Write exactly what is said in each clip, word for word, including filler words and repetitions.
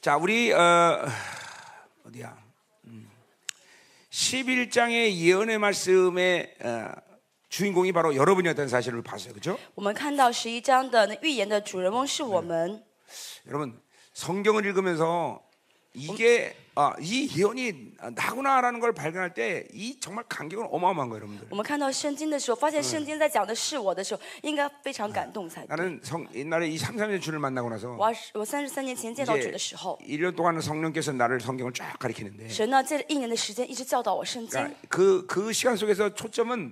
자, 우리 어, 어디야? 음. 십일 장의 예언의 말씀의 어, 주인공이 바로 여러분이었다는 사실을 봤어요, 그렇죠? 我们看到十一章的那预言的主人翁是我们。 여러분 성경을 읽으면서 이게 아, 이 예언이 나구나라는 걸 발견할 때 이 정말 감격은 어마어마한 거예요, 여러분들. 我们看到圣经的时候，发现圣经在讲的是我的时候，应该非常感动才对。 나는 성, 옛날에 이 삼, 삼 년 주를 만나고 나서 我我三十三年前见到主的时候， 일 년 동안 성령께서 나를 성경을 쫙 가르치는데 神呢借着一年的时间一直教导我圣经。 그러니까 그, 그 시간 속에서 초점은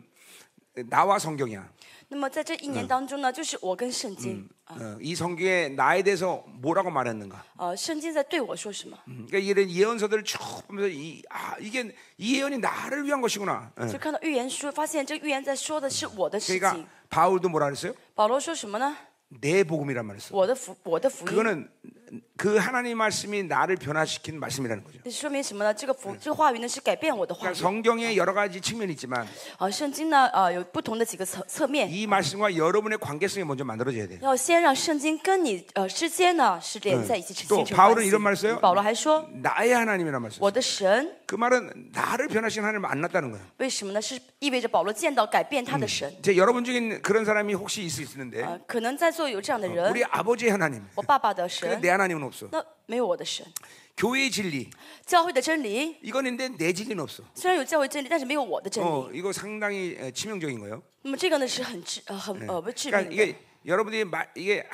나와 성경이야. 那么在这一年当中呢，就是我跟圣经。 어, 이 성경에 나에 대해서 뭐라고 말했는가? 呃，圣经在对我说什么？ 음, 그러니까 이런 예언서들을 쭉 보면서 이, 아, 이게 이 예언이 나를 위한 것이구나. 어. 就看到预言书，发现这个预言在说的是我的事 그러니까 情。 바울도 뭐라 그랬어요? 保罗说什么呢？ 내 복음이란 말을 써. 我的福，我的福音。 그거는 그 하나님 말씀이 나를 변화시킨 말씀이라는 거죠. 这说明什么呢？这个福，这个话语呢是改变我的话 그러니까 语。 성경에 여러 가지 측면이 있지만 啊，圣经呢，呃，有不同的几个侧侧面。 이 말씀과 여러분의 관계성이 먼저 만들어져야 돼요. 要先让圣经跟你呃之间呢是连在一起， 또 形成 바울은 关系。 이런 말 써요. 保罗还说， 나의 하나님이란 말 써요. 我的神， 그 말은 나를 변화시킨 하나님을 만났다는 거예요. 为什么呢？是意味着保罗见到改变他的神。 이제 여러분 중에 그런 사람이 혹시 있을 수 있는데 呃，可能在座有这样的人， 우리 아버지의 하나님, 我爸爸的 근데 神， 내 하나님은 없어. 那没有我的神。 교회의 진리, 教会的真理 이건 있는데 내 진리는 없어. 虽然有教会真理，但是没有我的真理。 어, 이거 상당히 에, 치명적인 거예요. 那么这个呢是很致呃很呃不致 그러니까 命的。 이게 여러분들이 마, 이게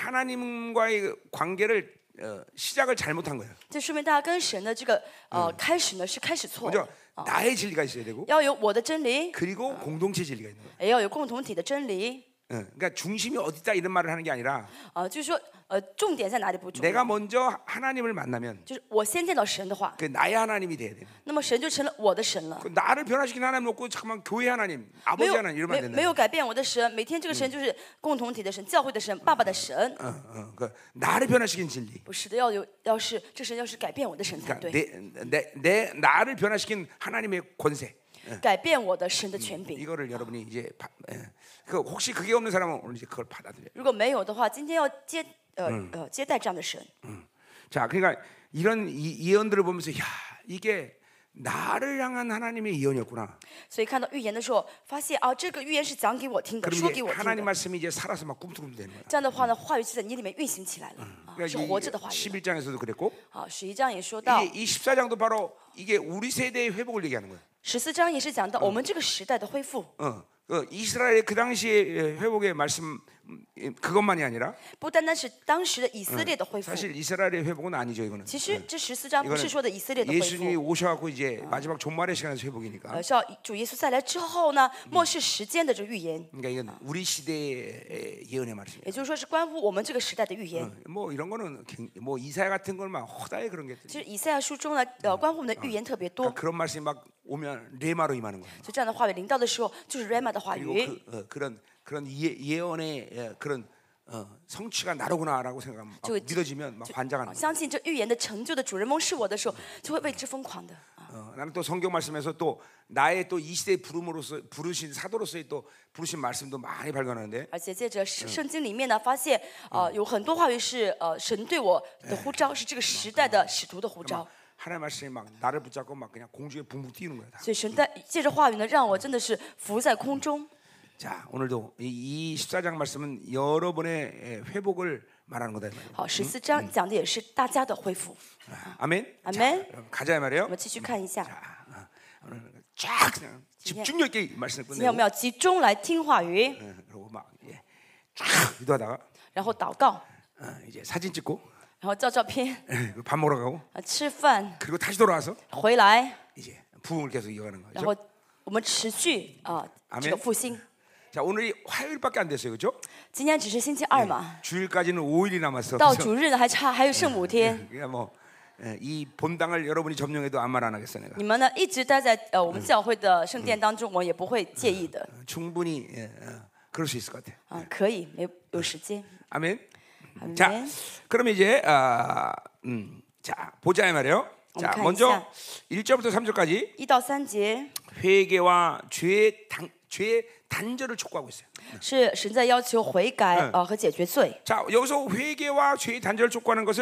하나님과의 관계를 어, 시작을 잘못한 거예요. 这说明大家跟神的这个呃开始呢是开始错 먼저 的。 나의 진리가 있어야 되고 要有我的真理， 그리고 공동체 진리가 있는 거예요. 也要有共同体的真理。 어, 그러니까 중심이 어디다 이런 말을 하는 게 아니라 啊、就是说呃重点在哪里不重 내가 要， 먼저 하나님을 만나면 就是我先见到神的话， 그 나의 하나님이 돼야 돼. 那么神就成了我的神了。 그 나를 변화시킨 하나님 없고 잠깐만 교회 하나님, 没 아버지 有 하나님 이러면 没 안 된다. 没有改变我的神，每天这个神就是共同体的神、教会的神、爸爸的神， 어, 어, 그 나를 변화시킨 진리. 不是的，要有要是这神要是改变我的神才 그러니까 对， 내, 내, 내 나를 변화시킨 하나님의 권세. 改变我的神的权柄。 이거를 여러분이 이제 바, 예. 그 혹시 그게 없는 사람은 오늘 이제 그걸 받아들여. 如果没有的话，今天要接呃呃接待这样的神。 자, 그러니까 이런 이, 예언들을 보면서 야 이게 나를 향한 하나님의 예언이었구나. 所以看到预言的时候，发现啊，这个预言是讲给我听的， 그럼 说 이제 给我听 하나님 的。 말씀이 이제 살아서 막 꿈틀꿈틀 되는 거야. 这样的话呢，话语就在你里面运行起来了，啊，是 그러니까 活着的话语。 십일 장에서도 그랬고 好，十一章也说到， 이게 이 십사 장도 바로 이게 우리 세대의 회복을 얘기하는 거예요. 十四章也是讲到我们这个时代的恢复。 어, 그 이스라엘의 그 당시의 회복의 말씀 음, 그것만이 아니라 不单单是当时的以色列的恢复， 사실 이스라엘의 회복은 아니죠 이거는. 其实这十四章不是说的以色列的恢 예수님이 复， 오셔갖고 이제 마지막 종말의 시간에서 회복이니까. 呃，是要主耶稣再来之后呢，末世时间的这个预言， 그러니까 이건 우리 시대의 예언의 말씀이에요. 也就是说是关乎我们这个时代的预言。 뭐 이런 거는 굉- 뭐 이사야 같은 걸 막 허다해 그런 게. 其实以赛亚书中呢，呃，关乎我们的预言特别多， 그러니까 그런 말씀이 막 오면 레마로 임하는 거예요. 就这样的话语临到的时候，就是 Rama 的话 그리고 语， 그, 어, 그런 그런 예, 예언의 예, 그런 어, 성취가 나로구나라고 생각하면 막 就 믿어지면 막 환장하는 啊 거예요. 相信这预言的成就的主人翁是我的时候，就会为之疯狂的。啊 어, 나는 또 성경 말씀에서 또 나의 또 이 시대의 부름으로서 부르신 사도로서의 또 부르신 말씀도 많이 발견하는데 而且借着圣圣经里面呢，发现呃有很多话语是呃神对我的呼召，是这个时代的使徒的呼召。 하나님 말씀이 막 나를 붙잡고 막 그냥 공중에 붕붕 뛰는 거야. 다. 所以神在借着话语呢，让我真的是浮在空中。 자, 오늘도 이, 이 십사 장 말씀은 여러분의 예, 회복을 말하는 거다 이 말이에요. 好，十四章讲的也是大家的恢复。 아, 아멘. 아멘. 자, 그럼 가자 이 我 말이에요. 们继续看一下， 자, 어, 오늘 쫙 그냥 집중력 있게 이 말씀을 今天我 끝내고 们要集中来听话语， 예, 그리고 막 예, 쫙 기도하다가 然后祷告， 어, 이제 사진 찍고 然后照照片， 예, 밥 먹으러 가고 啊，吃饭， 그리고 다시 돌아와서 回来， 이제 부흥을 계속 이어가는 然 거죠. 后我们持续啊这个复兴。 자, 오늘이 화요일밖에 안 됐어요, 그렇죠? 今天只是星期二嘛， 주일까지는 오 일이 남았어. 到 그래서 主日呢还差还有剩五天。 그러니까 뭐 이 본당을 여러분이 점령해도 아무 말 안 하겠어 내가. 你们呢一直待在呃我们教会的圣殿当中，我也不会介意的。 충분히 예, 어, 그럴 수 있을 것 같아. 啊，可以，没有时间。 아멘. 阿门 자, 그러면 이제 아, 음, 자 보자 이 말이에요. 자, 한번 먼저 가이사. 일 절부터 삼 절까지 一到三节 회개와 죄의 단, 죄의 단절을 촉구하고 있어요. 是神在要求悔改呃和解决罪。 자, 여기서 회개와 죄의 단절을 촉구하는 것은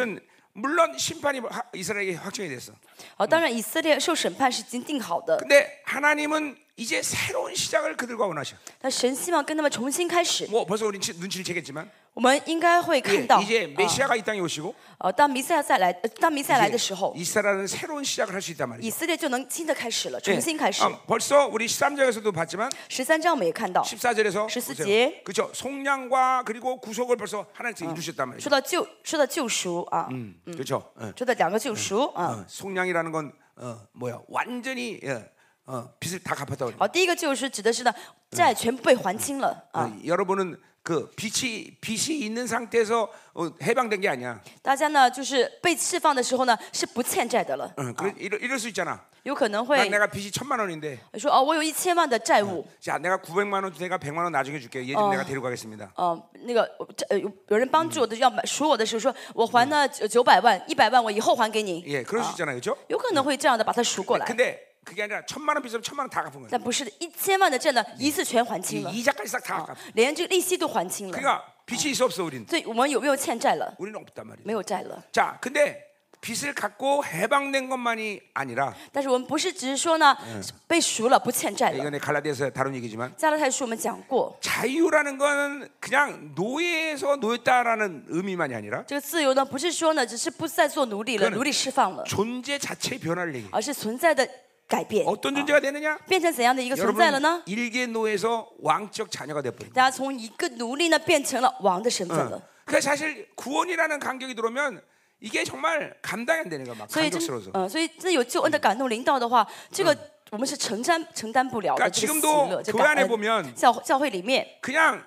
물론 심판이 하- 이스라엘에게 확정이 됐어. 好，当然以色列受审判是已经定好的， 근데 하나님은 이제 새로운 시작을 그들과 원하셔. 但神希望跟他们重新开始。 뭐 벌써 우리 눈치를 채겠지만 我们应该会 예, 看到， 이제 啊 메시아가 이 땅에 오시고 呃，当弥赛亚再来，呃当弥赛亚来的时 이제 候， 이스라엘은 새로운 시작을 할 수 있단 以 말이죠. 色列就能新的开始了， 예. 重新开始。 아, 벌써 우리 십삼 장에서도 봤지만 十三章我们也看到， 십사 절에서 십사 절. 그렇죠. 속량과 그리고 구속을 벌써 하나님께서 이루셨단 말이죠. 说到救，说到救赎啊， 음, 그렇죠. 예. 说到两个救赎啊。 어, 속량이라는 건 어, 뭐야? 완전히 예, 어, 빚을 다 갚았다고 그래요. 好，第一个救赎指的是呢，债全部被还清了啊。 어, 여러분은 그 빚이 빚이 있는 상태에서 어, 해방된 게 아니야. 大家呢，就是被释放的时候呢，是不欠债的了， 어, 그래, 이럴, 이럴 수 있잖아. 有可能 난 会 내가 빚이 천만 원인데, 说哦，我有一千万的债务， 자 내가 구백만 원, 내가 백만 원 나중에 줄게. 얘 좀 내가 데리고 가겠습니다. 呃，那个我这呃有有人帮助我的要买赎我的时候，说我还呢九九百万，一百万我以后还给你， 예, 그럴 수 있잖아요, 그렇죠? 有可能会这样的把它赎过来， 근데 그게 아니라 천만 원 빚으면 천만 원 다 갚은 거예요. 但不是的，一千万的债呢，一次全还清了， 이 이자까지 싹 다 갚아. 连这个利息都还清了， 그러니까 빚이 있어 없어 우린. 所以我们有没有欠债了？ 우리는 없단 말이에요. 没有债了。 자, 근데 빚을 갖고 해방된 것만이 아니라 但是我们不是只是说呢，被赎了不欠债了。 이번에 갈라디아서 다룬 얘기지만 加拉太书我们讲过， 자유라는 건 그냥 노예에서 노였다라는 의미만이 아니라 这个自由呢，不是说呢，只是不再做奴隶了， 그거는 奴隶释放了， 존재 자체의 변화를 얘기해. 而是存在的改变。 어떤 존재가 되느냐? 变成怎样的一个存在了 여러분 呢？ 일개 노예에서 왕적 자녀가 돼버린. 大家从一个奴隶呢，变成了王的身份了。 그 사실 구원이라는 간격이 들어오면 이게 정말 감당이 안 되는 거야, 막 所以真 감격스러워서. ， 呃，所以真有救恩的感动临到的话，这个我们是承担承担不了的 그러니까 这个喜 지금도 乐，这 교회 感 안에 恩。 보면 教教会里面， 그냥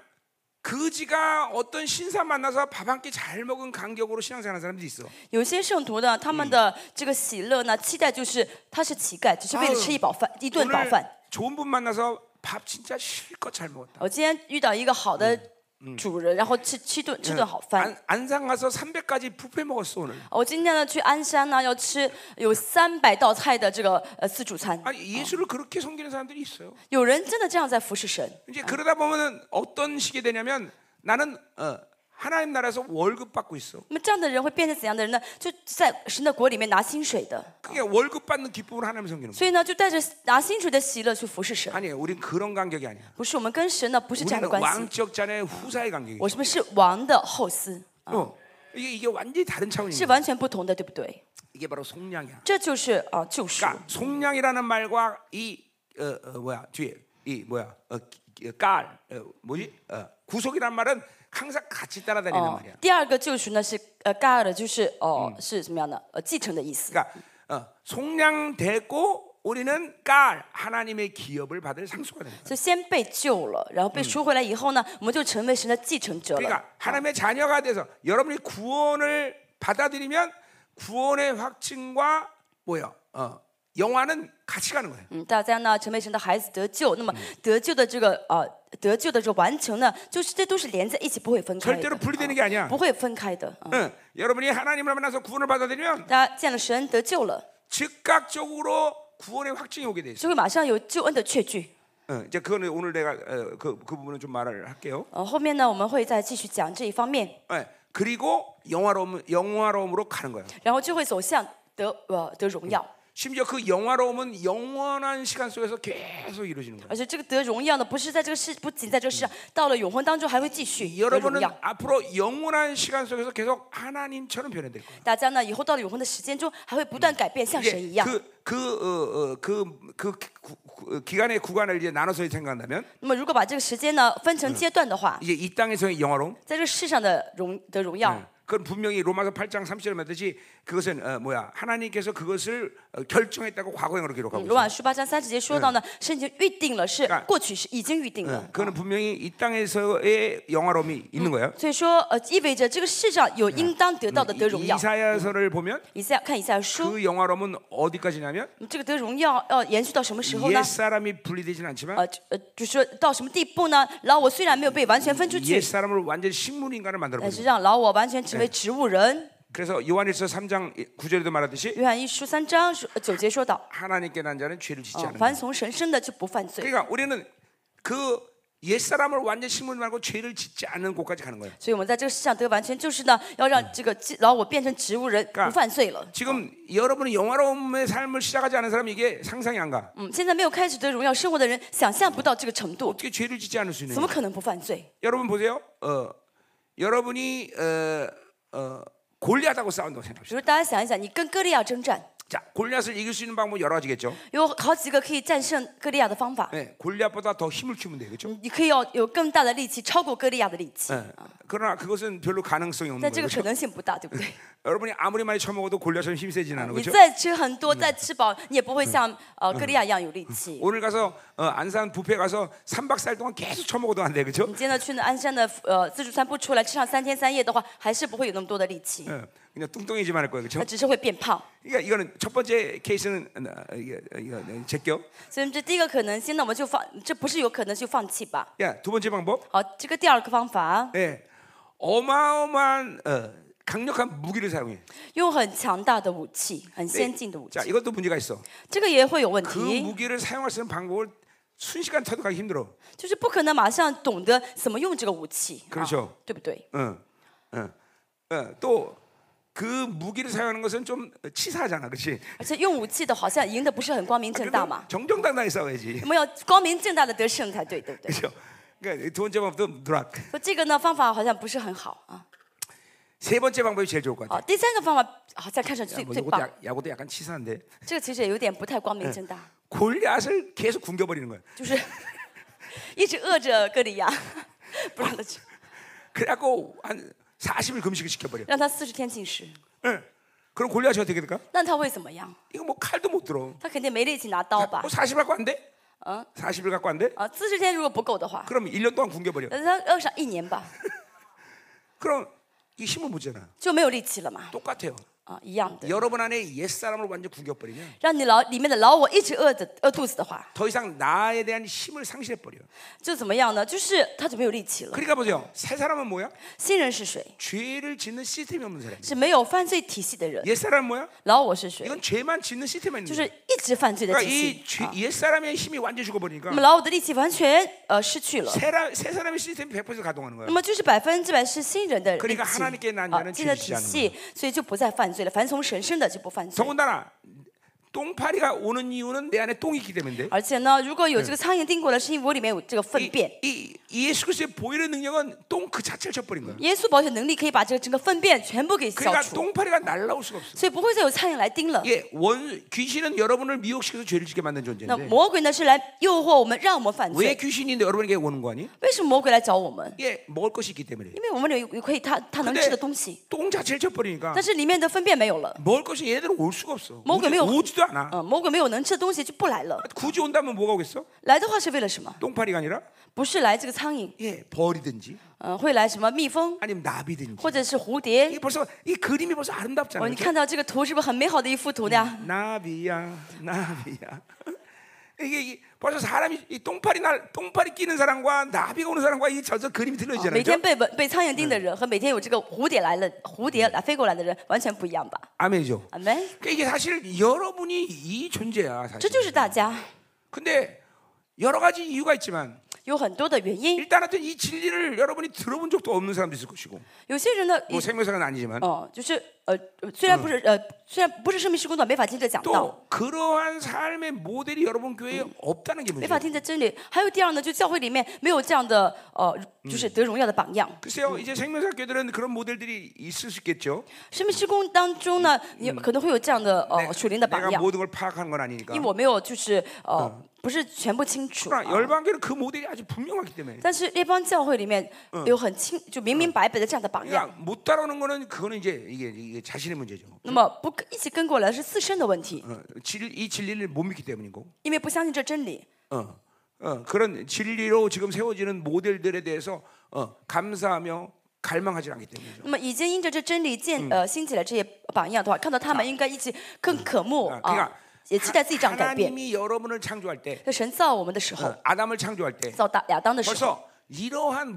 거지가 어떤 신사 만나서 밥 한 끼 잘 먹은 간격으로 신앙생활하는 사람들이 있어. 有些圣徒呢，他们的这个喜乐呢，期待就是他是乞丐，只是为了吃一饱饭，一顿饱 오늘 饭。 좋은 분 만나서 밥 진짜 실컷 잘 먹었다. 我今天遇到一个好的主人，然后吃吃顿吃顿好饭。 안, 안산 가서 삼백까지 뷔페 먹었어 오늘. 我今天呢去鞍山呢，要吃有三百道菜的这个呃自助餐。 아니 예수를 그렇게 섬기는 사람들이 있어요. 有人真的这样在服侍神。 이제 그러다 보면은 어떤 식이 되냐면 나는 어, 하나님 나라에서 월급 받고 있어. 那么这样的人会变成怎样的人呢？就在神的国里面拿薪水的， 그게 월급 받는 기쁨을 하나님 섬기는 거야. 所以呢，就带着拿薪水的喜乐去服侍神。 아니에요. 우린 그런 간격이 아니야. 不是我们跟神呢，不是这样的 우리는 关系。 왕적 자녀의 후사의 간격이. 我们是王的后嗣， 어, 이게 이게 완전히 다른 是 차원이야. 完全不同的，对不对？ 이게 바로 속량이야. 这就是啊救赎。 그러니까 속량이라는 말과 이 어, 어, 뭐야 뒤에 이 뭐야 어, 깔 어, 뭐지 어, 구속이란 말은 항상 같이 따라다니는 哦 말이야. ， 第二个救赎呢是呃盖尔的，就是哦、是什么样的？呃，继承的意思。 그러니까 어, 속량되고 우리는 깔 하나님의 기업을 받을 상수가 됩니다. 就先被救了，然后被赎回来以后呢，我们就成为神的继承者了。 그러니까 하나님의 자녀가 돼서 여러분이 구원을 받아들이면 구원의 확증과 뭐야 어, 영화는 같이 가는 거예요. 嗯，大家呢成为神的孩子得救，那么得救的这个呃得救的这个完成呢，就是这都是连在一起，不会分开 절대로 的， 분리되는 게 아니야. 不会分开的。啊 응, 여러분이 하나님을 만나서 구원을 받아들이면 大家见了神得救了， 즉각적으로 구원의 확증이 오게 돼 있어. 就会马上有救恩的确据。 응, 이제 그거는 오늘 내가 어, 그, 그 부분은 좀 말을 할게요. 呃，后面呢我们会再继续讲这一方面， 네, 그리고 영화로움 영화로움으로 가는 거예요. 然后就会走向得呃得荣耀。 심지어 그 영화로움은 영원한 시간 속에서 계속 이루어지는 거예요. 而且这个得荣耀呢，不是在这个世，不仅在这个世上，到了永恒当中还会继续得荣 여러분은 耀。 앞으로 영원한 시간 속에서 계속 하나님처럼 변해될 거예요. 大家呢以后到了永恒的时间中，还会不断改变，像神一 이제 样。 그 그 어, 어, 그, 그 구- 구- 기간의 구간을 이제 나눠서 생각한다면 那么如果把这个时间呢分成阶段的话， 이제 이 땅에서의 영화로움 在这个世上的荣的荣耀， 그건 분명히 로마서 팔 장 삼 절에 말했듯이 그것은 어, 뭐야 하나님께서 그것을 어, 결정했다고 과거형으로 기록하고 罗 있어요. 马书八章三十节说到呢，圣经预定了，是过去是已经预定了。 그거는 분명히 이 땅에서의 영화로움이 있는 거예요. 所以说，呃，意味着这个世上有应当得到的得荣耀。 이사야서를 보면 以赛看以赛亚书， 그 영화로움은 어디까지냐면 这个得荣耀要延续到什么时候呢 옛 ？ 사람이 분리되지는 않지만 呃呃，就说到什么地步呢？老我虽然没有被完全分出 옛 去， 사람을 완전 식물 인간을 만들어 但是 버리고 让老我完全成为植物人。 그래서 요한일서 삼 장 구 절에도 말하듯이 约翰一书三章说呃九节说到， 하나님께 난 자는 죄를 짓지 啊， 않는다. 凡从神生的就不犯罪。 그러니까 우리는 그 옛 사람을 완전 심으지 말고 죄를 짓지 않는 곳까지 가는 거예요. 所以我们在这个世上得完全，就是呢，要让这个老我变成植物人，不犯罪了。 지금 여러분이 영화로움의 삶을 시작하지 않은 사람이 이게 상상이 안 가. 嗯，现在没有开始得荣耀生活的人，想象不到这个程度， 어떻게 죄를 짓지 않을 수 있느냐? 怎么可能不犯罪？ 여러분 보세요. 어, 여러분이 어, 어, 골리앗하고 싸운다고 比 생각합시다. 如大家想一想，你跟歌利亚征战， 자, 골리앗을 이길 수 있는 방법 여러 가지겠죠. 有好几个可以战胜歌利亚的方法。 네, 골리앗보다 더 힘을 키우면 돼요, 그렇죠? 你可以要有更大的力气，超过歌利亚的力气。 네. 그러나 그것은 별로 가능성이 없는 但这 거예요. 个可 그렇죠? 能性不大，对不对？ 여러분이 아무리 많이 처먹어도 골리앗은 힘 세진 않은 你 거죠. 再吃很多，再吃饱，你也不会像呃歌利亚一样有力气。 오늘 가서 어, 안산 뷔페 가서 삼 박 사 일 동안 계속 처먹어도 안 돼, 그렇죠? 你今天去那鞍山的呃自助餐不出来吃上三天三夜的话，还是不会有那么多的力气， 어, 그냥 뚱뚱해지만 할 거예요, 它 그렇죠? 只是会变胖。 그러니까 이거는 첫 번째 케이스는 어, 이게 이거 제껴. 所以这第一个可能性，那我们就放，这不是有可能就放弃吧。 야, 두 번째 방법. 好，这个第二个方法， 예, 어마어마한 어, 강력한 무기를 사용해. 用很强大的武器，很 네, 先进的武器， 자, 이것도 문제가 있어. 这个也会有问 그 题， 무기를 사용할 수 있는 방법을 순식간 터득하기 힘들어. 就是不可能马上懂得怎么用这个武器， 그렇죠 啊对不对？ 어, 어, 어, 또 그 무기를 사용하는 것은 좀 치사하잖아, 그렇지? 而且用武器的好像赢得不是很光明正大 그래도 嘛， 정정당당히 싸워야지, 我们要光明正大的得胜才对，对不对？ 그렇죠? 그러니까 두 번째 방법도 누락. 说这个呢方法好像不是很好啊。 세 번째 방법이 제일 좋을 것 好， 같아. 第三个方法好像看上去 야, 最 뭐 最 이것도 棒， 야, 야구도 약간 치사한데 这个其实也有点不太光明正大， 골리앗을 계속 굶겨버리는 거야. 就是一直饿着歌利亚，不让他吃， 그래갖고 한 사십 일 금식을 시켜버려. 让他四十天禁食， 응. 그럼 골리앗이 어떻게 될까? 那他会怎么样？ 이거 뭐 칼도 못 들어. 他肯定没力气拿刀吧 뭐 ？ 사십 갖고 안 돼? 嗯 사십 일 갖고 안 돼? 啊，四十天如果不够的话， 그럼 일 년 동안 굶겨버려. 那他饿上一年吧， 그럼 이 힘을 못 잖아. 就没有力气了嘛。 똑같아요. 啊，一样的， 여러분 안에 옛 사람을 완전 굶겨버리면 让你老里面的老我一直饿着饿肚子的话， 더 이상 나에 대한 힘을 상실해버려. 就怎么样呢？就是他就没有力气了。 그러니까 보세요. 새 사람은 뭐야? 新人是谁？ 죄를 짓는 시스템이 없는 사람. 是没有犯罪体系的人。 옛 사람은 뭐야? 老我是谁？ 이건 죄만 짓는 시스템만 就 있는 是 거야. 一直犯罪的 그러니까 体 이 系。 죄, 啊 옛 사람의 힘이 완전히 죽어버리니까 那么老我的力气完全呃失去了。 새, 라, 새 사람의 시스템이 백 퍼센트 가동하는 거야. 那么就是百分之百是新人的力 그러니까 气 하나님께 난 啊， 자는 新的 죄 体 짓지 않는 系，所以就不再犯罪了。凡从神生的就不犯罪。 더군다나 똥파리가 오는 이유는 내 안에 똥이 있기 때문인데 而且呢，如果有这个苍蝇叮过来，是因为我里面有这个粪 이, 便。 이, 이 예수 그리스도의 보혈의 능력은 똥 그 자체를 쳐버린 거야. 耶稣保险能力可以把这个整个粪便全部给消 그러니까 除， 똥파리가 날라올 수가 없어. 所以不会再有苍蝇来叮了。 예, 원 귀신은 여러분을 미혹시켜서 죄를 짓게 만든 那 존재인데 魔鬼呢是来诱惑我们，让我们犯 왜 罪。 귀신인데 여러분에게 오는 거 아니? 为什么魔鬼来找我们？ 예, 먹을 것이 있기 때문에. 因为我们有有可以他他能吃的东西， 똥 자체를 쳐버리니까 但是里面的粪便没有了。 먹을 것이 얘네들은 올 수가 없어. 먹을 오지, 게 오지도 않아. 嗯，魔鬼没有能吃的东西就不来了。 굳이 온다면 뭐가 오겠어? 来的话是为了什么？ 똥파리가 아니라 不是来这个苍蝇， 예, 벌이든지 嗯，会来什么蜜蜂 아니면 나비든지. 或者是蝴蝶 이게 ？ 벌써 이 그림이 벌써 哦， 아름답잖아요. 你看到这个图是不是很美好的一幅图呀？ 나비야, 나비야. 이게, 이게 벌써 사람이 이 똥파리 날 똥파리 끼는 사람과 나비가 오는 사람과 이 저저 그림이 哦 틀려지잖아요. 每天 그죠? 被蚊被苍蝇叮的人和每天有这个蝴蝶来了蝴蝶来飞过来的人完全不一样吧？ 아멘이죠. 阿门。 그러니까 이게 사실 여러분이 이 존재야 这 사실. 就是大家 근데 여러 가지 이유가 있지만 有很多的原因。 일단 하여튼 이 진리를 여러분이 들어본 적도 없는 사람도 있을 것이고 有些人呢， 뭐 생명사는 아니지만 哦，就是呃，虽然不是呃，虽然不是生命施工的，没法听这讲道， 또 그러한 삶의 모델이 여러분 교회에 없다는 게 没法 문제예요. 听这真理。还有第二呢，就教会里面没有这样的呃，就是得荣耀的榜样。 글쎄요, 이제 생명사 교회들은 그런 모델들이 있을 수 있겠죠. 生命施工当中呢，你可能会有这样的呃属灵的榜 내가 样， 모든 걸 파악하는 건 아니니까. 因为我没有就是呃不是全部清楚。 그러나 啊 열방교는 그 모델이 아주 분명하기 때문에. 但是列邦教会里面有很清就明明白白的这样的榜样， 그러니까 못 따라오는 거는 그거는 이제 이게, 이게 자신의 문제죠. 那么不一起跟过来是自身的问题， 어, 진, 이 진리를 못 믿기 때문이고. 因为不相信这真理。 어, 어, 그런 진리로 지금 세워지는 모델들에 대해서 어, 감사하며 갈망하지 않기 때문이죠. 那么已经因着这真理建呃兴起来这些榜样的话，看到他们应该一起更渴慕 아, 그러니까 啊，也期待自己这样改变。 하나님이 여러분을 창조할 때, 在神造我们的时候， 어, 아담을 창조할 때 造大亚当的时候， 벌써 이러한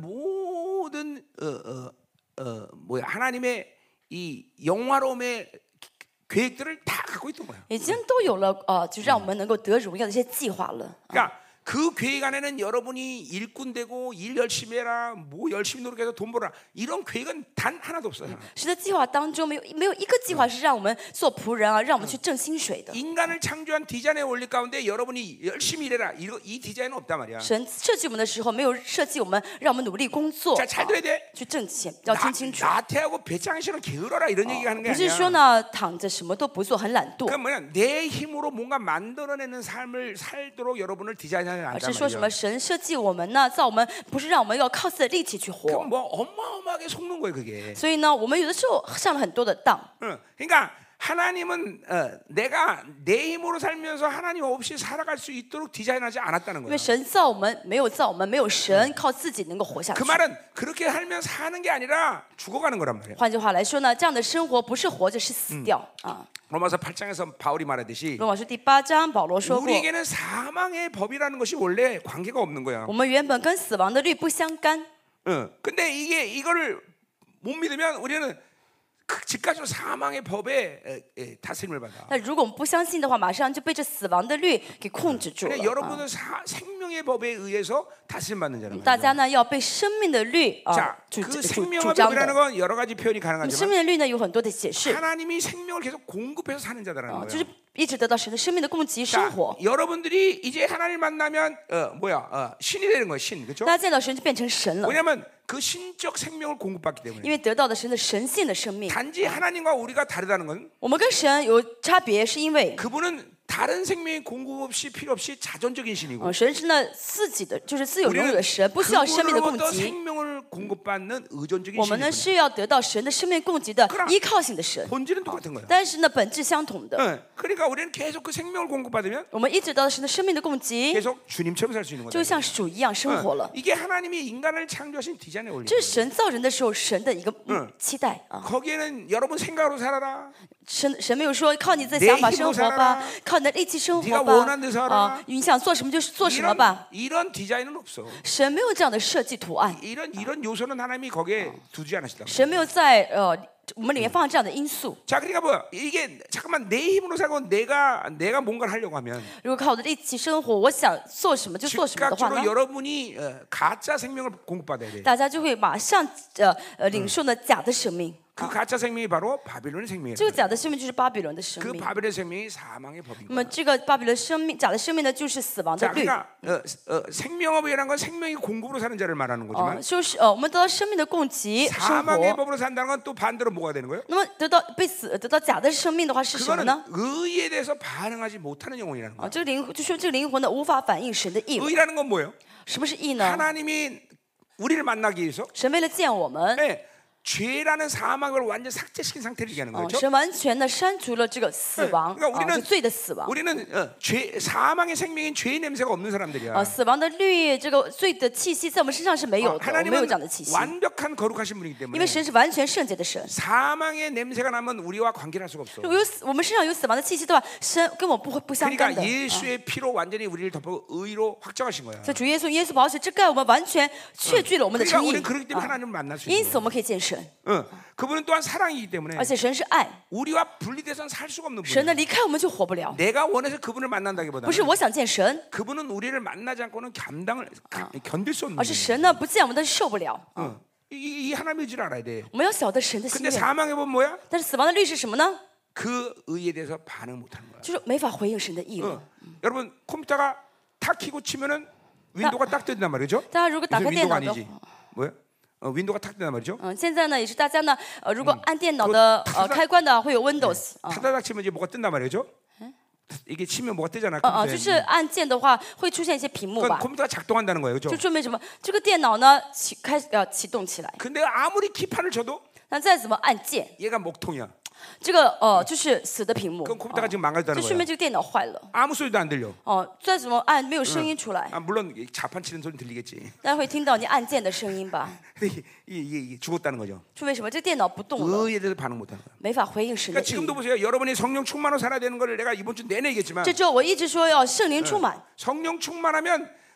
모든 어, 어, 어, 뭐야 하나님의 이 영화로움의 계획들을 다 갖고 있던 거야. 已经都有了呃，就让我们能够得荣耀的一些计划了。 그러니까 그 계획 안에는 여러분이 일꾼 되고 일 열심히 해라, 뭐 열심히 노력해서 돈 벌어라 이런 계획은 단 하나도 없어요. 神的计划当中没有没有一个计划是让我们做仆人啊，让我们去挣薪水的。 인간을 창조한 디자인의 원리 가운데 여러분이 열심히 일해라 이거 이 디자인은 없단 말이야. 神设计我们的时候，没有设计我们让我们努力工作， 자, 잘 들어야 돼. 去挣钱，要 나, 听清楚。 나태하고 배짱이처럼 게으러라 이런 얘기가 하는 게 不是说 아니야. 呢躺着什么都不做，很懒惰， 그 뭐냐 내 힘으로 뭔가 만들어내는 삶을 살도록 여러분을 디자인하는 而 않단 是说什么 말이야. 神设计我们呢，造我们不是让我们要靠自己的力气去 그 活。 뭐 어마어마하게 속는 거예요 그게. 所以呢，我们有的时候上了很多的当。 응. 그러니까 하나님은 어, 내가 내 힘으로 살면서 하나님 없이 살아갈 수 있도록 디자인하지 않았다는 因 거예요. 为神造我们，没有造我们，没有神靠自己能够活下 그 去。 말은 그렇게 살면 사는 게 아니라 죽어가는 거란 말이에요. 换句话来说呢，这样的生活不是活着，是死掉啊。 로마서 팔 장에서 바울이 말하듯이 罗马书第八章，保罗说过， 우리에게는 사망의 법이라는 것이 원래 관계가 없는 거야. 我们原本跟死亡的律不相干， 응. 근데 이게 이거를 못 믿으면 우리는 그 즉각적으로 사망의 법에 에, 에, 다스림을 받아. 但如果我们不相信的话，马上就被这死亡的律给控制住了 그러니까 。 啊 여러분은 사, 생명의 법에 의해서 다스림 받는 자란 大 말이야. 家呢要被生命的律啊 자, 主 그 主主 생명의 张 법이라는 的。 건 여러 가지 표현이 那么 가능하지만 生命的律呢有很多的解释 하나님이 생명을 계속 공급해서 사는 자다라는 啊， 거예요. 就是一直得到神的生命的供给生 자, 活。 여러분들이 이제 하나님 만나면 어, 뭐야 어, 신이 되는 거예요, 신, 그렇죠? 大家见到神就变成神了， 왜냐하면 그 신적 생명을 공급받기 因 때문에. 为得到的神的神性的生命。 단지 하나님과 우리가 다르다는 건 我们跟神有差别，是因为 그분은 다른 생명의 공급 없이 필요 없이 자존적인 신이고 呃神是那自己的，就是自有拥有的神，不需要生命的供 그분으로부터 给。 생명을 공급받는 의존적인 我们呢 신이고 是要得到神的生命供给的依靠性的神， 본질은 똑같은 거야. 但是呢本质相同的。 네, 그러니까 우리는 계속 그 생명을 공급받으면 我们一直得到神的生命的供给， 계속 주님처럼 살 수 있는 就 거다. 像主一样生活了。 이게 하나님이 인간을 창조하신 디자인의 원리. 这是神造人的时候神的一个嗯期待啊。 거기에는 여러분 생각으로 살아라. 神神没有说靠你自己的想法生活吧，靠你的力气生活吧啊，你想做什么就做什么 이런, 吧。 이런 디자인은 없어. 神没有这样的设计图案， 이런 이런 요소는 하나님이 거기에 두지 않으시다. 神没有在呃我们里面放这样的因素。 자, 그러니까 뭐 이게 잠깐만 내 힘으로 살고 내가 내가 뭔가를 하려고 하면 如果靠我的力气生活，我想做什么就做什么的话 즉각적으로 呢， 여러분이 어, 가짜 생명을 공급받아야 돼. 大家就会马上呃呃领受呢假的生命。 그 가짜 생명이 바로 바빌론의 생명이에요. 这个假的生命就是巴比伦的生 그 命。 바빌론의 생명이 사망의 법이고. 那么这个巴比伦生命假的生命呢，就是死亡的 자, 律。 그러니까 어, 어, 생명업이라는 건 생명이 공급으로 사는 자를 말하는 哦 거지만 ， 就是呃，我们得到生命的供给生 사망의 活。 법으로 산다는 건 또 반대로 뭐가 되는 거예요? 那么得到被死得到假的生命的话是什么 그거는 呢？ 의에 대해서 반응하지 못하는 영혼이라는 啊， 거예요. 这个灵就说这个灵魂呢无法反映神的意。 의라는 건 뭐예요? 什么是义呢？ 하나님이 우리를 만나기 위해서 神为了见我们， 네, 죄라는 사망을 완전 삭제시킨 상태를 얘기하는 哦， 거죠. 神完全的删除了这个死亡， 그러니까 啊， 우리는 是罪的死亡。 우리는 어, 죄 사망의 생명인 죄의 냄새가 없는 사람들이야. 啊，死亡的律，这个罪的气息在我们身上是没有 어, 的，我们没有这样的 하나님은 气息， 완벽한 거룩하신 분이기 因 때문에 为神是完全圣洁的神。 사망의 냄새가 나면 우리와 관계를 할 수가 없어. 如果有死我们身上有死亡的气息的话，神跟我不会不相干 그러니까 的。啊 예수의 피로 완전히 우리를 덮어 의로 확정하신 거야. 所以主耶稣耶稣宝血遮盖我们，完全确据了我们的 그러니까 称义 우리는 。 그렇기 때문에 啊 하나님을 만날 수 因 있는 此我们可以见神， 거야. 어, 그분은 또한 사랑이기 때문에 而且神是爱， 우리와 분리돼서는 살 수가 없는 神呢 분이야. 离开我们就活不了。 내가 원해서 그분을 만난다기보다는 不是我想见神， 그분은 우리를 만나지 않고는 감당을 가- 견딜 수 없는 而是 분이야. 神呢不见我们，但是受不了。 어, 이, 이 하나님의 의지를 알아야 돼. 我们要晓得神的心 근데 愿。 사망의 법 뭐야? 但是死亡的律是什么呢？ 그 의에 대해서 반응 못하는 거야. 就是没法回应神的意 어. 了。 여러분 컴퓨터가 탁 키고 치면은 윈도우가 딱 뜬단 말이죠. 大家如果打开 무슨 电 윈도우가 脑的 아니지. 뭐야? 어, 윈도우가 탁 뜬단 말이죠. 嗯，现在呢也是大家呢，呃，如果按电脑的呃开关的会有 Windows 啊， 타다닥 치면 이제 뭐가 뜬단 말이죠. 이게 치면 뭐가 뜨잖아. 呃呃，就 컴퓨터에. 是按键的话会出现一些屏幕 그건 吧， 컴퓨터가 작동한다는 거예요, 就 그렇죠? 说明什么？这个电脑呢启开呃启动起来， 근데 아무리 키판을 쳐도 那再怎么按键， 얘가 먹통이야. 这个呃就是死的屏幕， 그럼 哦 컴퓨터가 지금 망가졌다는 就说 거야. 明这个电脑坏了。 아무 소리도 안 들려. 哦，再怎么按没有声音出来， 아, 물론 이 자판 치는 소리 들리겠지. 大家会听到你按键的声音吧？ 근데 이게, 이게, 이게 죽었다는 거죠. 是为什么？这个电脑不动了， 의에 대해서 반응 못하는 거야. 没法回应神的 그러니까 意。 지금도 보세요. 여러분이 성령 충만으로 살아야 되는 걸 내가 이번 주 내내 얘기했지만 这周我一直说要圣灵充满， 성령 충만하면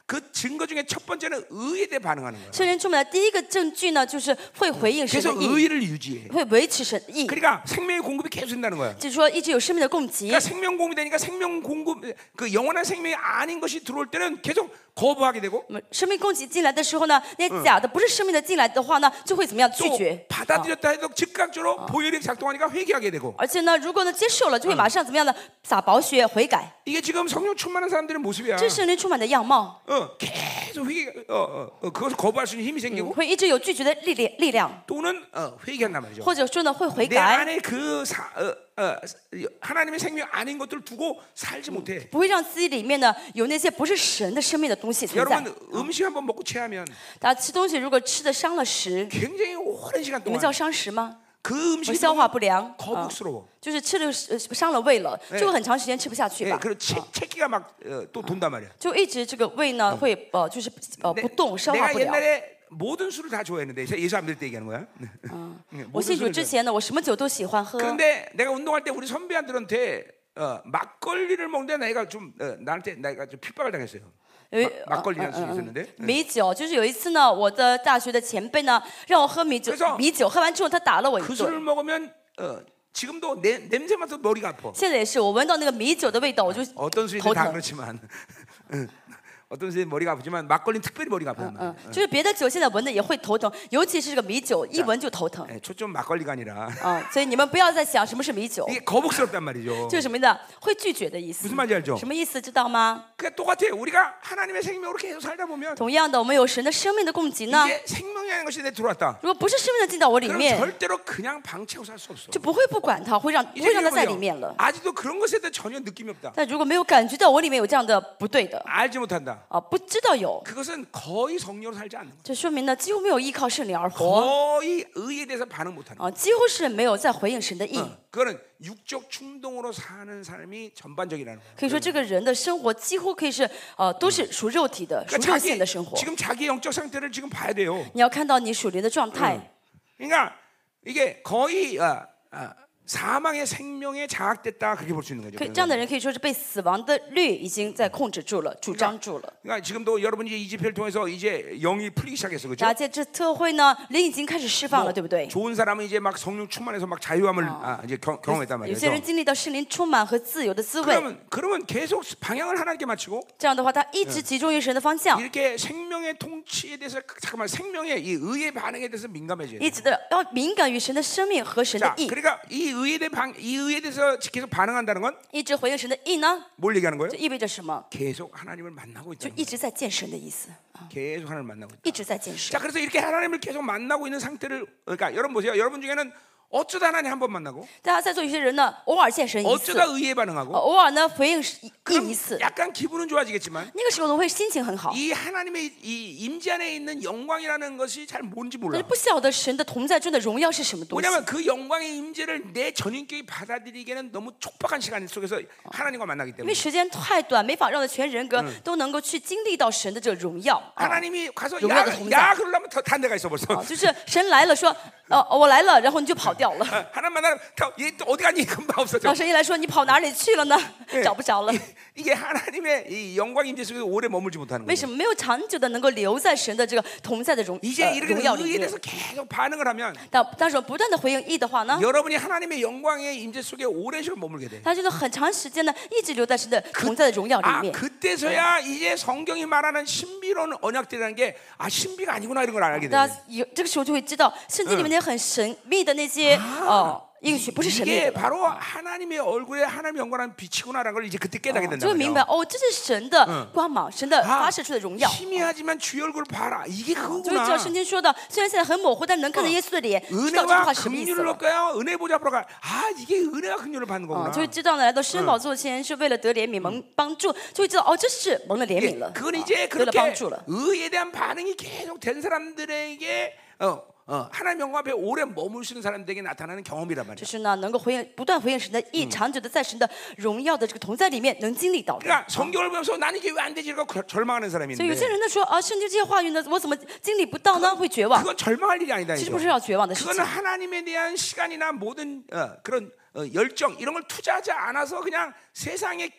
그 증거 중에 첫 번째는 의에 대해 반응하는 거예요. 圣灵充满的第一个证据呢，就是会回应神 그래서 的意， 의를 유지해. 会维持神的意， 그러니까 생명의 공급이 계속 된다는 거예요. 就是说一直有生命的供给。 그러니까 생명 공급이 되니까 생명 공급 그 영원한 생명이 아닌 것이 들어올 때는 계속 거부하게 되고 那么生命供给进来的时候呢，那些假的不是生命的进来的话呢，就会怎么样拒 또 绝？ 받아들였다 해도 즉각적으로 보혈이 작동하니까 회개하게 되고 而且呢，如果呢接受了，就会马上怎么样呢？洒宝血悔改， 이게 지금 성령 충만한 사람들의 모습이야. 这是圣灵充满的样貌， 어, 계속 회개, 어, 어, 어, 그것을 거부할 수 있는 힘이 생기고 会一直有拒绝的力量力量， 또는 어, 회개한단 말이죠. 或者说呢会悔 내 改， 안에 그 사, 어, 어, 하나님의 생명 아닌 것들 두고 살지 못해. 不会让自己里面呢有那些不是神的生命的东西存在。 여러분 음식 한번 먹고 체하면 大家吃东西如果吃的伤了食， 굉장히 오랜 시간 你们 동안 叫伤食吗？ 그 我 음식이 消化不良，啊 거북스러워. 就是吃了呃伤了胃了，就会很长时间吃不下去 예, 吧。 그리고 체, 체기가 막 또 돈단 말이야. 就一直这个胃呢会呃就是呃不动，消化 내가 不了。 옛날에 모든 술을 다 좋아했는데 예수 안 믿을 때 얘기하는 거야. 네, 我 모든 信主 술을 之前呢，我什么酒都喜欢喝。 그런데 내가 운동할 때 우리 선배한들한테 어, 막걸리를 먹는데 내가 좀 어, 나한테 내가 좀 핍박을 당했어요. 有一 막- 막걸리라는 술이 있었는데 米酒，就是有一次呢，我的大学的前辈呢让我喝米酒 그래서 ， 米酒喝完之后他打了我一 그 술을 顿。 먹으면 어, 지금도 내, 냄새 맡아도 머리가 아파. 现在也是，我闻到那个米酒的味道，我就 어떤 술이든 头 다 疼。 그렇지만 응. 어떤 술이 머리가 아프지만 막걸리는 특별히 머리가 아파요. 嗯，就是别的酒现在闻的也会头疼，尤其是这个米酒，一闻就头疼。 예, 초점 막걸리가 아니라 啊，所以你们不要再想什么是米酒， 이게 거북스럽단 말이죠. 就是什么的，会拒绝的意思 무슨 。 말인지 알죠? 什么意思知道吗？ 그러니까 똑같아. 우리가 하나님의 생명으로 계속 살다 보면 同样的，我们有神的生命的供给呢。 이게 생명이라는 것이 내 들어왔다. 如果不是生命的进到我里 그럼 面， 절대로 그냥 방치하고 살 수 없어. 就不会不管它，会让不 이제 会让它在里 여러분요, 面了。 아직도 그런 것에 대해 전혀 느낌이 없다. 但如果没有感觉到我里面有这样的不对的 알지 못한다. 啊，不知道有， 그것은 거의 성령으로 살지 않는 거야. 这说明呢几乎没有依靠圣灵而活 거의 의에 대해서 반응 못하는 거야. 啊，几乎是没有在回应神的意。 그거는 육적 충동으로 사는 삶이 전반적이라는 거야. 可以说这个人的生活几乎可以是呃都是属肉体的、属 그러니까 肉 자기, 性的生活。 지금 자기 영적 상태를 지금 봐야 돼요. 你要看到你属灵的状态， 그러니까 이게 거의 어, 어, 사망의 생명에 장악됐다 그렇게 볼 수 있는 거죠. 可以这样的人可以说是被死亡的律已经在控制住了、主张住了。 그러니까 지금도 여러분이 이 집회를 통해서 이제 영이 풀리기 시작했어, 그렇죠? 大家这特会呢，灵已经开始释放了，对不对？ 좋은 사람은 이제 막 성령 충만해서 막 자유함을 아, 이제 경, 경험했단 有 말이에요. 些人经历到圣灵充满和自由的滋味， 그러면 그러면 계속 방향을 하나님께 맞추고 这样的话，他一直集中于神的方向， 이렇게 생명의 통치에 대해서 잠깐만 생명의 이 의의 반응에 대해서 민감해져요. 一直的要敏感于神的生命和神的 자, 意， 그러니까 이 의에 대해 방, 이 의에 대해서 계속 반응한다는 건 一直回应神的意呢， 뭘 얘기하는 거예요? 就意味着什么？ 계속 하나님을 만나고 就 있다는 一 거예요. 直在见神的意思啊， 계속 하나님을 만나고 있다. 一直在见神 자, 。 그래서 이렇게 하나님을 계속 만나고 있는 상태를 그러니까 여러분 보세요. 여러분 중에는 어쩌다 하나님 한 번 만나고 大家在座有些人呢，偶尔见神一次， 어쩌다 의에 반응하고 呃偶尔呢回应意 그럼 一次， 약간 기분은 좋아지겠지만 那个时候呢会心情很好。 이 하나님의 이 임재 안에 있는 영광이라는 것이 잘 뭔지 但 몰라. 是不晓得神的同在中的荣耀是什么东西。 왜냐하면 그 영광의 임재를 내 전인격이 받아들이기에는 너무 촉박한 시간 속에서 하나님과 만나기 因 때문에 为时间太短，没法让全人格都能够去经历到神的这个荣耀。啊 하나님이 가서 荣耀 야, 的同在。 야 그러려면 더 단 데가 있어 벌써. 啊，就是神来了说，呃，我来了，然后你就跑掉了。 하나님 만나면 얘또 어디 갔니? 금방 없어져. 当神一来说，你跑哪里去了呢？找不着了。 이게 하나님의 이 영광 임재 속에 오래 머물지 못하는 为 거예요. 什么没有长久的能够留在神的这个同在的荣 이제 呃 이렇게 荣耀里 의에 面？ 대해서 계속 반응을 하면 但但是我不断的回应义的话呢， 여러분이 하나님의 영광의 임재 속에 오랜 시간 머물게 돼. 他就是很长时间呢一直留在神的同在的荣耀里 아 面。 그때서야 이제 성경이 말하는 신비로운 언약들이라는 게 아 신비가 아니구나 이런 걸 알게 돼. 大家有这个时候就会知道，圣经里面那些很神秘的那些哦应许不是神秘 이게 的了。 바로 하나님의 얼굴에 하나님의 영광은 빛이구나라는 걸 이제 그때 깨닫게 就 된다 会明白 말이에요. 哦，这是神的光芒，神的发射出的荣耀。 희미하지만 주 얼굴 봐라. 이게 就会知 그거구나. 道圣经说的，虽然现在很模糊，但能看到耶稣的脸，知道这句 은혜와 话什么意思 긍휼을 了。 얻까요? 은혜 보좌 앞으로 가. 아 이게 은혜와 긍휼을 받는 啊， 거구나. 就会知道呢，来到施恩宝座前是为了得怜悯、蒙帮助，就会知道哦，这是蒙了怜 예, 悯了， 그건 啊 이제 得了帮 그렇게 助了。 의에 대한 반응이 계속 된 사람들에게 어, 어, 하나님 영광 앞에 오래 머무시는 사람들에게 나타나는 경험이란 就 말이야. 是呢，能够回应、不断回应神的意，长久的在神的荣耀的这个同在里面能经历到的。 그러니까 성경을 보면서 나는 이게 왜 안 되지? 이러고 절망하는 사람이 所以有些 있는데 人呢说啊，圣经这些话语呢，我怎么经历不到呢？会绝望。 그건 절망할 일이 아니다. 其实 이죠. 不是要绝望的事 그거는 情， 하나님에 대한 시간이나 모든 어, 그런 어, 열정 이런 걸 투자하지 않아서 그냥 세상에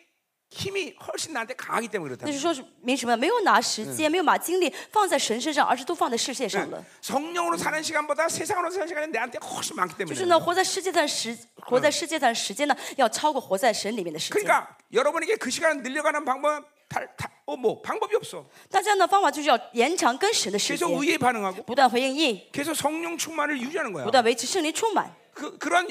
힘이 훨씬 나한테 강하기 때문에 那 그렇다. 就是说是明什么？没有拿时间，没有把精力放在神身上，而是都放在世界上了。 성령으로 사는 시간보다 세상으로 사는 시간이 내한테 훨씬 많기 就 때문에. 是呢，活在世界上时，活在世界上的时间呢，要超过活在神里面的时间。 그러니까 여러분에게 그 시간을 늘려가는 방법은 다, 다, 어, 뭐 방법이 없어. 大家呢方法就是要延长跟神的时 계속 间， 의에 반응하고 不断回应义， 계속 성령 충만을 유지하는 거야. 不断维持圣灵充满。 그 그런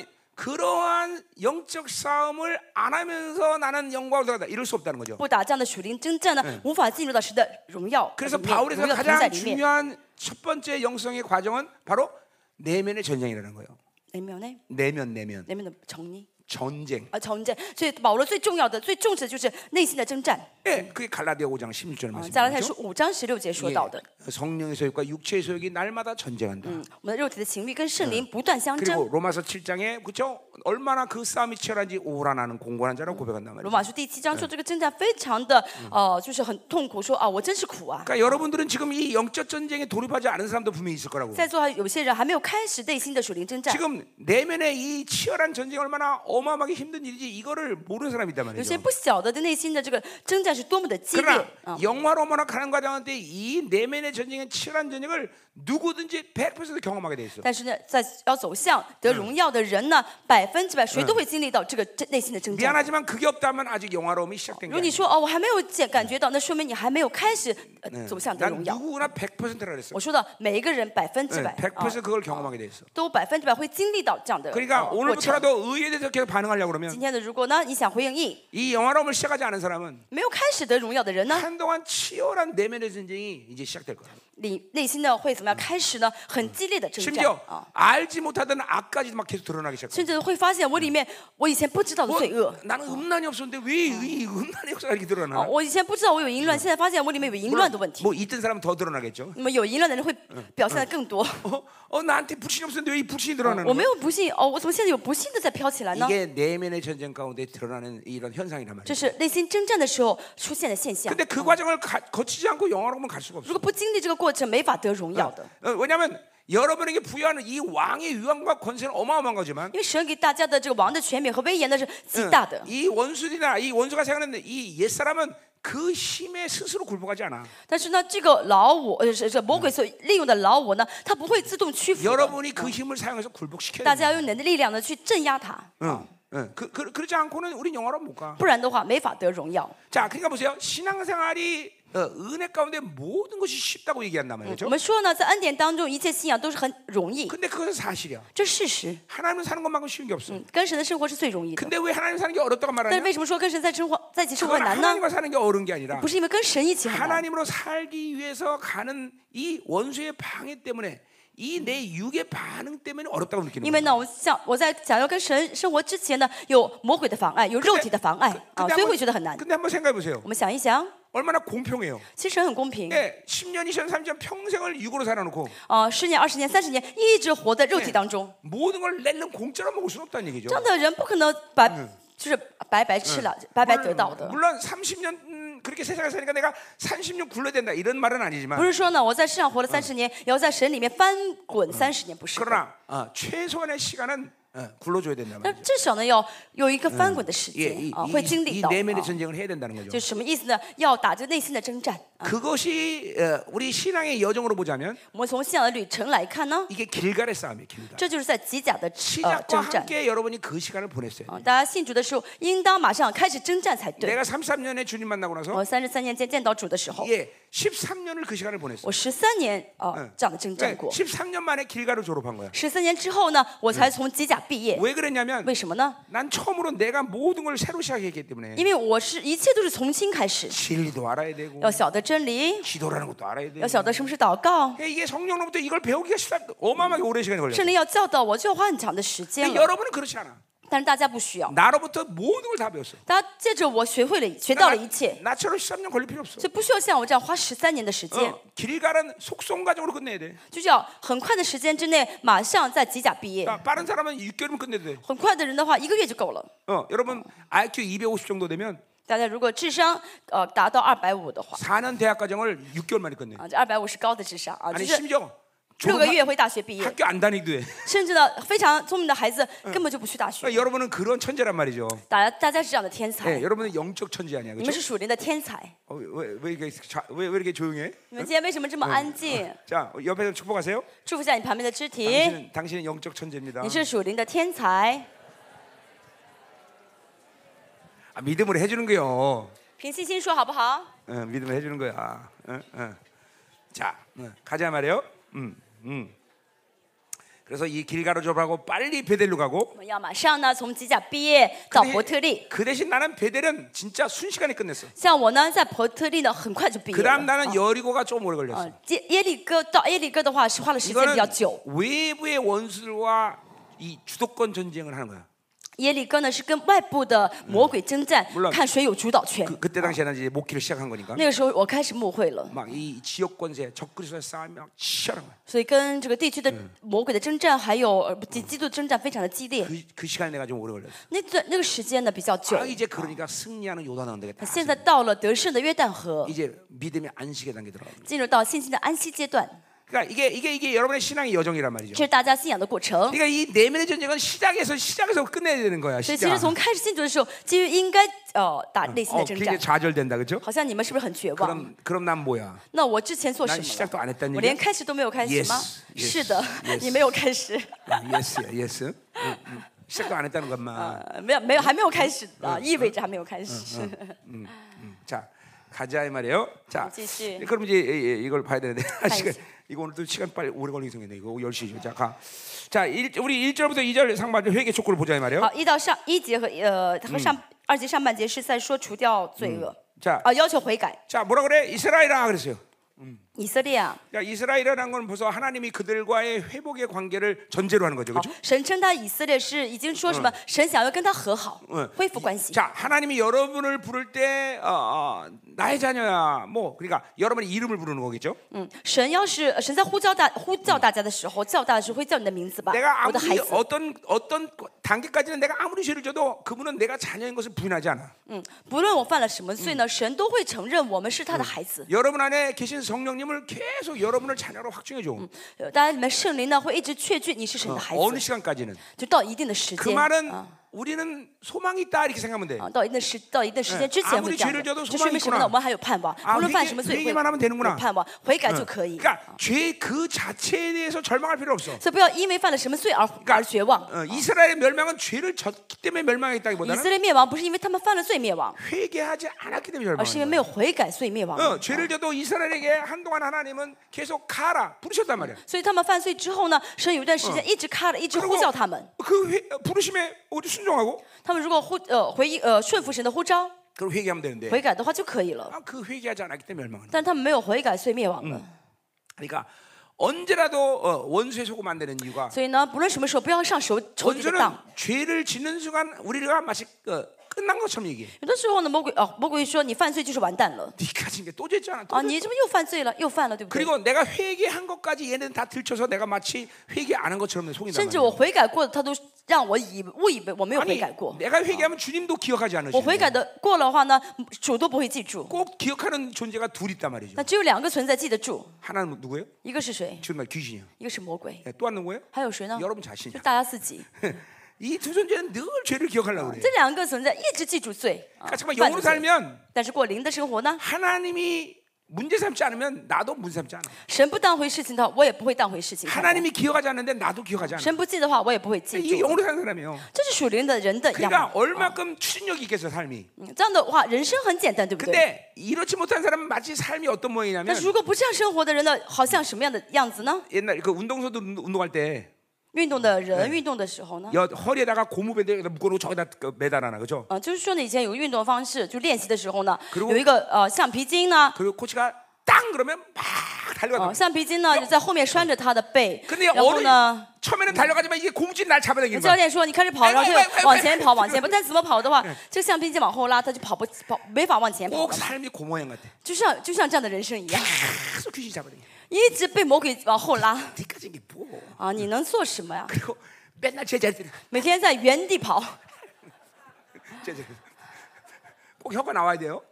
그러한 영적 싸움을 안 하면서 나는 영광을 들어가다 이럴 수 없다는 거죠. 不打这样的属灵征战呢，无法进入到神的荣耀 그래서 里面， 바울에서 荣耀同在 가장 里面。 중요한 첫 번째 영성의 과정은 바로 내면의 전쟁이라는 거예요. 里面呢， 내면 내면 里面的成呢， 전쟁. 啊，成战。所以保罗最重要的、最重视的就是内心的征战。 예, 그게 갈라디아 오 장 십육 절 啊，加拉太 말씀이죠. 书五章十六节说到的， 성령의 소욕과 육체의 소욕이 날마다 전쟁한다. 嗯，我们的肉体的情欲跟圣灵不断相争。 그리고 로마서 칠 장에 그렇죠? 얼마나 그 싸움이 치열한지 오라나는 공고한 자라고 고백한단 罗 말이죠. 马书第七章说这个征战非常的，呃，就是很痛苦，说啊，我真是苦啊。 그러니까 여러분들은 지금 이 영적 전쟁에 돌입하지 않은 사람도 분명히 있을 거라고. 在座还有些人还没有开始内心的属灵征战， 지금 내면의 이 치열한 전쟁이 얼마나 어마어마하게 힘든 일이지 이거를 모르는 사람이 있단 有些 말이죠. 不晓得的内心的这个征战是多么的激烈 그러나 啊。 영화로만 가는 과정인데 이 내면의 전쟁의 치열한 전쟁을 누구든지 백 퍼센트 경험하게 돼 있어. 但是呢，在要走向得荣耀的人呢，百分之百谁都会经历到这个这内心的征战。 미안하지만 그게 없다면 아직 영화로움이 시작된 如 게 果你 아니야. 说哦，我还没有见感觉到，那说明你还没有开始呃走向得 난 荣耀。 누구나 백 퍼센트라 그랬어. 我说的每一个人百分之百 백 啊， 퍼센트 그걸 경험하게 돼 있어. 都百分之百会经历到这样的 그러니까 呃过程。 오늘부터라도 의에 대해서 계속 반응하려고 그러면 今天的如果呢，你想回应义， 이 영화로움을 시작하지 않은 사람은 没有开始得荣耀的人呢， 한동안 치열한 내면의 전쟁이 이제 시작될 거야. 你内心呢会怎么样？开始呢很激烈的征战 심지어 啊， 알지 못하던 악까지도 막 계속 드러나기 시작해. 甚至会发现我里面我以前不知道的 뭐, 罪恶。 나는 음란이 없었는데 왜 이 음란의 역사가 이렇게 啊， 드러나? 我以前不知道我有淫乱，现在发现我里面有淫乱的问题。 뭐 있던 사람은 더 드러나겠죠. 那么有淫乱的人会表现的更多。 어, 어 나한테 불신이 없었는데 왜 이 불신이 드러나는 我 거야? 没有不信，哦，我怎么现在有不信的在飘起来呢？ 이게 내면의 전쟁 가운데 드러나는 이런 현상이란 这 말이에요. 是内心征战的时候出现的现象。 근데 그 과정을 가, 거치지 않고 영화로만 갈 수가 如 없어. 果不经历这个过程，没法得荣耀的。 어, 왜냐하면 여러분에게 부여하는 이 왕의 위엄과 권세는 어마어마한 거지만 因为神给大家的这个王的权柄和威严呢是极大的。 이 원수들이나 이 원수가 생각하는 이 옛사람은 그 힘에 스스로 굴복하지 않아. 但是呢，这个老我，呃，是是魔鬼所利用的老我呢，他不会自动屈服的。 여러분이 그 힘을 사용해서 굴복시켜야 大 돼. 家要用你的力量呢去镇压他， 응, 응. 그, 그, 그러지 않고는 우린 영화로 못 가. 不然的话没法得荣耀。 자, 그러니까 보세요. 신앙생활이 어, 은혜 가운데 모든 것이 쉽다고 얘기한단 我 말이죠. 们说呢，在恩典当中，一切信仰都是很容易， 근데 그것은 사실이야. 这是事实。 하나님은 사는 것만큼 쉬운 게 없어. 嗯，跟神的生活是最容易的。 근데 왜 하나님 사는 게 어렵다고 但是 말하냐? 为什么说跟神在生活在一起生活 그건 难呢？ 하나님과 사는 게 어려운 게 아니라 不是因为跟神一起很难， 하나님으로 살기 위해서 가는 이 원수의 방해 때문에 이 내 육의 반응 때문에 어렵다고 느끼는 因为 거야. 呢，我想我在想要跟神生活之前呢，有魔鬼的妨碍，有肉体的妨碍啊， 근데 所以 한번, 会觉得很难。 근데 한번 생각해 보세요. 我们想一想， 얼마나 공평해요. 其实神很公平 예, 십 년, 이십 년, 삼십 년 평생을 육으로 살아놓고 啊，十年、二十年、三十年一直活在肉体当中， 모든 걸 낼름 공짜로 먹을 수는 없다는 얘기죠. 这样的人不可能白就是白白吃了、白白得到的。 물론 삼십 년 음, 그렇게 세상에 사니까 내가 삼십 년 굴러야 된다 이런 말은 不 아니지만 是说呢，我在世上活了三十年，也要在神里面翻滚三十年，不是的。 그러나 어, 최소한의 시간은 어, 굴러줘야 된다 但 말이죠. 至少呢，要有一个翻滚的时 예, 间 이, 啊， 이, 会经 이 历到。 내면의 啊 전쟁을 해야 된다는 거죠. 就什么意思呢？要打这内心的征战。 그것이 어, 우리 신앙의 여정으로 보자면 我们从信仰的旅程来看呢， 이게 길갈의 싸움이에요. 길갈. 这就是在吉甲的呃 시작과 征战。 함께 여러분이 그 시간을 보냈어요. 啊，大家信主的时候，应当马上开始征战才对。 내가 삼십삼 년에 주님 만나고 나서 我三十三年间见到主的时候， 예, 십삼 년을 그 시간을 보냈어요. 我十三年啊这样的征战 네, 过。 십삼 년 만에 길갈을 졸업한 거야. 十三年之后呢，我才从吉甲毕业。 왜 그랬냐면 为什么呢？ 난 처음으로 내가 모든 걸 새로 시작했기 때문에 因为我是一切都是从新开始， 진리도 알아야 되고 要晓得真理， 기도라는 것도 알아야 되고 要晓得什么是祷告。 그러니까 이게 성령으로부터 이걸 배우기가 쉽다 어마어마하게 오랜 시간이 걸려요. 圣灵要教导我，就要花很长的时间 근데 了。 여러분은 그렇지 않아. 但是大家不需要， 나로부터 모든 걸 다 배웠어. 大家借着我学会了，学到了一切， 나처럼 십삼 년 걸릴 필요 없어. 所以不需要像我这样花十三年的时间， 어, 길갈은 속성 과정으로 끝내야 돼. 就是要很快的时间之内，马上在吉甲毕业。 그러니까 빠른 사람은 육 개월이면 끝내도 돼. 很快的人的话，一个月就够了。 어, 여러분 아이큐 이백오십 정도 되면 大家如果智商呃达到二百五的话， 사 년 대학 과정을 육 개월 만에 끝내. 啊，这二百五是高的智商啊，就 아니 是 심지어 六个月会大学毕业， 학교 안 다니기도 해. 甚至呢非常聪明的孩子根本就不去大学。 그러니까 여러분은 그런 천재란 말이죠. 大家大家是这样的天才， 네, 여러분은 영적 천재 아니야, 你们 그렇죠? 是属灵的天才。 어, 왜, 왜 이렇게 자, 왜, 왜 이렇게 조용해? 你们今天为什么这么安静？ 자, 옆에서 축복하세요. 祝福一下你旁边的肢体， 당신은, 당신은 영적 천재입니다. 你是属灵的天才。 아, 믿음으로 해주는 거요. 凭信心说好不好？ 어, 믿음으로 해주는 거야. 어, 어. 자, 어, 가자 말이요. 음, 음. 그래서 이 길가로 졸업하고 빨리 베델로 가고. 我们要马上呢从吉甲毕业到伯特利。 그 대신 나는 베델은 진짜 순식간에 끝냈어. 像我呢在伯特利呢很快就毕业 그다음 了。 나는 여리고가 좀 오래 걸렸어. 呃，耶耶利哥到耶利哥的话是花了时间比较 이거는 久。 외부의 원수들과 이 주도권 전쟁을 하는 거야. 耶利哥呢是跟外部的魔鬼征战， 물론 看谁有主导权。 그, 그때 당시에는 이제 목회를 시작한 거니까. 那个时候我开始牧会了， 막 이 지역 권세, 적그리스도의 싸움이 막 치열한 거야. 所以跟这个地区的魔鬼的征战，还有呃基基督的征战非常的激烈。 그, 그 시간에 내가 좀 오래 걸렸어. 那段那个时间呢比较久 아, 。 이제 그러니까 승리하는 요단 언덕에 다 现在到了得胜的约旦河， 이제 믿음의 안식의 단계 들어가. 进入到信心的安息阶段， 그러니까 이게 이게 이게 여러분의 신앙의 여정이란 말이죠. 这是大家信仰的过程。 그러니까 이 내면의 전쟁은 시작에서 시작에서 끝내야 되는 거야. 所以其 시작. 实从开始信主的时候，基于应该呃打内心 어, 的征战 굉장히 。 좌절된다, 그렇죠? 好像你们是不是很绝望？ 그럼 그럼 난 뭐야? 那我之前做什 난 么 시작도 了？ 안 했다는 我连 얘기야? 开始都没有开始吗？ Yes, yes, 是的， yes. 你没有开始， 예스야, 예스. 응, 응. 시작도 안 했다는 것만. 呃，没有没有还没有开始啊，意味着还没有开始。 음, 음. 자, 가자 이 말이에요. 자, 继续 그럼 이제 이- 이- 이걸 봐야 되는데 시간, 봐야지. 이거 오늘도 시간 빨리 오래 걸리게 생겼네. 이거 열 시죠. 자, 가. 자, 일, 우리 일 절부터 이 절 상반절 회개 촉구를 보자 이 말이에요. 好，一到上一节和呃和上二节上半节是在说除掉罪恶， 자, 啊，要求悔改。 자, 뭐라 그래? 이스라엘아 그랬어요. 以色列啊， 야, 이스라엘이라는 건 벌써 하나님이 그들과의 회복의 관계를 전제로 하는 거죠. 好 그렇죠? ， 神称他以色列是已经说什么？神想要跟他和好，恢复关系。 자, 하나님이 여러분을 부를 때 어, 어, 나의 자녀야. 뭐 그러니까 여러분의 이름을 부르는 거겠죠. 嗯，神要是神在呼叫大呼叫大家的时候，叫大的时候会叫你的名字吧， 내가 我的孩 아무리 子。 어떤 어떤 단계까지는 내가 아무리 죄를 져도 그분은 내가 자녀인 것을 부인하지 않아. 嗯，不论我犯了什么罪呢，神都会承认我们是他的孩子。 여러분 안에 계신 성령님을 계속 여러분을 자녀로 확증해 줘. 呃当然，你们圣灵呢会一直确据你是神的孩 어느 子， 시간까지는. 就到一定的时 그 间。 말은 啊 우리는 소망이 있다 이렇게 생각하면 돼. 啊，到一定的时到一定时间之前 아무리 会这样 죄를 的， 져도 这说明什么 소망이있구나 呢？我们还有盼望， 아 无论犯 회개, 什么罪会 회개만 하면 有 되는구나. 盼望，悔改就可以。 그러니까 죄 그 자체에 대해서 절망할 필요 없어. 所以不要因为犯了什么罪而而绝望。 어, 이스라엘의 멸망은 죄를 졌기 때문에 以 멸망했다기보다는 色列灭亡不是因为他们犯了罪灭亡， 회개하지 않았기 때문에 而是因为 멸망한 没有悔改所以灭亡 거야. 了。 어, 죄를 져도 이스라엘에게 한동안 하나님은 계속 가라 부르셨단 말이야. 所以他们犯罪之后呢，神有一段时间一直开了，一直呼叫他们。 그 회, 부르심에 우리 순종하고 他们如果呼呃回应呃顺服神的呼召， 그걸 회개하면 되는데 悔改的话就可以了。 아, 그 회개하지 않았기 때문에 멸망하는 거야. 但他们没有悔改，所以灭亡了。 그러니까 언제라도 어, 원수에 속으면 안 되는 이유가 所以呢，不论什么时候，不要上仇仇敌的 원수는 当。 죄를 짓는 순간 우리가 마치 어, 끝난 것처럼 얘기해. 有的时候呢，魔鬼哦，魔鬼说你犯罪就是完蛋了 네가 진 게 또 죄잖아. 또 啊， 죄. 你这不又犯罪了，又犯了，对不对？ 그리고 내가 회개한 것까지 얘는 다 들춰서 내가 마치 회개 안 한 것처럼 속인단 甚至 말이야. 我悔改过的，他都让我以误以为我没有悔 아니 改过。 내가 회개하면 주님도 기억하지 我 않으시고 悔改的过了的话呢，主都不会记住。 꼭 기억하는 존재가 둘 있단 말이죠. 那只有两个存在记得住， 하나는 누구예요? 一个是谁？ 정말 귀신이요. 一个是魔鬼， 또 한 누구예요? 还有谁呢？ 여러분 就 자신이야. 大家自己。 이 두 존재는 늘 죄를 기억하려고 그래. 这两个存在一直记住罪，啊 그러니까 정말 犯 영으로 的罪 살면 但是过灵的生活呢？ 하나님이 문제 삼지 않으면 나도 문제 삼지 않아. 神不当回事情的话，我也不会当回事情看待。 하나님이 기억하지 않는데 나도 기억하지 않아. 神不记的话，我也不会记 이게 住。 영으로 사는 사람이에요. 这是属灵的人的样 그러니까 貌。 얼마큼 추진력이 있겠어 삶이. 嗯这样的话，人生很简单，对不对？ 근데 이렇지 못한 사람은 마치 삶이 어떤 但 모양이냐면 是如果不这样生活的人呢，好像什么样的样子呢？ 옛날 그 운동선수 운동- 운동할 때 运动的人运动的时候呢， 여, 허리에다가 고무밴드 여기다 묶어놓고 저기다 그 매달아놔, 그죠? 啊，就是说呢，以前有个运动方式，就练习的时候呢， 그리고 有一个呃橡皮筋呢， 그리고 코치가 땅 그러면 막 啊， 달려가. 橡皮筋呢就在后面拴着他的背， 근데 然后 어느 呢， 처음에는 달려가지만 이게 고무줄이 날 잡아당기는 教 거야. 练说你开始跑，然后他就往前跑，往前跑，但怎么跑的话，这个橡皮筋往后拉，他就跑不跑，没法往前跑 꼭 了嘛， 삶이 그 모양 같아. 就像就像这样的人生一样， 계속 귀신 잡아당겨. 一直被魔鬼往后拉 뒤까지 이게 뭐? 啊，你能做什么呀？ 그리고 맨날 제자들이 每天在原地跑， 제자들 꼭 혀가 나와야 돼요.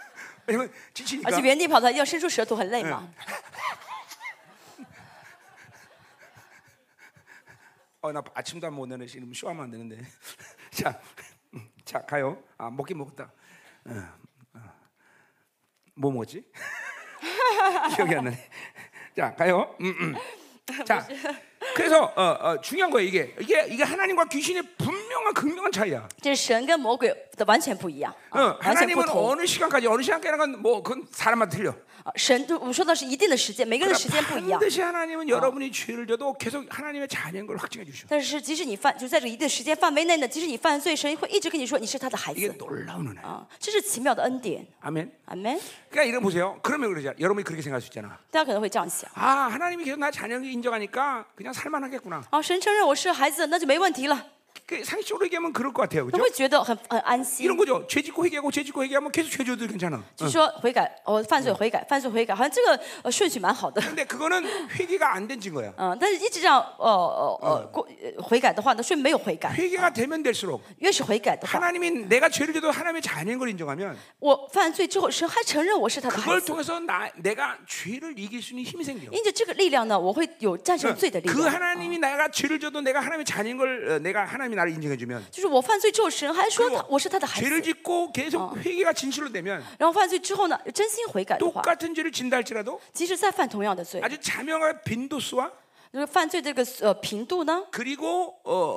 왜냐면 而 지치니까. 且原地跑他要伸出舌头，很累嘛。 어, 나 아침도 안 먹었네. 지금 쇼하면 안 되는데. 자, 음, 자 가요. 아 먹긴 먹었다. 어, 어. 뭐 먹었지? 기억이 안 나네. 자 가요. 음, 음. 자, 그래서 어, 어, 중요한 거예요. 이게 이게 이게 하나님과 귀신의 분명한 극명한 차이야. 这是神跟魔鬼的完全不一样， 어, 啊完全不 하나님은 同。 어느 시간까지 어느 시간까지는 건 뭐 그건 사람마다 틀려. 啊神就我们说的是一定的时间，每个人的时间不一样。 반드시 하나님은 여러분이 죄를 져도 계속 하나님의 자녀인 걸 확증해 주셔. 但是即使你犯，就在这一定时间范围内呢，即使你犯罪，神会一直跟你说你是他的孩 이게 子 놀라운 은혜. 啊，这是奇妙的恩典。 아멘. 阿门。 그러니까 이거 보세요. 그러면 그러죠. 여러분이 그렇게 생각할 수 있잖아. 大家可能会这样想 아, 하나님이 계속 나 자녀를 인정하니까 그냥 살만하겠구나. 啊，神承认我是孩子，那就没问题了， 그 상식적으로 얘기하면 그럴 것 같아요. 他 그렇죠? 会觉得很很安心 이런 。 거죠. 죄 짓고 회개하고 죄 짓고 회개하면 계속 죄 져도 괜찮아. 就说悔改，我犯罪悔改，犯罪悔改，好像这个呃顺序蛮好的。 근데 그거는 회개가 안 된 증거야. 嗯，但是一直这样呃呃呃过呃悔改的话呢，顺没有悔改， 회개가 되면 될수록 越是悔改的话， 하나님이 내가 죄를 져도 하나님의 자녀인 걸 인정하면 我犯罪之后，神还承认我是他的孩 그걸 子。 통해서 나, 내가 죄를 이길 수 있는 힘이 생겨. 因着这个力量呢，我会有战胜罪的力 그 量。 하나님이 내가 죄를 져도 내가 하나님의 자녀인 걸 어, 내가 하나님이 나를 인정해주면 就是我犯罪之后，神还说他 그리고 我是他的孩 죄를 子。 짓고 계속 회개가 진실로 되면 然后犯罪之后呢，真心悔改的话， 똑같은 죄를 진다 할지라도 即使再犯同样的罪， 아주 자명한 빈도수와 就是犯罪这个呃频度呢， 그리고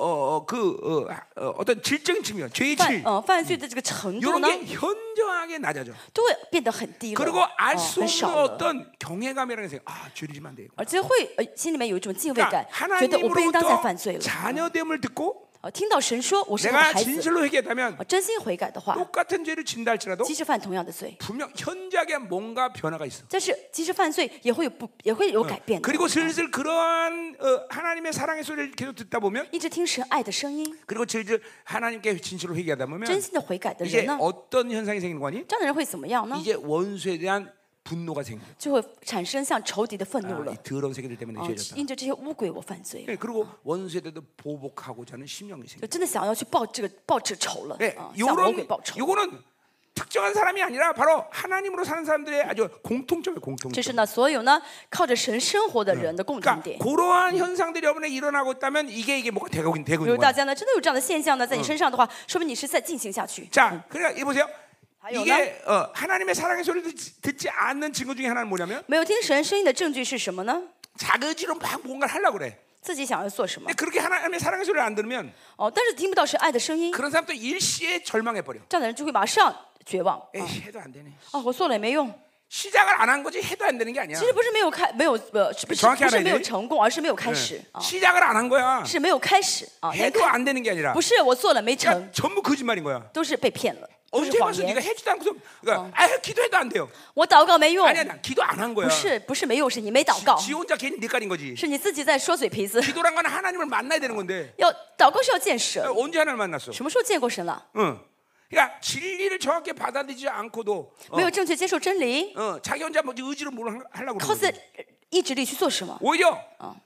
어어그 어, 어, 어떤 질적인 측면, 죄의 犯 질 呃犯罪的这个程度 이런 呢， 게 현저하게 낮아져. 都会变得很低了， 그리고 哦 알 수 很 없는 少了。 어떤 경외감이라는 생각. 아, 죄를 지면 안 돼. 而且会呃心里面有一种敬畏 그러니까 感，觉得我不应当再 하나님으로부터 犯罪了。 자녀됨을 듣고 呃，听到神说我是他的 내가 孩子， 진실로 회개했다면 呃真心悔改的话， 똑같은 죄를 진다 할지라도 即使犯同样的罪， 분명 현저하게 뭔가 변화가 있어. 但是即使犯罪也会有不也会有改变的。 그리고 슬슬 그러한 어, 하나님의 사랑의 소리를 계속 듣다 보면 一直听神爱的声音， 그리고 슬슬 하나님께 진실로 회개하다 真 보면 心的悔改的 이제 人呢， 어떤 현상이 생기는 거니? 这样的人会怎么样呢？ 이제 원수에 대한 분노가 생겨. 就会产生像仇敌的愤怒 아, 了 이 。 더러운 세계들 때문에 哦 죄졌다. ， 因着这些污鬼，我犯罪， 네, 그리고 원수에 대해서 보복하고자 하는 심령이 就 생겨. 真的想要去报这个报这仇了 네, 啊，向魔鬼 요런 报仇。 요거는 특정한 사람이 아니라 바로 하나님으로 사는 사람들의 아주 공통점이에요, 这 공통점. 是呢，所有呢靠着神生活的人的共同 그러니까 点。 그러한 현상들이 여러분에 일어나고 있다면 이게 이게 뭐가 되고 있- 되고 比如 있는 大 거야. 家呢真的有这样的现象呢，在你身上的话，说明你是在进行下去。 자, 그러니까 이 보세요. 还有呢， 이게 어, 하나님의 사랑의 소리를 듣지, 듣지 않는 증거 중에 하나는 뭐냐면 没有听神声音的证据是什么呢？ 자거지로 막 뭔가를 하려고 그래. 自己想要做什么 근데 그렇게 하나님의 사랑의 소리를 안 들으면 哦，但是听不到神爱的声音， 그런 사람도 일시에 절망해 버려. 这样的人就会马上绝望。 에이, 해도 안 되네. 哦，我做了也没用。 시작을 안 한 거지 해도 안 되는 게 아니야. 其实不是没有开，没有呃，是不是 정확히 不是 알아야 没有 돼 成功，而是没有开始 네. 啊， 시작을 안 한 거야. 是没有开始啊，连 해도 开 안 되는 게 아니라 不是我做了没成 그러니까 ， 전부 거짓말인 거야. 都是被骗了，都 언제 是谎 봤어? 言 네가 。 해주도 않고서 그러니까 아, 기도해도 안 돼요. 我祷告没用， 아니야, 나 기도 안 한 거야. 不是不是没用，是你没祷告， 지 혼자 괜히 니까린 거지. 是你自己在说嘴皮子。 기도란 건 하나님을 만나야 되는 건데 要祷告是要见神， 언제 하나님을 만났어? 什么时候见过神了？ 응. 그러니까 진리를 정확히 받아들이지 않고도 어, 没有正确接受真理， 어, 자기 혼자 뭐 의지로 뭘 하려고 靠 그러는 自 거지. 意志力去做什么？ 오히려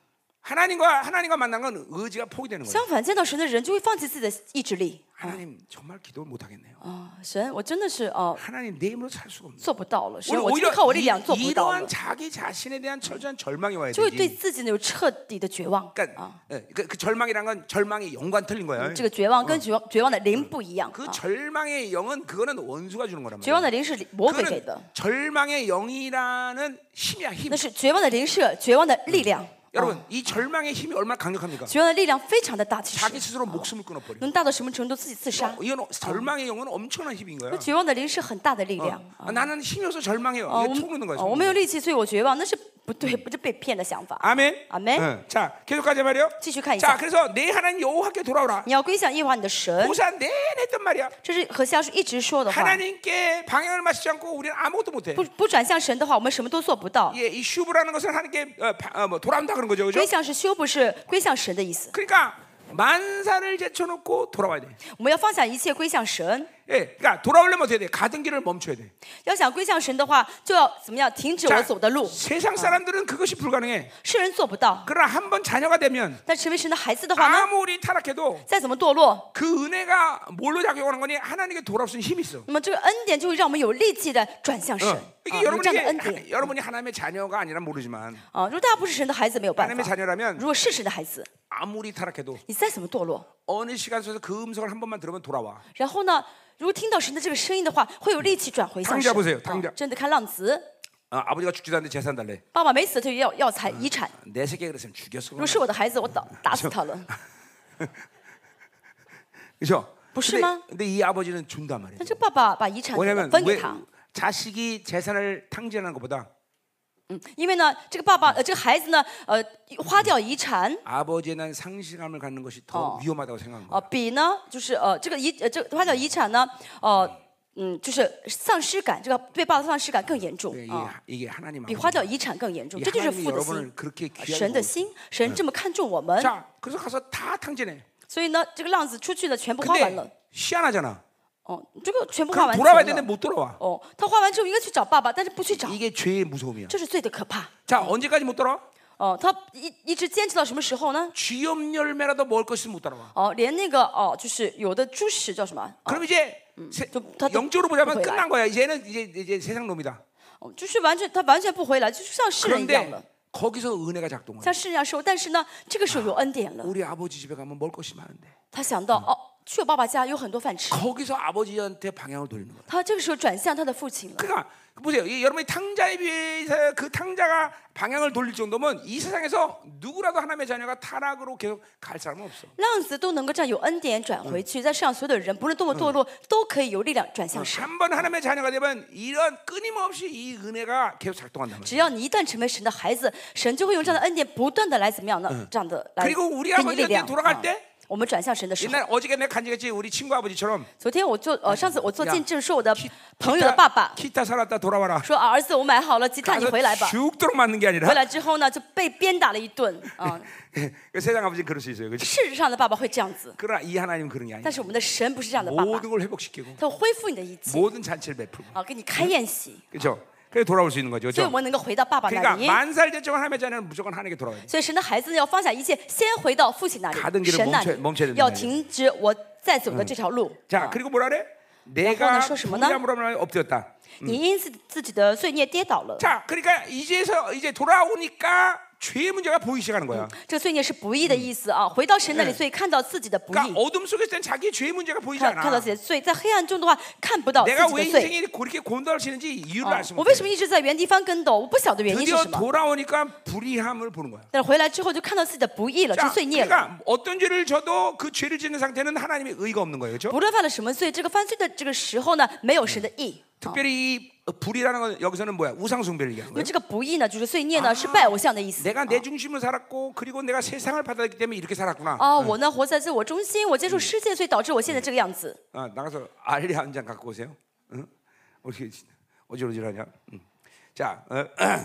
하나님과 하나님과 만난 건 의지가 포기되는 거예요. 相反，见到神的人就会放弃自己的意志力。 하나님 정말 기도를 못 하겠네요. 啊，神，我真的是哦、 하나님 내 힘으로 살 수가 없네. 做不到了，神， 오히려 我真的 오히려 靠我力 이, 量做不到了 이러한 ， 자기 자신에 대한 철저한 절망이 와야 就会对 되지. 自己呢有彻底的绝望。 그러니까 啊， 예, 그, 그 절망이란 건 절망의 영과 틀린 거야. 这个绝望跟绝望绝望的灵不一样。 그 啊， 절망의 영은 그거는 원수가 주는 거란 绝望 말이야. 的灵是魔鬼给 그거는 的， 절망의 영이라는 힘이야 힘. 那是绝望的灵是绝望的力量。 여러분 이 절망의 힘이 얼마나 강력합니까? 绝望的力量非常的大，其 자기 实 스스로 목숨을 끊어버려. 能大到什么程度？自己自杀。 이건 절망의 영은 엄청난 힘인 거야. 那绝望的灵是很大的力量。 아, 나는 힘이 없어 절망해요. 哦， 이게 我 속는 们 거야. 哦我 속는 没有 거야. 力气，所以我绝望，那是不对，不是被骗的想法。 아멘. 아멘. 응. 자 계속 가자 말이요. 继续看一 자 下， 그래서 내 하나님 여호와께 돌아오라. 你要归向耶和华你的神， 고사 내내 했단 말이야. 这是何西阿书一直说的话。 하나님께 방향을 맞추지 않고 우리는 아무것도 못해. 不不转向神的话，我们什么都做不到。 예, 이 슈브라는 것은 하나님께 어, 바, 어, 뭐 돌아온다 그런 거죠, 그죠? 归向是修，不是归向神的意思。 그러니까 만사를 제쳐놓고 돌아와야 돼. 我们要放下一切，归向神。 예, 그러니까 돌아오려면 어떻게 돼? 가던 길을 멈춰야 돼. 要想归向神的话，就要怎么样停止我走的路。 세상 사람들은 그것이 불가능해. 世人做不到， 그러나 한 번 자녀가 되면 但成为神的孩子的话呢， 아무리 타락해도 再怎么堕落， 그 은혜가 뭘로 작용하는 거니? 하나님께 돌아올 수 있는 힘이 있어. 那么这个恩典就会让我们有力气的转向神。 어. 啊 이게 有这样的恩 여러분이 典 여러분이 하나님의 자녀가 아니라 모르지만 啊！如果大家不是神的孩子，没有办 하나님의 法。 자녀라면 如果是神的孩子， 아무리 타락해도 你再怎么堕落， 어느 시간 속에서 그 음성을 한 번만 들으면 돌아와. 然后呢，如果听到神的这个声音的话，会有力气转回向 당자 神。 보세요. 啊 당자 真的看浪子， 어, 아버지가 죽지도 않는데 재산 달래. 爸爸没死就要要财遗产。 내 새끼 그랬으면 죽였어. 如果是我的孩子，我打打死他了， 그렇죠? 不是 근데, 吗？ 근데 이 아버지는 준단 말이에요. 但这爸爸把遗产 왜냐면 分给 왜 他， 자식이 재산을 탕진하는 것보다 嗯，因为呢，这个爸爸呃，这个孩子呢，呃，花掉遗产， 아버지에 대한 상실감을 갖는 것이 더 어. 위험하다고 생각한 呃， 거예요. 比呢，就是呃，这个遗呃，这个花掉遗产呢，呃，嗯，就是丧失感，这个对爸爸的丧失感更严重 이게, 啊， 이게 하나님 比 아버지. 花掉遗产更严重， 이 这就是 하나님이 父的 여러분을 心， 그렇게 神 귀하게 的 보고 心，神这么看重我们， 자, 그래서 가서 다 탕진해. 所以呢，这个浪子出去了，全部花完了， 근데 희한하잖아. 哦，这个全部花 그럼 完 돌아와야 钱 되는데 了， 못 돌아와. 哦，他花完之后应该去找爸爸，但是不去找， 이게 죄의 무서움이야. 这是罪的可怕。 자, 언제까지 못 돌아와? 哦，他一一直坚持到什么时候呢？ 쥐염 열매라도 먹을 것이 못 따라와. 哦，连那个哦，就是有的猪食叫什么？哦 그럼 이제 세- 좀 다- 영적으로 보자면 또 끝난 거야. 이제는 이제 이제 세상 놈이다. 哦，就是完全他完全不回来，就是像世人一样 그런데 了， 거기서 은혜가 작동을. 像世人一样受。但是呢，这个时候有恩典了， 우리 아버지 집에 가면 먹을 것이 많은데 他想到哦，去我爸爸家有很多饭吃， 거기서 아버지한테 방향을 돌리는 거야. 他这个时候转向他的父亲了。 그러니까 보세요. 이 여러분이 탕자에 비해서 그 탕자가 방향을 돌릴 정도면 이 세상에서 누구라도 하나님의 자녀가 타락으로 계속 갈 사람은 없어. 浪子都能够这样有恩典转回去，在世上所有的人，不论多么堕落，都可以有力量转向神。 한 번 하나님의 자녀가 되면 이런 끊임없이 이 은혜가 계속 작동한단 只 말이야. 要你一旦成为神的孩子，神就会用这样的恩典不断的来怎么样呢？这样的来 그리고 우리 给你力量。 아버지한테 돌아갈 啊 때 我们转向神的时候， 옛날 어저께 내가 간증했지 우리 친구 아버지처럼 昨天我做呃上次我做 야 见证说我的朋友的爸爸 기타 살았다 돌아와라. 说啊儿子我买好了吉他你 가서 回来吧， 죽도록 맞는 게 回 아니라 来之后呢就被鞭打了一顿啊。 그 세상 아버지는 그럴 수 있어요. 그렇지? 事实上的爸爸会这样子， 그러나 이 하나님은 그런 게 아니야. 但是我们的神不是这样的爸爸， 모든 걸 회복시키고 他会恢复你的一切 모든 잔치를 베풀고 啊，给你开宴席， 그렇죠? 그래서 돌아올 수 있는 거죠. 所以我 그렇죠? 们能够回到爸爸那 그러니까 里。 만살 됐지만 하나님의 자녀는 무조건 하나님께 돌아가야 돼. 所以神的孩子呢要放下一切，先回到父亲那 가던 里， 길을 神那 멈춰 里 멈춰야 된단 要 말이에요 停止我在走的这条路。 자, 啊 그리고 뭐라 그래? 내가 여호와는 说什么呢? 불의함으로 하면 엎드렸다. 你因自自己的罪孽跌倒了， 자, 그러니까 이제서 이제 돌아오니까 죄의 문제가 보이기 시작하는 거야. 这个罪孽是不义的意思啊。回到神那里，所以看到自己的不 그러니까 义， 어둠 속에 있을 땐 자기 죄의 문제가 보이지 看看到 않아. 自己的罪，在黑暗中的话看不到自 내가 己 왜 的罪。 인생이 그렇게 곤돌 치는지 이유를 啊 알 수 我为什 없어. 么一直在原地翻跟斗？我不晓得原因是 드디어 什么。 돌아오니까 불의함을 보는 거야. 但是回来之后就看到自己的不义了，是 자, 罪孽了。 그러니까 어떤 죄를 져도 그 죄를 짓는 상태는 하나님의 의가 없는 거예요, 그렇죠? 不论犯了什么罪，这个犯罪的这个时候呢，没有神的义。 특별히 이 불이라는 건 여기서는 뭐야? 우상 숭배를 얘기하는 因为 거예요. 这个不义呢，就是罪孽呢，是拜偶像的意思。 내가 내 중심으로 살았고 그리고 내가 세상을 받아들였기 때문에 이렇게 살았구나. 啊，我呢活在自我中心，我接触世界，所以导致我现在这个样子。 아, 나가서 알리 한 잔 갖고 오세요. 응? 어떻게 어지러지하냐? 응. 자, 어,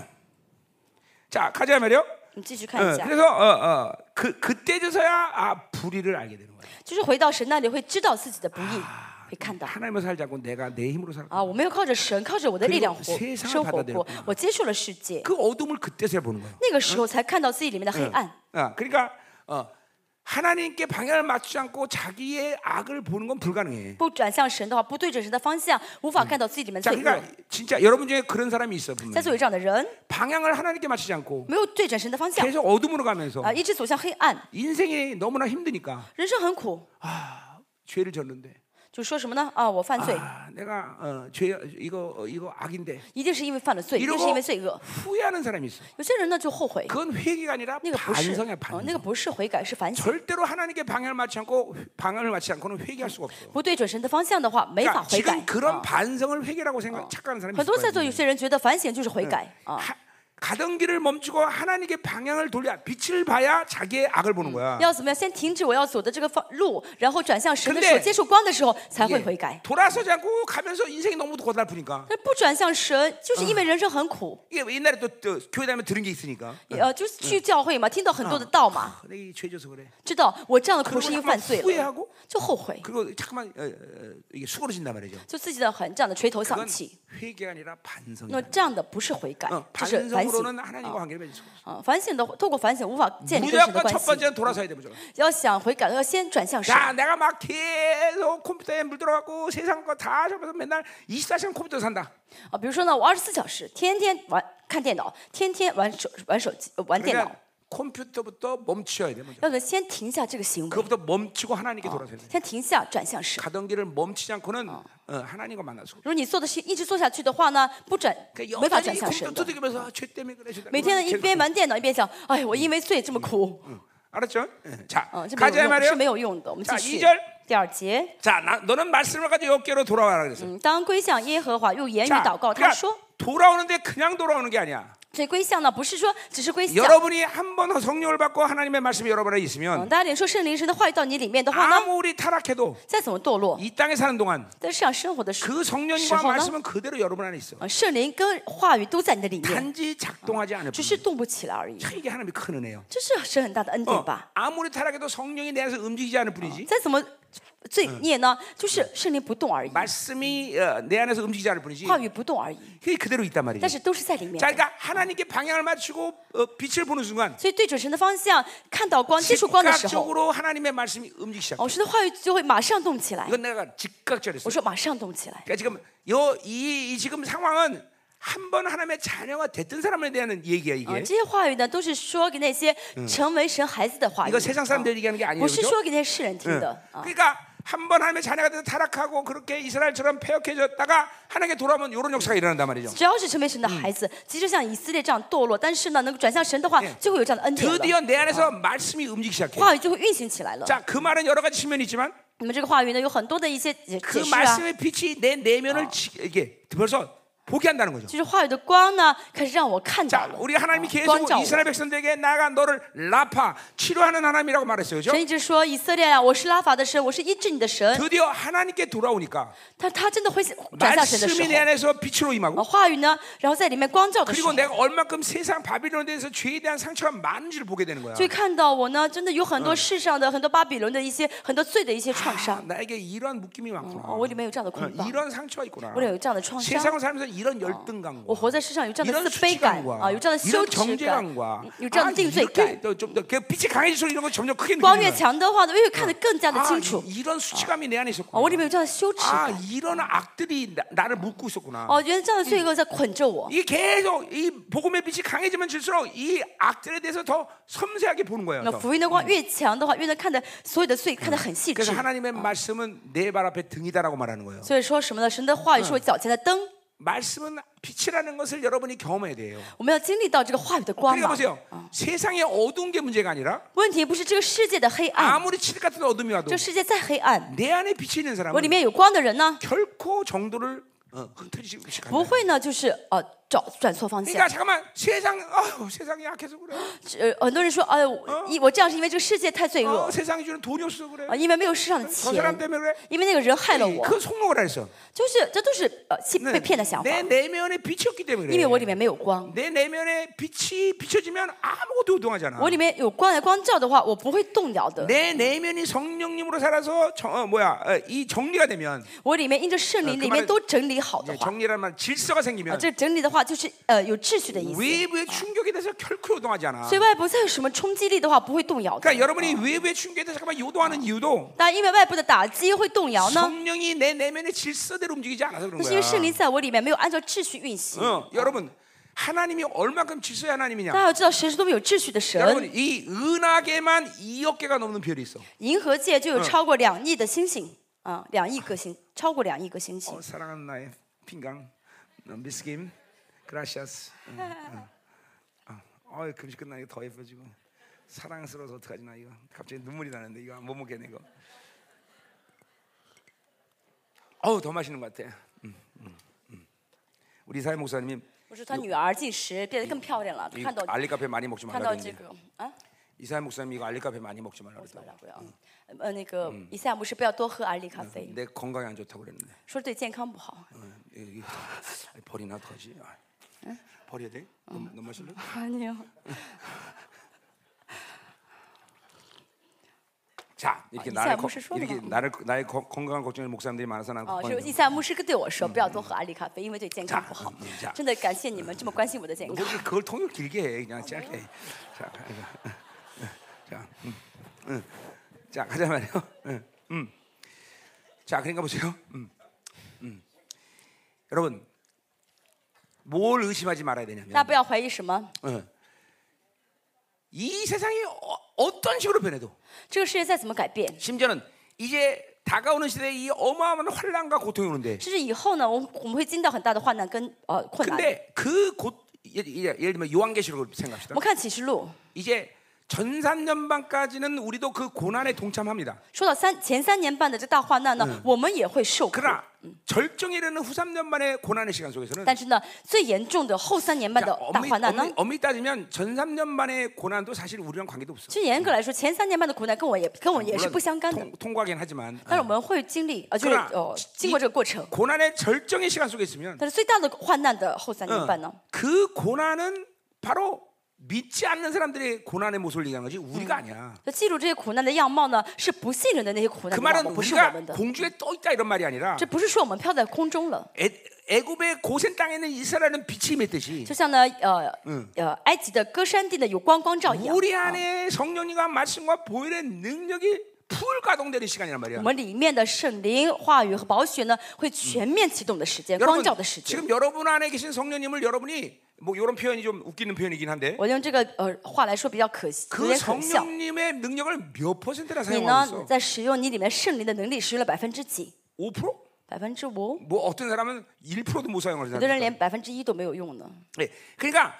자 가자 말이요. 你继续看一 어, 下， 그래서 어, 어, 그 그때서야 아 불의를 알게 되는 거예요. 就是回到神那里会知道自己的不义，会看到。 하나님을 살지 않고 내가 내 힘으로 살. 啊，我没有靠着神，靠着我的力量活 그리고 세상을 生活过 받아들였구나 ， 我接受了世界， 그 어둠을 그때서야 보는 거예요. 那个时候才看到自己里面的黑暗。 아, 그러니까 어, 하나님께 방향을 맞추지 않고 자기의 악을 보는 건 불가능해. 不转向神的话，不对准神的方向，无法看到自己里面 자, 罪恶。 그러니까 진짜 여러분 중에 그런 사람이 있어 在 분명히. 座有这样的人， 방향을 하나님께 맞추지 않고 没有对准神的方向， 계속 어둠으로 가면서 啊，一直走向黑暗， 인생이 너무나 힘드니까 人生很苦， 아, 죄를 졌는데 就说什么呢？啊，我犯罪， 아, 내가 어, 죄 이거 어, 이거 악인데 一定是因为犯了罪，一定是因 이러고 为罪恶。 후회하는 사람이 있어. 有些人呢就后悔， 그건 회개가 아니라 那个不是， 반성이야 哦， 반성. 那个不是悔改，是反省。 절대로 하나님께 방향을 맞지 않고 방향을 맞지 않고는 회개할 수가 없어. 不对准神的方向的话，没法 그러니까 悔改 지금 。 그런 啊 반성을 회개라고 생각 착각하는 사람이 很 있을 多在座 거예요. 有些人觉得反省就是悔改啊， 하- 가던 길을 멈추고 하나님께 방향을 돌려 빛을 봐야 자기의 악을 보는 거야. 要怎么样？先停止我要走的这个方路，然后转向神的 근데 时候，接受光的时候才会 예, 悔改。 돌아서지 않고 가면서 인생이 너무 고달프니까. 但不转向神，就是因为人生很苦。 이게 옛날에 또, 또 교회 다니면 들은 게 있으니까. 呃，就是去教会嘛，听到很多的道嘛， 내가 이 죄져서 그래. 知道我这样的苦 그리고 是因为 잠깐만 犯罪了， 후회하고 就后悔， 그리고 잠깐만 어, 어, 이게 수그러진단 말이죠. 就自己的很这样的垂头丧 그건 气。 회개가 아니라 반성이야. 那这样的不是悔改， 어, 这是反省 반성으로는 하나님과 관계를 맺을 수 없어. 啊。反省的透过反省无法建立跟神的 무조건 关 첫 系。 번째는 돌아서야 돼 무조건. 要想悔改，要先转向神。 자, 내가 막 계속 컴퓨터에 물 들어가고 세상 거 다 접어서 맨날 이십사 시간 컴퓨터 산다. 啊，比如说呢，我二十四小时天天玩看电脑，天天玩手玩手机、呃玩电脑。 그러니까 컴퓨터부터 멈춰야 돼 먼저. 要先停下这个行为， 그것부터 멈추고 하나님께 돌아서야 돼. 先停下转向神。 가던 길을 멈추지 않고는 어, 하나님과 만날 수 없어. 如果你做的是一直做下去的话呢，不转 그러니까 没法 여전히 转向神 컴퓨터 的。 두드리면서 아, 죄 때문에 그래. 죄 때문에 每天呢一 그래. 边玩电脑一边想，哎，我因为罪这么苦， 알았죠? 예. 자, 嗯，这没 가자 有用， 말이에요. 是没有用的。我们继 자 续 이 절 第二节， 자, 나, 너는 말씀을 가지고 여기로 돌아와라 그랬어. 嗯，当归向耶和华用言语 자, 祷告，他 그러니까 说， 돌아오는데 그냥 돌아오는 게 아니야. 这归向呢不是说只是归向。 여러분이 한 번 성령을 받고 하나님의 말씀이 여러분에 嗯， 있으면 大家领受圣灵神的话语到你里面的话呢， 아무리 타락해도 再怎么堕落， 이 땅에 사는 동안 在世上生活的时候， 그 성령과 시호나? 말씀은 그대로 여러분 안에 있어. 啊，圣灵跟话语都在你的里面， 단지 작동하지 않을 只 뿐. 是动不起来而已。 참 이게 하나님의 큰 은혜예요. 这是神很大的恩典 어, 吧？ 아무리 타락해도 성령이 내 안에서 움직이지 않을 뿐이지. 再怎么罪孽呢，就是圣灵不动而已， 말씀이 어, 내 안에서 움직이지 않을 뿐이지. 话语不动而已， 그게 그대로 있단 但 말이지. 是都是在里面 자, 的。 그러니까 하나님께 방향을 맞추고 어, 빛을 보는 순간 所以对准神的方向，看到光、接触光的时候， 즉각적으로 하나님의 말씀이 움직이기 시작해. 哦，神的话语就会马上动起来。 이건 내가 즉각적으로 我 했어. 说马上动起来。 그러니까 지금 요, 이, 이 지금 상황은 한 번 하나님의 자녀가 됐던 사람에 대한 얘기야 啊， 이게. 这些话语呢，都是说给那些成为神孩子的话语， 이거 세상 사람들 얘기하는 게 啊 아니에요. 不是 그렇죠? 说给那些世人听的。 응. 啊， 그러니까 한 번 하나님의 자녀가 돼서 타락하고 그렇게 이스라엘처럼 폐역해졌다가 하나님께 돌아오면 이런 역사가 일어난단 말이죠. 只要是成为神的孩子，即使像以色列这样堕落，但是呢，能够转向神的话，就会有这样的恩典了。 드디어 내 안에서 말씀이 움직이기 시작해. 话语就会运行起来了。 자, 그 말은 여러 가지 측면이 있지만 你们这个话语呢，有很多的一些解 그 解释啊， 말씀의 빛이 내 내면을 지, 이게 벌써 보게 한다는 거죠. 就是话语的光呢，开始让我看到 자, 了。 우리 하나님이 啊 계속 光照我。 이스라엘 백성들에게 나가 너를 라파 치료하는 하나님이라고 말했어요. 그렇죠? 神一直说以色列啊，我是拉法的神，我是医治你的神。 드디어 하나님께 돌아오니까 他他真的会转向神的时 말씀이 내 候， 안에서 빛으로 啊， 임하고 话语呢，然后在里面光照的时 그리고 候， 내가 얼마큼 세상 바빌론에 대해서 죄에 대한 상처가 많은지를 보게 되는 거야. 就会看到我呢，真的有很多世上的很多巴比伦的一些很多罪的一些创 아, 伤。 나에게 이런 묶임이 많구나. 哦，我里面有这样的 어, 捆绑， 이런 상처가 있구나. 我里面有这样的创伤。 세상을 살면서 이런 열등감과 我活在世上有这样 이런 的自卑感 수치감과 啊，有这样的羞 이런 耻感， 정죄감과 有这样 아, 的定罪感。 이렇게 좀더 빛이 강해질수록 이런 거 점점 크게 光越 느껴지는 거야. 强的话呢，越看得更加的 아, 清楚。 이- 이런 수치감이 내 안에 哦， 있었구나. 我里面有这样的羞耻 아, 感。 이런 악들이 나, 나를 묶고 있었구나. 哦，原来这样的罪恶在捆着我。 이게 계속 이 복음의 빛이 강해지면 질수록 이 악들에 대해서 더 섬세하게 보는 거예요. 那 더. 福音的光越强的话，越能看得所有的罪看得很细致 그래서 。 하나님의 말씀은 내 발 앞에 등이다라고 말하는 거예요. 所以说什么呢？神的话语是我脚前的灯， 말씀은 빛이라는 것을 여러분이 경험해야 돼요. 我们要经历到这个话语的光 그러니까 嘛。 보세요. 세상의 어두운 게 문제가 아니라 问题不是这个世界的黑暗， 아무리 칠흑 같은 어둠이 와도 这个世界再黑暗， 내 안에 빛이 있는 我里 사람은 面有光的人呢， 결코 정도를 어, 흩어지지 不 않는다. 会呢，就是呃找转错方 그러니까 向。 잠깐만 세상 아유, 세상이 약해서 그래. 呃，很多人说，哎呦，一我这样是因为这个世界太罪 어, 恶 세상이 주는 돈이 없어서 그래. 啊，因为没有世上的 저 사람 钱， 때문에 그래. 因为那个人害了我， 그 속먹을 안 했어. 就是这都是呃欺 네, 被骗的想法， 내 내면에 빛이 없기 때문에 因为我里 그래. 面没有光。 내 내면에 빛이 비춰지면 아무것도 우동하잖아. 我里面有光来光照的话，我不会动摇的。 내 내면이 성령님으로 살아서 정, 어, 뭐야 어, 이 정리가 되면 我里面因着圣灵 그 里 말은 面都整理好的 이제 话， 정리란 말 질서가 啊， 생기면 这整理的话就是呃有秩序的意思。 외부의 충격에 대해서 결코 요동하지 않아. 所以外部再有什么冲击力的话，不会动摇的。 그러니까 여러분이 외부의 충격에 대해서 잠깐만 요동하는 이유도 但因为外部的打击会动摇呢， 성령이 내 내면의 질서대로 움직이지 않아서 그런 那是因为圣 거야. 灵在我里面没有按照秩序运行。 어, 여러분 하나님이 얼마큼 질서의 大 하나님이냐? 家要知道，神是多么有秩序的 여러분 神。 이 은하계만 이억 개가 넘는 별이 있어. 银河界就有超过两亿的星星啊，两亿个星，超过两亿个星星 어, 。 사랑하는 나의 핑강, 어, 미스김, 그라시아스. 응, 응. 어, 어, 금식 끝나니까 더 예뻐지고 사랑스러워서 어떡하지 나 이거 갑자기 눈물이 나는데 이거 못 먹겠네 이거. 어우 더 맛있는 것 같아. 음, 음, 음. 우리 사회 목사님이 不是他女儿进食变得更漂亮了， 이 看到 알리카페 많이 먹지 看 말라 到这 그랬는데 个啊， 이사야 목사님 이거 알리카페 많이 먹지 말라 不 그랬다고. 要不要，呃，那个以赛亚牧师不要多喝阿里咖啡， 내 건강에 안 좋다고 그랬는데 说对健康不好。 어, 이게 버리나 어떡하지? 아, 버려야 돼? 너무, 너무 마실래? 啊，你有 자 이렇게 아, 나를 이사야 거- 牧师说的 이렇게 嘛。 나를 나의 거- 건강을 걱정하는 목사님들이 많아서 나는 哦，是 걱정이 以赛亚牧师对我说不要多喝阿里咖啡，因为对健康不好 음, 자 。 真的感谢你们这么关心我的健 뭐 康。 그렇게 그걸 통역 길게 해 그냥 짧게. 자, 이거. 자, 음, 음. 자 가자 말이요. 음, 음. 자 그러니까 보세요. 음, 음. 여러분 뭘 의심하지 말아야 大家 되냐면 不要怀疑什么， 어, 이 세상이 어, 어떤 식으로 변해도 这个世界再怎么改变， 심지어는 이제 다가오는 시대에 이 어마어마한 환란과 고통이 오는데 甚至以后呢，我们我们会经历到很大的患难跟呃困难。 근데 그 곧 예를, 예를 들면 요한계시록을 我 생각합시다. 们看启示录， 이제 전산년반까지는 우리도 그 고난에 동참합니다. 说到三前三年半的这大患难呢，我们也会受苦。 그러나 절정에 이르는 후 삼 년 만의 고난의 시간 속에서는 但是呢，最严重的后三年半 자, 的大 엄밀히, 患难呢 엄밀히, ， 엄밀히 따지면 전 삼 년 만의 고난도 사실 우리랑 관계도 없어. 其实严格来说，前三年半的苦难跟我也跟我也是 물론 不相干的。 통, 통과하긴 하지만 但是我们会经历，呃，就是 그러나 呃，经过这个过程。 고난의 절정의 시간 속에 있으면 但是最大的患难的后三年半呢， 그 고난은 바로 믿지 않는 사람들의 고난의 모습을 얘기하는 거지 우리가 아니야. 就记住这些苦难的样貌呢，是不信任的那些苦难 그 的样 말은 貌，不是我 우리가 们的。 공중에 떠 있다 이런 말이 아니라 这不是说我们飘在空中了， 애, 애굽의 고센 땅에 있는 이스라엘은 빛이 맺듯이 就像呢，呃呃，埃及的歌山地呢有光光照一样。 우리 안에 성령님과 말씀과 보혈의 능력이 풀 가동되는 시간이란 我 말이야. 们里面的圣灵、话语和宝血呢，会全面启动的时间，光 여러분 照的时间。 지금 여러분 안에 계신 성령님을 여러분이 뭐 이런 표현이 좀 웃기는 표현이긴 한데 我用这个呃话来说比较可惜，有 그 点可笑。 성령님의 능력을 몇 퍼센트나 你 사용하고 呢， 있어? 在使用你里面圣灵的能力，使用了百分之几？ 오 퍼센트? 百分之五？ 뭐 어떤 사람은 일 퍼센트도 못 사용하는 有的人 사람. 连百分之一都没有用呢。 네, 그러니까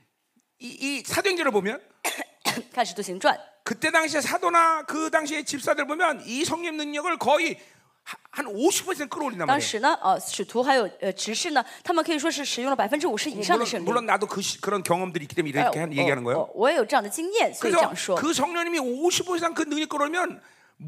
이, 이 사도행전을 보면 看《使徒行传》， 그때 당시에 사도나 그 당시에 집사들 보면 이 성령 능력을 거의 하- 한 오십 퍼센트 끌어올린단 当 말이에요. 时呢，呃，使徒还有呃执事呢，他们可以说是使用了百分之五十以上的 물론, 圣灵。 물론 나도 그 시, 그런 경험들이 있기 때문에 呃 이렇게 한, 얘기하는 我 거예요. 我我也有这样的经验，所以这样 그래서 说。 그 성령님이 오십 퍼센트 이상 그 능력 끌어오면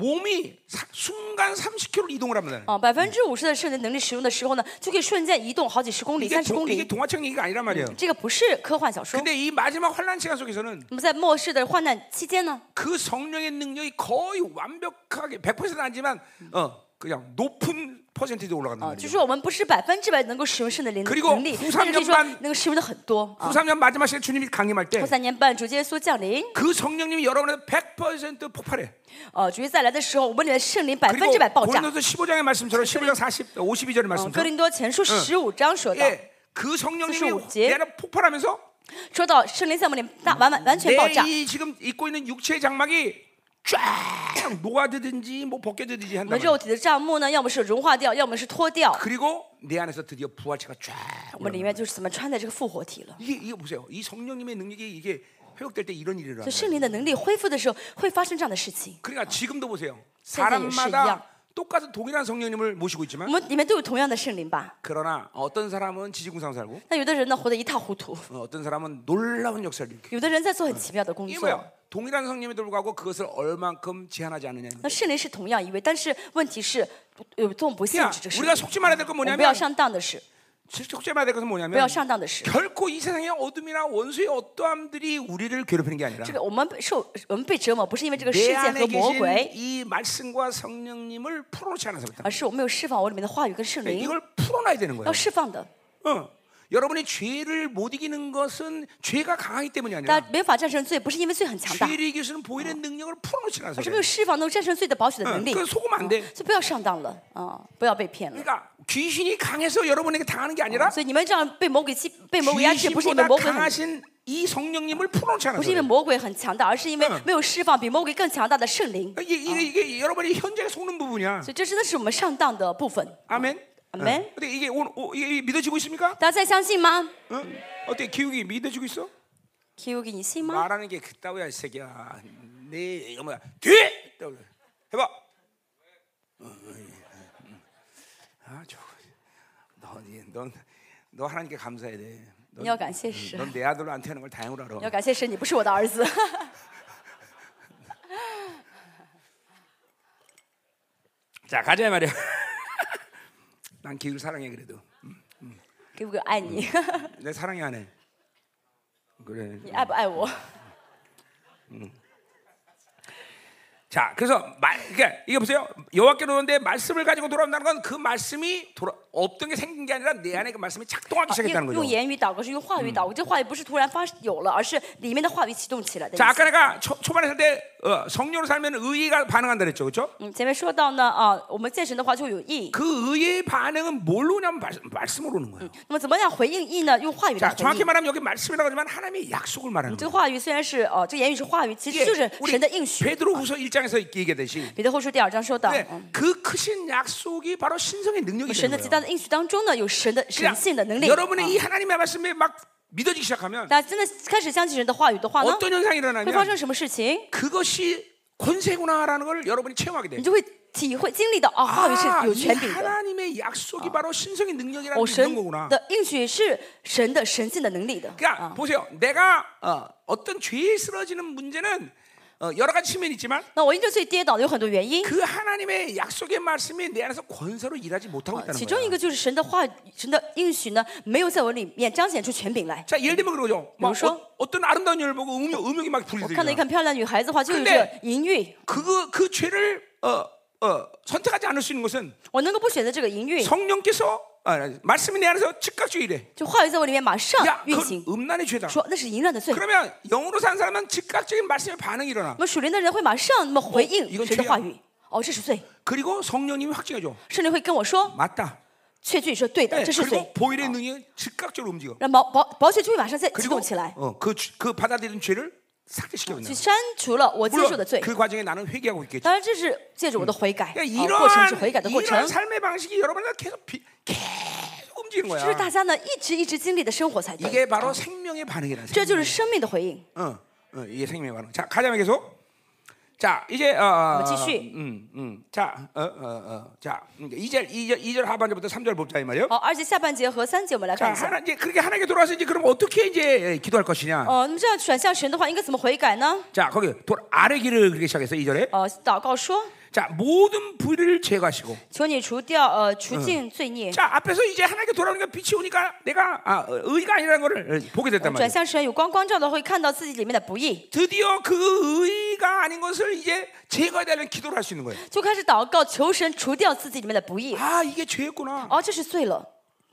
몸이 사, 순간 삼십 킬로미터 이동을 합니다. 啊，百分之五十的圣灵能力使用的时候呢，就可以瞬间移动好几十公里、 이게, 三十 동, 公 이게 里。 동화책 얘기가 아니란 말이에요. 这个不是科幻小说。 근데 이 마지막 환란 시간 속에서는 那么在末世的患难期间呢， 그 성령의 능력이 거의 완벽하게 백 퍼센트는 아니지만 어 그냥 높은 퍼센티도 올라간단 啊，就 말이에요. 是我们不是百分之百能够使用圣灵的 그리고 能力， 후 但是可以说 삼 년반 能够使用的很多啊 후 。 삼 년 마지막 시간 주님이 강림할 때 后三年半主耶稣降临， 그 성령님이 여러분의 백 퍼센트 폭발해. 呃，主耶稣再来的时候，我们里面圣灵百分 그리고 之百爆炸。 고린도서 십오 장의 말씀처럼 십오 장 사십, 오십이 절의 嗯， 말씀처럼 哥林多前书十五章说到， 예, 그 성령님이 사십오节 내 안에 폭발하면서 说到圣灵在我们里面大完完完全爆炸 내 。이 지금 입고 있는 육체의 장막이 쫙 녹아들든지 뭐 벗겨지든지 我 한단 们 말이에요. 肉体的帐幕呢，要么是融化掉，要么是脱掉。 그리고 내 안에서 드디어 부활체가 쫙 我们里面就是怎么穿在这个复活体了。 이게 이게 보세요. 이 성령님의 능력이 이게 회복될 때 이런 일이 所 일어나요. 以圣灵的能力恢复的时候，会发生这样的事情。 그러니까 지금도 보세요. 现在也是一样。 사람마다 똑같은 동일한 성령님을 모시고 我 있지만 们里面都有同样的圣灵吧？ 그러나 어떤 사람은 지지공상 살고 那有的人呢，活得一塌糊涂； 어, 어떤 사람은 놀라운 역사를 일으켜. 有的人在做很奇妙的工 이게 作。 뭐야? 동일한 성령임에도 불구하고 그것을 얼만큼 제한하지 않느냐. 那圣灵是同样一位，但是问题是有多么不限 그러니까 制这圣 우리가 灵。 속지 말아야 될 건 我们不 뭐냐면 要上当的是， 속지 말아야 될 것은 不要 뭐냐면 上当的是， 결코 이 세상의 어둠이나 원수의 어떠함들이 우리를 괴롭히는 게 아니라 这个我们受我们被折磨，不是因为这个世 내 界 안에 和魔 계신 鬼， 이 말씀과 성령님을 풀어놓지 않아서부터 而是我没有释放我里面的话语跟圣灵， 이걸 풀어놔야 되는 要 거예요. 释放的。 어. 여러분이 죄를 못 이기는 것은 죄가 강하기 때문이 大 아니라 家没法战胜罪，不是因为罪很强大， 죄를 이길 수 있는 보혈의 능력을 풀어놓지 않아서 而是没 그래요. 有释放能够战胜罪的保险的能力。 그 속으면 안 돼. 所以不要上当了啊，不要被骗了。 그러니까 귀신이 강해서 여러분에게 당하는 게 아니라 所以你们这样被魔鬼欺、被魔鬼压制，不是因为 귀신보다 魔鬼很， 강하신 이 성령님을 풀어놓지 不 않아서 是因为 그래요. 魔鬼很强大，而是因为没有释放比魔鬼更强大的圣灵。 이게, 이게, 이게 여러분이 현재 속는 부분이야. 所以这真的是我们上当的部分。 아멘. 아멘. 근데 이게 오늘 오, 이게 믿어지고 있습니까? 大家再相信吗 어? 어때 기욱이 믿어지고 있어? ？Q 给你信吗？ 말하는 게 그따위야 이 새끼야. 내 이거 뭐야? 뒤에 해봐. 어, 어, 어, 어. 아, 저, 너, 넌, 너 하나님께 감사해야 돼. 你要感谢神， 넌 내 아들로 안 태어난 걸 다행으로 你 알아. 要感谢神，你不是我的儿子。 자 가자 말이야. 난 기술 사랑해 그래도. 给我个爱你， 내 사랑이 안 해. 그래. 你爱不爱我？ 자, 그래서 말, 그러니까 이게 보세요. 여호와께로 오는데 말씀을 가지고 돌아온다는 건 그 말씀이 돌아, 없던 게 생긴 게 아니라 내 안에 그 말씀이 작동하기 用 시작했다는 用 거죠. 言语祷告是用话语祷告，这话语不是突然发有了，而是里面的话语启动起来的意 자, 思。 아까 내가 초, 초반에 할 때 어, 성령으로 살면 의가 반응한다 그랬죠, 그렇죠? 嗯，前面说到呢，啊，我们见神的话就有义。 그 의의 반응은 뭘로 오냐면 말, 말씀으로 오는 거예요. 那么怎么样回应义呢？用话语来 자, 回 정확히 应。 말하면 여기 말씀이라고 하지만 하나님의 약속을 말하는 这 거예요. 个话语虽然是哦，这个言语是话语，其实 이게 就是神 우리 的应许。 베드로후서 일 장에서 얘기했듯이 彼得后书第二章说到， 네, 嗯， 그 크신 약속이 바로 신성의 능력이 神 되는 的极 거예요. 大的应许当中呢，有神的神性的能力。 여러분의 啊 이 하나님의 말씀에 막 믿어지기 시작하면 大家真的开始相信神的话语的话呢， 어떤 현상이 会发 일어나면 生什么事情？ 그것이 권세구나라는 걸 여러분이 체험하게 돼요. 你就会体会经历到啊，话语是 아, 有 이 权柄的。 하나님의 약속이 바로 신성의 능력이라는 哦， 게 神 이런 거구나. 的应许是神的神性的能力的。 그러니까 啊， 보세요. 내가 어, 어떤 죄에 쓰러지는 문제는 어, 여러 가지 측면이 있지만 那我因着罪跌倒的有很多原因， 그 하나님의 약속의 말씀이 내 안에서 권세로 일하지 못하고 啊 있다는 其中一 거예요. 个就是神的话语、神的应许呢，没有在我里面彰显出权柄来。 자, 예를 들면 그러죠. 막 뭐죠? 어, 어떤 아름다운 여인을 보고 음욕, 음욕이 막 我看到一 불리더라. 看漂亮女孩子的话，就有 근데 这个淫欲。 그, 그 죄를 어, 어, 선택하지 않을 수 있는 것은 我能够不选择这个淫欲， 성령께서 아, 말씀이 내 안에서 즉각적으로 이래. 就话语在我里面马上 야, 运 그건 行， 음란의 죄다. 说那是淫乱的罪。 그러면 영으로 산 사람은 즉각적인 말씀의 반응이 일어나. 那么属灵的人会马上那么回应 이건 神的 죄야 话语。哦，这是罪， 그리고 성령님이 확증해줘. 圣灵会跟我说， 맞다. 确据说对的， 네, 这是罪 그리고 。 보일의 능력이 즉각적으로 움직여. 让保保保血就会马上再激 그리고 动起来， 어, 그, 죄- 그 받아들인 죄를 삭제시켜버린다. 去删除了我接受 물론 的罪。 그 과정에 나는 회개하고 있겠지. 当然，这是借着我的悔改， 그러니까 啊，过程是悔改的 이러한 过程 이러한 。 삶의 방식이 여러분한테 계속 비, 계속 움직이는 这是 거야. 大家呢一直一直经历的生活才对。 이게 바로 생명의 반응이라는 这就是生命的回应。 어, 어, 이게 생명의 반응. 자, 가자면 계속. 자, 이제 어, 어, 继续. 음, 음. 자, 어, 어, 어. 자, 이 절, 이 절, 이 절 하반절부터 삼 절 보자 이 말이에요. 好，而且下半节和三节我们来 자, 看一下。 하나 이제 그렇게 하나님께 돌아와서 이제 그럼 어떻게 이제 기도할 것이냐? 哦，那么这样转向神的话，应该怎么悔改呢？ 자, 거기 돌 아래 길을 그렇게 시작해서 이 절에. 哦，祷告说， 자, 모든 불의를 제거하시고. 求你除掉呃除尽罪孽， 자, 앞에서 이제 하나님께 돌아오니까 빛이 오니까 내가 아, 어, 의가 아니라는 것을 어, 보게 됐단 转 말이에요. 向神有光光照的，会看到自己里面的不义， 드디어 그 의가 아닌 것을 이제 제거해야 되는 기도를 할 수 있는 거예요. 就开始祷告求神除掉自己里面的不义。 아, 이게 죄였구나. 哦，这是罪了。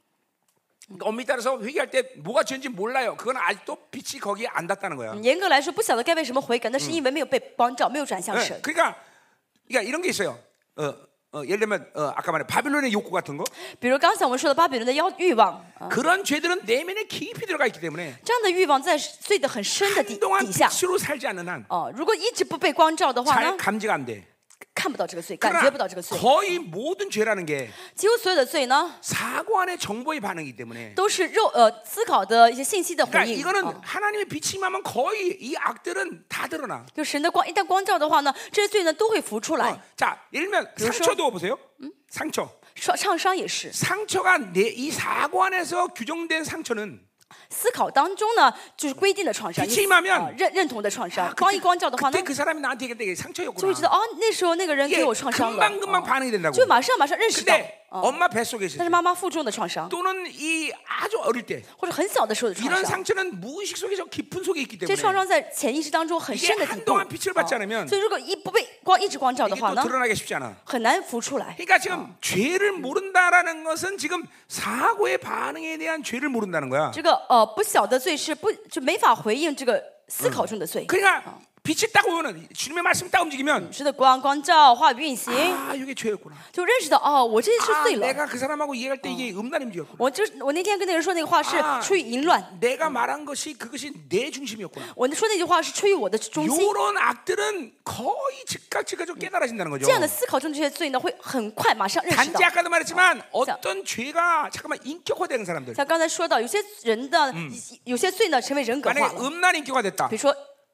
그러니까 엄밀히 따라서 회개할 때 뭐가 죄인지 몰라요. 그건 아직도 빛이 거기에 안 닿다는 거야. 严格来说，不晓得该为什么悔改，那是因为没有被光照，没有转向 네, 神。 그러니까, 그러니까 이런 게 있어요. 어, 어, 예를 들면 어, 아까 말한 바빌론의 욕구 같은 거 比如刚才我们说的巴比伦的妖欲望，啊 그런 죄들은 내면에 깊이 들어가 있기 때문에 这样的欲望在罪的很深的底 한동안 底下。 빛으로 살지 않는 한 哦，如果一直不被光照的话 잘 呢， 감지가 안 돼. 看不到这个罪，感觉不到 그러나 这个罪。 거의 모든 죄라는 게 几乎所有的罪呢， 사고안의 정보의 반응이기 때문에 都是肉呃思考的一些信息的回 그러니까 应。 이거는 啊 하나님의 빛이 임하면 거의 이 악들은 다 드러나. 就神的光一旦光照的话呢，这些罪呢都会浮出来 어, 。 자, 예를 들면 상처도 보세요. 상처. 创创伤也是， 상처가 내 이 사고 안에서 규정된 상처는 思考当中呢就是规定的创伤， 빛이임하면 啊认认同的创伤 아, 。 光一光照的话呢 그때 ，그 사람이 나한테 얘기할 때 이게 就会 상처였구나. 知道哦，那时候那个人 이게 给我创伤了， 금방금방 哦 반응이 된다고. 就马上马上认识到， 근데 哦， 엄마 뱃속에 那 있을 是 때 妈妈腹中的创伤， 또는 이 아주 어릴 때 或者很小的时候的创 이런 伤。 상처는 무의식 속에 저 깊은 속에 있기 这创 때문에 伤在潜意识当中很 이게 深的底部， 한동안 빛을 받지 않으면 哦所以如果一不被光一直光照的 이게 话 또 呢， 드러나기 쉽지 않아. 很难浮出来。 그러니까 지금 죄를 모른다라는 것은 지금 사고의 반응에 대한 죄를 모른다는 거야. 这个呃不晓得罪是不就没法回应这个思考中的罪。 그러니까 빛이 딱 오면은 주님의 말씀이 딱 움직이면 是的，光光照话语运行， 아 이게 죄였구나. 就认识到哦，我这是 아 罪了。 내가 그 사람하고 얘기할 때 이게 음란의 문제였구나. 我就是我那天跟那个人说那个话是 아 出于淫乱， 내가 말한 것이 그것이 내 중심이었구나. 我说那句话是出于我的中心。 이런 악들은 거의 즉각 즉각 깨달아진다는 거죠. 这样的思考中这些罪呢，会很快马上认识 단지 到。 아까도 말했지만 어떤 죄가 잠깐만 인격화되는 사람들. 像刚才说到，有些人的有些罪呢成为人格化 만약에 了。 음란 인격화 됐다. 比如说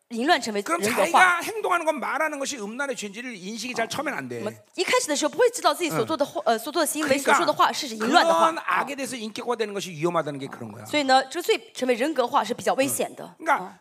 淫乱成为 그럼 人格化。 자기가 행동하는 건 말하는 것이 음란의 죄인지를 인식이 잘 처음엔 안 我 돼. 们一开始的时候不会知道自己所做的话，呃，所做的行为、所说的话是淫乱的话 그런 ， 악에 대해서 인격화되는 것이 위험하다는 게 그런 거야. 所以呢，这个罪成为人格化是比较危险的。 그러니까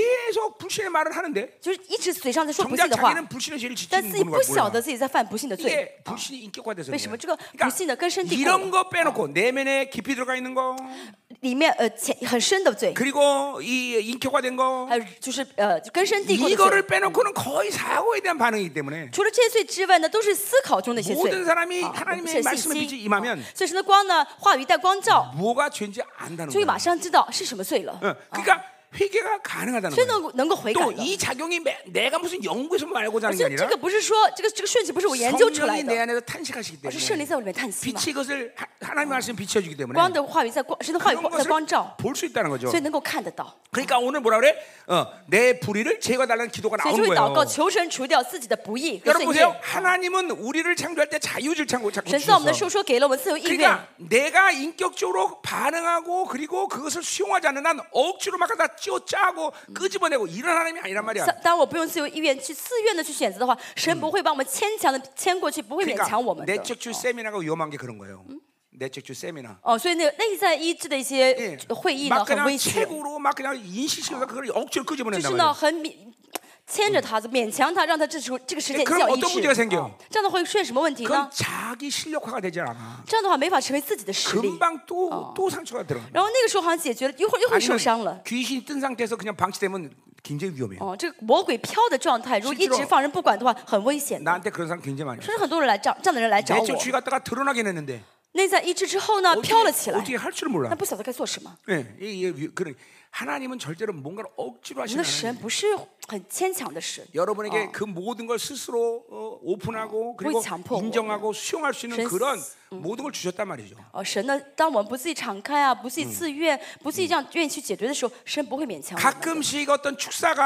계속 불신의 말을 하는데 就是一直嘴上在说不 정작 信的话， 자기는 불신의 죄를 但 지키는 自己 걸 不晓 몰라. 得自己在犯不信的罪。 이게 불신이 인격화돼서 为什么 그래. 这个不信的根深蒂固 이런 了？ 거 빼놓고 내면에 깊이 들어가 있는 거 里面呃潜很深的罪， 그리고 이 인격화된 거 还有就是呃根深蒂固的罪。 이거를 빼놓고는 거의 사고에 대한 반응이기 때문에 除了这些罪之外呢，都是思考中的一些罪。 모든 사람이 啊， 하나님의 是信 말씀의 心 빛이 임하면 所以神的光呢，话语带光照， 뭐가 죄인지 안다는 就会 거야. 马上知道是什么罪了， 어, 그러니까 회개가 가능하다는 所以 거야. 能够能够悔改 또 的。 이 작용이 매- 내가 무슨 연구에서 말고자 하는 게 所以这 아니라 个不是说这个这个顺序不是我研究出来 성령이 내 的， 안에서 탄식하시기 而是圣 때문에 灵在我里面叹息嘛。 빛이 그것을 하- 하나님의 말씀 비춰주기 때문에 光的话语在光，神的话语 그런 光在光照， 것을 볼 수 있다는 거죠. 所以能够看得到。 그러니까 오늘 뭐라 그래? 어, 내 불의를 제거달라는 기도가 所以 나온 就会祷告 거예요. 求神除掉自己的不义和 여러분 罪孽。 보세요. 하나님은 우리를 창조할 때 자유를 창고 자꾸 神造我们的时 주셨어. 候说给了我们自由意愿， 그러니까 내가 인격적으로 반응하고 그리고 그것을 수용하지 않는 한 억지로 막 다 찌어 짜고 끄집어내고 이런 하나님이 아니란 말이야. 当我不用自由意愿去自愿的去选择的话，神不会把我们牵强的牵过去，不会勉 그러니까 强我们的。 내적주 세미나가 위험한 게 그런 거예요. 내적주 세미나. 哦，所以那个内在医治的一 예. 些会议呢， 막 很 그냥 危险， 책으로 막 그냥 인식시켜서 그걸 억지로 就 끄집어낸단 是呢 말이야. 很勉牵着他，勉强他，让他这时候这个时间 그럼 需要医 어떤 문제가 治。 생겨? 哦这样的话会出现什么问题 그건 呢？ 자기 실력화가 되지 않아. 这样的话没法成为自己的实力， 금방 또 또 상처가 들어. 然后那个时候好像解决了，一会儿又会受伤了。 귀신이 뜬 상태에서 그냥 방치되면 굉장히 위험해요. 哦，这个魔鬼飘的状态，如果一直放任不管的话，很危险的。 나한테 그런 사람 굉장히 많이 甚至很多人来找这样的人来找 내적 我， 주의 갖다가 드러나긴 했는데 内在医治之后呢， 어떻게, 飘了起来， 어떻게 할 줄을 몰라. 但不晓得该做什么。 예, 이, 이, 그런 하나님은 절대로 뭔가를 억지로 我们 하시는 的神 하나님. 不是很牵强的神， 여러분에게 그 모든 걸 스스로 어, 오픈하고 그리고 거의强迫 인정하고 수용할 수 있는 전- 그런 모든 걸 주셨단 말이죠. 哦，神呢，当我们不自己敞开啊，不自己自愿，不自己这样愿意去解决的时候，神不会勉强我们的。 가끔씩 어떤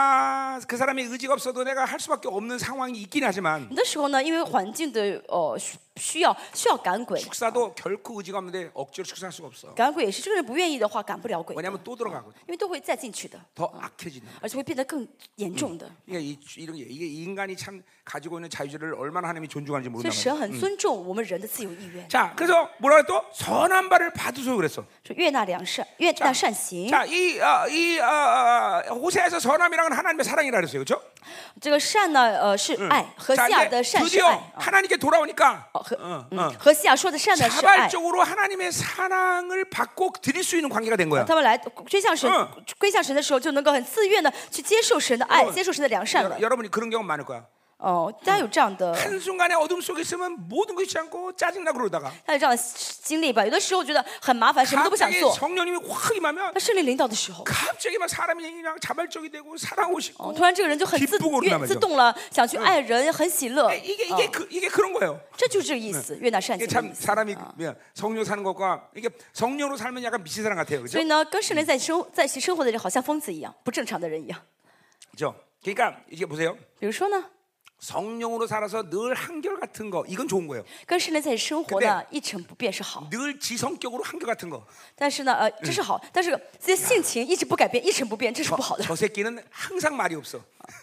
축사가 그 사람의 의지가 없어도 내가 할 수밖에 없는 상황이 있긴 하지만 有的时候呢，因为环境的呃需需要需要赶鬼， 축사도 결코 의지가 없는데 억지로 축사할 수가 없어. 赶鬼也是这个人不愿意的话，赶不了鬼的， 왜냐하면 또 들어가거든. 因为都会再进去的， 더 악해진다. 而且会变得更严重的。 이게 이, 이런 게 이게 인간이 참 가지고 있는 자유를 얼마나 하나님이 존중하는지 所以 모른다 神 말이야. 很尊重我们人的自由意愿， 자, 그래서 뭐라 또 선한 바를 받으소서 그랬어. 说悦纳良善，悦纳善行。 자, 이, 어, 이 어, 어, 호세아에서 선함이라는 건 하나님의 사랑이라 그랬어요, 그렇죠? 这个善呢，呃，是爱，和 자, 西亚 이제 的善是 드디어 爱。啊 하나님께 돌아오니까 哦，和 어, 嗯 어. 和西亚说的善呢是爱。 자발적으로 하나님의 사랑을 받고 드릴 수 있는 관계가 된 거야. 他们来归向神嗯， 归向神的时候，就能够很自愿的去接受神的爱，接受神的良善了 여러, 。 여러분이 그런 경우 많을 거야. 哦，大家有这样的， 한순간에 어둠 속에 있으면 모든 것이 않고 짜증나고 그러다가 大家有这样的经历吧？有的时候觉得很麻烦，什么都不想 갑자기 做。 성령님이 확 임하면 那圣灵领导的时候， 갑자기 막 사람이 그냥 자발적이 되고 사랑하고 哦， 싶고 突然这个人就很自 기쁘고 愿 그러단 自 말이죠. 动了，想去爱人，很喜乐。 이게 이게 그, 이게 그런 거예요. 这就是这个意思，悦纳善 이게 行的 참 意思。 사람이 뭐야, 성령 사는 것과 이게 성령으로 살면 약간 미친 사람 같아요, 所 그렇죠? 以呢，跟圣灵在生在一起生活的人，好像疯子一样，不正常的人一样。 그렇죠? 그러니까 이게 보세요. 比如说呢， 성령으로 살아서 늘 한결 같은 거 이건 좋은 거예요. 跟圣灵在一起生活呢，一成不变是好。 늘 지성격으로 한결 같은 거. 但是呢，呃，这是好，但是这些性情一直不改变，一成不变，这是不好的。 저 새끼는 항상 말이 없어.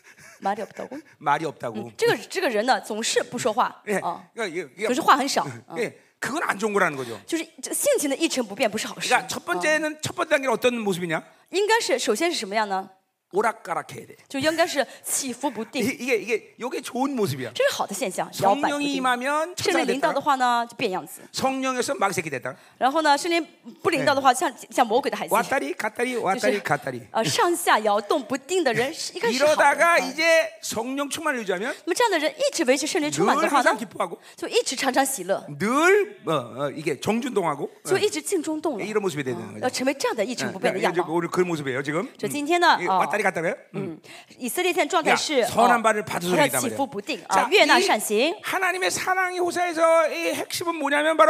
말이 없다고？ 말이 없다고. 这个这个人呢，总是不说话 예, 啊， 그러니까 이게, 이게 总是话很少， 예, 그건 안 좋은 거라는 거죠. 就是这性情的一成不变不是好事。 그러니까 첫 번째는 첫 번째 단계는 어떤 모습이냐? 应该是首先是什么样呢？ 오락가락해야 돼. 就应该是起伏不定， 이게 이게 이게 좋은 모습이야. 这是好的现象，摇摆不 성령이 定。 임하면 圣 천사가 灵领导 됐다. 的话呢，就变样子； 성령에서 마귀새끼 됐다. 然后呢，圣灵不领导的话，像像魔鬼的孩子， 왔다리 갔다리 就 왔다리 是 갔다리. 呃上下摇动不定的人，是应该是好的。 이러다가 嗯 이제 성령 충만을 유지하면 那么这样的人一直维持圣灵充满 늘 的话 항상 呢， 기뻐하고 就一直常常喜乐， 늘 어, 어, 이게 정준동하고 就一直静中动了， 이런 모습이 되는 要 거죠. 成为这样的一成不变的 이게 样 이제 貌。 오늘 그 모습이에요 지금. 就今天呢， 이게 啊， 왔다리 갔다리요. 嗯，以色列现在状态 야, 是 선한 哦 바를 받으소서 好像 이단 起 말이에요. 伏不定 자, 啊，悦纳 이 善行。 하나님의 사랑이 호사에서 이 핵심은 뭐냐면 바로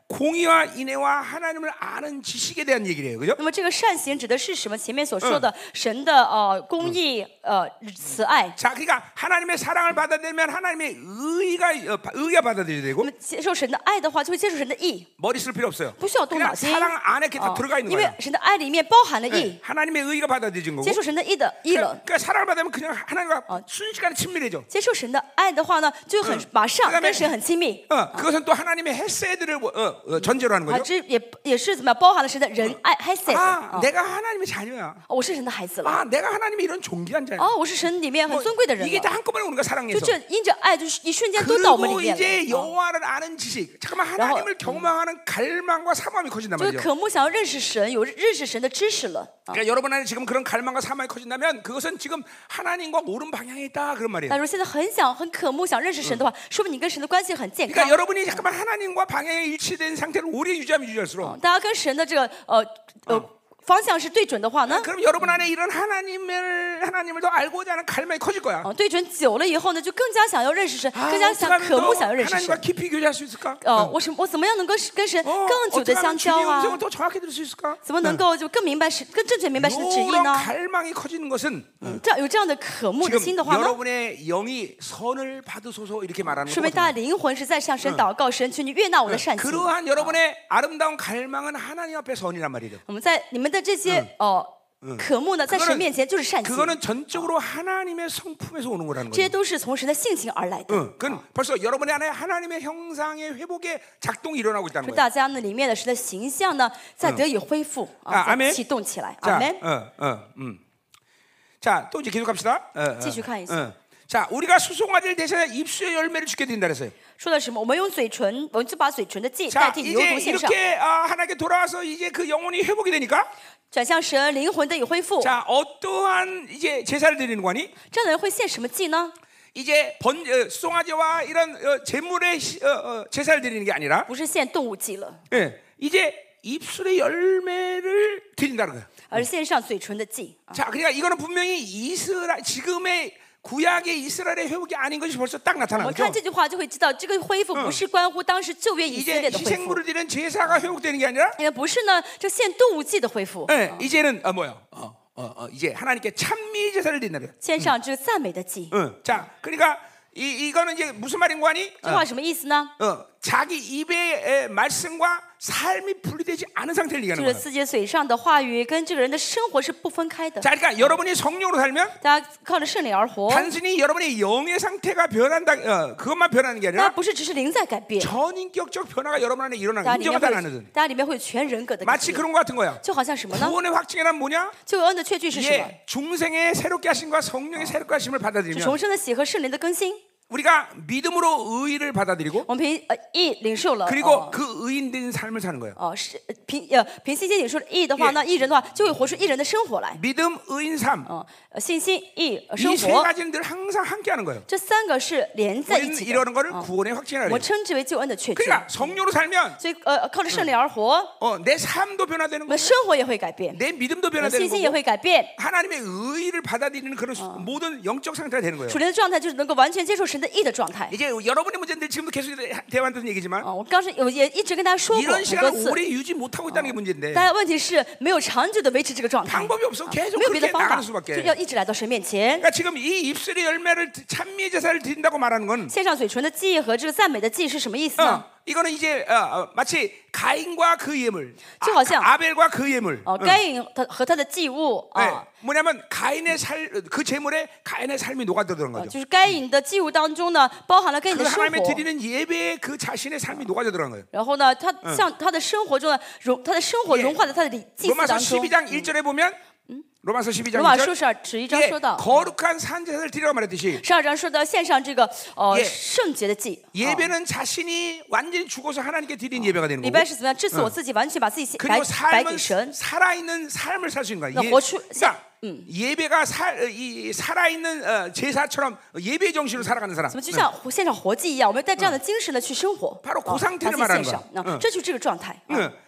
공의와 인애와 하나님을 아는 지식에 대한 얘기래요, 그죠? 那么这个善行指的是什么？前面所说的神的呃公义、呃慈爱。 자, 그러니까 하나님의 사랑을 받아들이면 하나님의 의가 어, 의가 받아들여야 那 되고 么接受神的爱的话，就会接受神的义， 머리 쓸 필요 없어요. 不需要动脑 그냥 筋。 사랑 안에 이렇게 다 哦 들어가 있는 因为 거예요. 神的爱里面包含了义， 네, 하나님의 의가 받아들여진 거고. 接受神的义的义了。 그러니까 사랑을 받으면 그냥 하나님과 순식간에 친밀해져. 接受神的爱的话呢，就很马上 그다음에 跟神很亲密。 어, 그것은 또 하나님의 헤세드를 어, 어, 전제로 하는 啊， 거죠. 这也也是怎么样包含了神的仁爱 hesed。 아, 啊， 내가 하나님의 자녀야. 我是神的孩子了。 아, 내가 하나님의 이런 존귀한 자야. 哦，我是神里面很 뭐, 尊贵的人 이게 다 了。 한꺼번에 우리가 就 사랑해서. 这因着爱，就是一瞬间都到我们里 그리고 面 이제 了。哦 여호와를 아는 지식. 잠깐만 하나님을 경험하는 갈망과 사모함이 커진단 就是 말이죠. 渴慕想要认识神，有认识神的知识了。 그러니까 여러분 안에 지금 그런 갈망과 사모함이 커진다면 그것은 지금 하나님과 옳은 방향에 있다 그런 말이에요. 但如果现在很想、很渴慕想认识神的话，说明你跟神的关系很健 그러니까 康。 여러분이 잠깐만 하나님과 방향에 일치된 상태를 오래 유지하면 유지할수록 大家跟神的这个呃呃方向是对准的话呢， 그럼 여러분 안에 이런 하나님을 하나님을 더 알고자 하는 갈망이 커질 거야. 哦，对准久了以后呢，就更加想要认识神， 아, 更加 어떻게 想 하면 渴慕 더 想要认识 하나님과 神。 깊이 교제할 수 있을까? 呃，我什我怎么样能够跟神 어, 更久 어떻게 的相 하면 交 주님의 啊？ 음성을 더 정확히 들을 수 있을까? 怎么能够就更明白神、更正确明白神的旨意 이런 呢？ 갈망이 커지는 것은 这样有这样的渴慕的 지금 心的话呢， 여러분의 영이 선을 받으소서 이렇게 말하는 说明大家 거거든요. 灵魂是在向神祷告，神求你悦纳我的善行。 그러한 여러분의 아름다운 갈망은 하나님 앞에 선이란 말이죠. 我们在你们的这些哦渴慕呢，在神面前就是善行， 그거는 전적으로 하나님의 성품에서 오는 거라는 这些 거예요. 都是从神的性情而来的。 응, 그건 벌써 여러분의 안에 하나님의 형상의 회복에 작동이 일어나고 있다는 说 거예요. 大家呢里面的神的形象呢，在得以恢复 아 啊，在 아멘 启动起来。 자, 阿门。 어, 어, 음. 자, 또 이제 계속 갑시다. 어, 어, 继续看一下。 어. 자, 우리가 수송아지를 대신해 입술의 열매를 주게 된다 그랬어요. 说的什么？我们用嘴唇，我们就把嘴唇的祭 자, 代替牛 이제 犊献上， 이렇게 아, 하나님께 돌아와서 이제 그 영혼이 회복이 되니까 转向神，灵魂得以恢复。 자, 어떠한 이제 제사를 드리는 거니? 这样的人会献什么祭呢？ 이제 번 어, 수송아지와 이런 어, 제물의 시- 어, 어, 제사를 드리는 게 아니라 不是献动物祭了， 예, 이제 입술의 열매를 드린다는 거예요. 而是献上嘴唇的祭。 자, 그러니까 이거는 분명히 이스라엘 지금의 구약의 이스라엘의 회복이 아닌 것이 벌써 딱 我 나타나는 们看 거죠. 这句话就会知道，这个恢复不是关乎当时旧约以色 이제 列的恢复， 희생물을 드리는 제사가 회복되는 게 아니라 也不是呢这献动物祭的恢复， 예, 이제는 어, 뭐야? 어, 어, 어, 이제 하나님께 찬미 제사를 드린다는 거예요. 献上这个赞美的祭。 응. 자, 그러니까 이 이거는 이제 무슨 말인 거 아니? 这话什么意思呢？ 어, 어, 자기 입의 에, 말씀과 삶이 분리되지 않은 상태를 就 얘기하는 是 거예요. 自己嘴上的话语跟这个人的生活是不分开的。 자, 그러니까 여러분이 성령으로 살면 大家靠着圣灵而活， 단순히 여러분의 영의 상태가 변한다, 어, 그것만 변하는 게 大家 아니라 不是只是灵在改变， 전인격적 변화가 여러분 안에 大 일어나는 家里面 인정하다 会 나는 ， 大家里面会有全人格的改 마치 变， 그런 것 같은 거야. 就好像什么呢？ 구원의 확증이란 뭐냐? 救恩的确据是什么？ 예, 중생의 새롭게 하심과 성령의 새롭게 하심을 是 받아들이면 重生的喜和圣灵的更新。 우리가 믿음으로 의를 받아들이고 我们凭呃义领受了， 그리고 哦 그 의인된 삶을 사는 거예요. 哦是呃凭呃凭信心领受了义的话呢，义人的话就会活出义人的生活来。 믿음, 의인, 삶. 哦，呃信心、义、呃生 이 세 活， 가지는 늘 항상 함께하는 거예요. 这三个是连在一 우리는 起的。 이러는 거를 哦 구원의 확증이라 我们 그래요. 称之为救恩的确据。 그러니까 성령으로 살면 所以呃靠着圣灵而活， 어, 내 삶도 我 변화되는 们 거고 生活也会改变， 내 믿음도 我们 변화되는 信心也 거고 会改变。 하나님의 의를 받아들이는 그런 수- 모든 영적 상태가 되는 거예요. 属灵的状态就是能够完全接受神的义的状态。 이제 여러분의 문제인데 지금도 계속 대화하는 얘기지만 哦，我刚才有也一直跟大家说过 이런 很多 시간을 次， 오래 유지 못하고 있다는 게 문제인데 大家问题是没有长久的维持这个状态， 방법이 없어. 계속 没有别的 그렇게 方法， 나가는 就 수밖에. 要一直来到神面前， 그러니까 지금 이 입술의 열매를 찬미의 제사를 드린다고 말하는 건 献上嘴唇的祭和这个赞美的祭是什么意思呢？ 어, 이거는 이제 어, 어, 마치 가인과 그 예물, 아, 就好像 아벨과 그 예물. 哦，该隐他和他的祭物 네, 啊， 뭐냐면 가인의 살, 그 제물에 가인의 삶이 녹아들어간 呃 거죠. 就是该隐的祭物当中呢，包含了该隐 그 的生 하나님의 活。 드리는 예배에 그 자신의 삶이 녹아들어간 거예요. 然后呢，他像他的生活中呢，融他的生活 예 融化在他的礼祭祀 로마서 当中。 십이 장 일 절에 보면 로마서 십이 장 罗马 일 书 절 是十一章 예, 说到， 거룩한 산제사를 드리라고 말했듯이 十二章说到献上这个呃 예 圣洁的祭。哦 예배는 자신이 완전히 죽어서 하나님께 드린 예배가 되는 礼 거고 拜是怎么样？致死我自己，完全把自己白 그리고 白给 삶은 神。 살아있는 삶을 살 수 있는 거야. 나 예, 고추- 그러니까 예배가 살, 이, 살아있는 어, 제사처럼 예배 정신으로 살아가는 사람. 怎么就像活献上活祭一样？我们带这样的精神呢去生活， 바로 啊 그 상태를 把自己 말하는 献上 거야 啊，这就是这个状态。啊 응.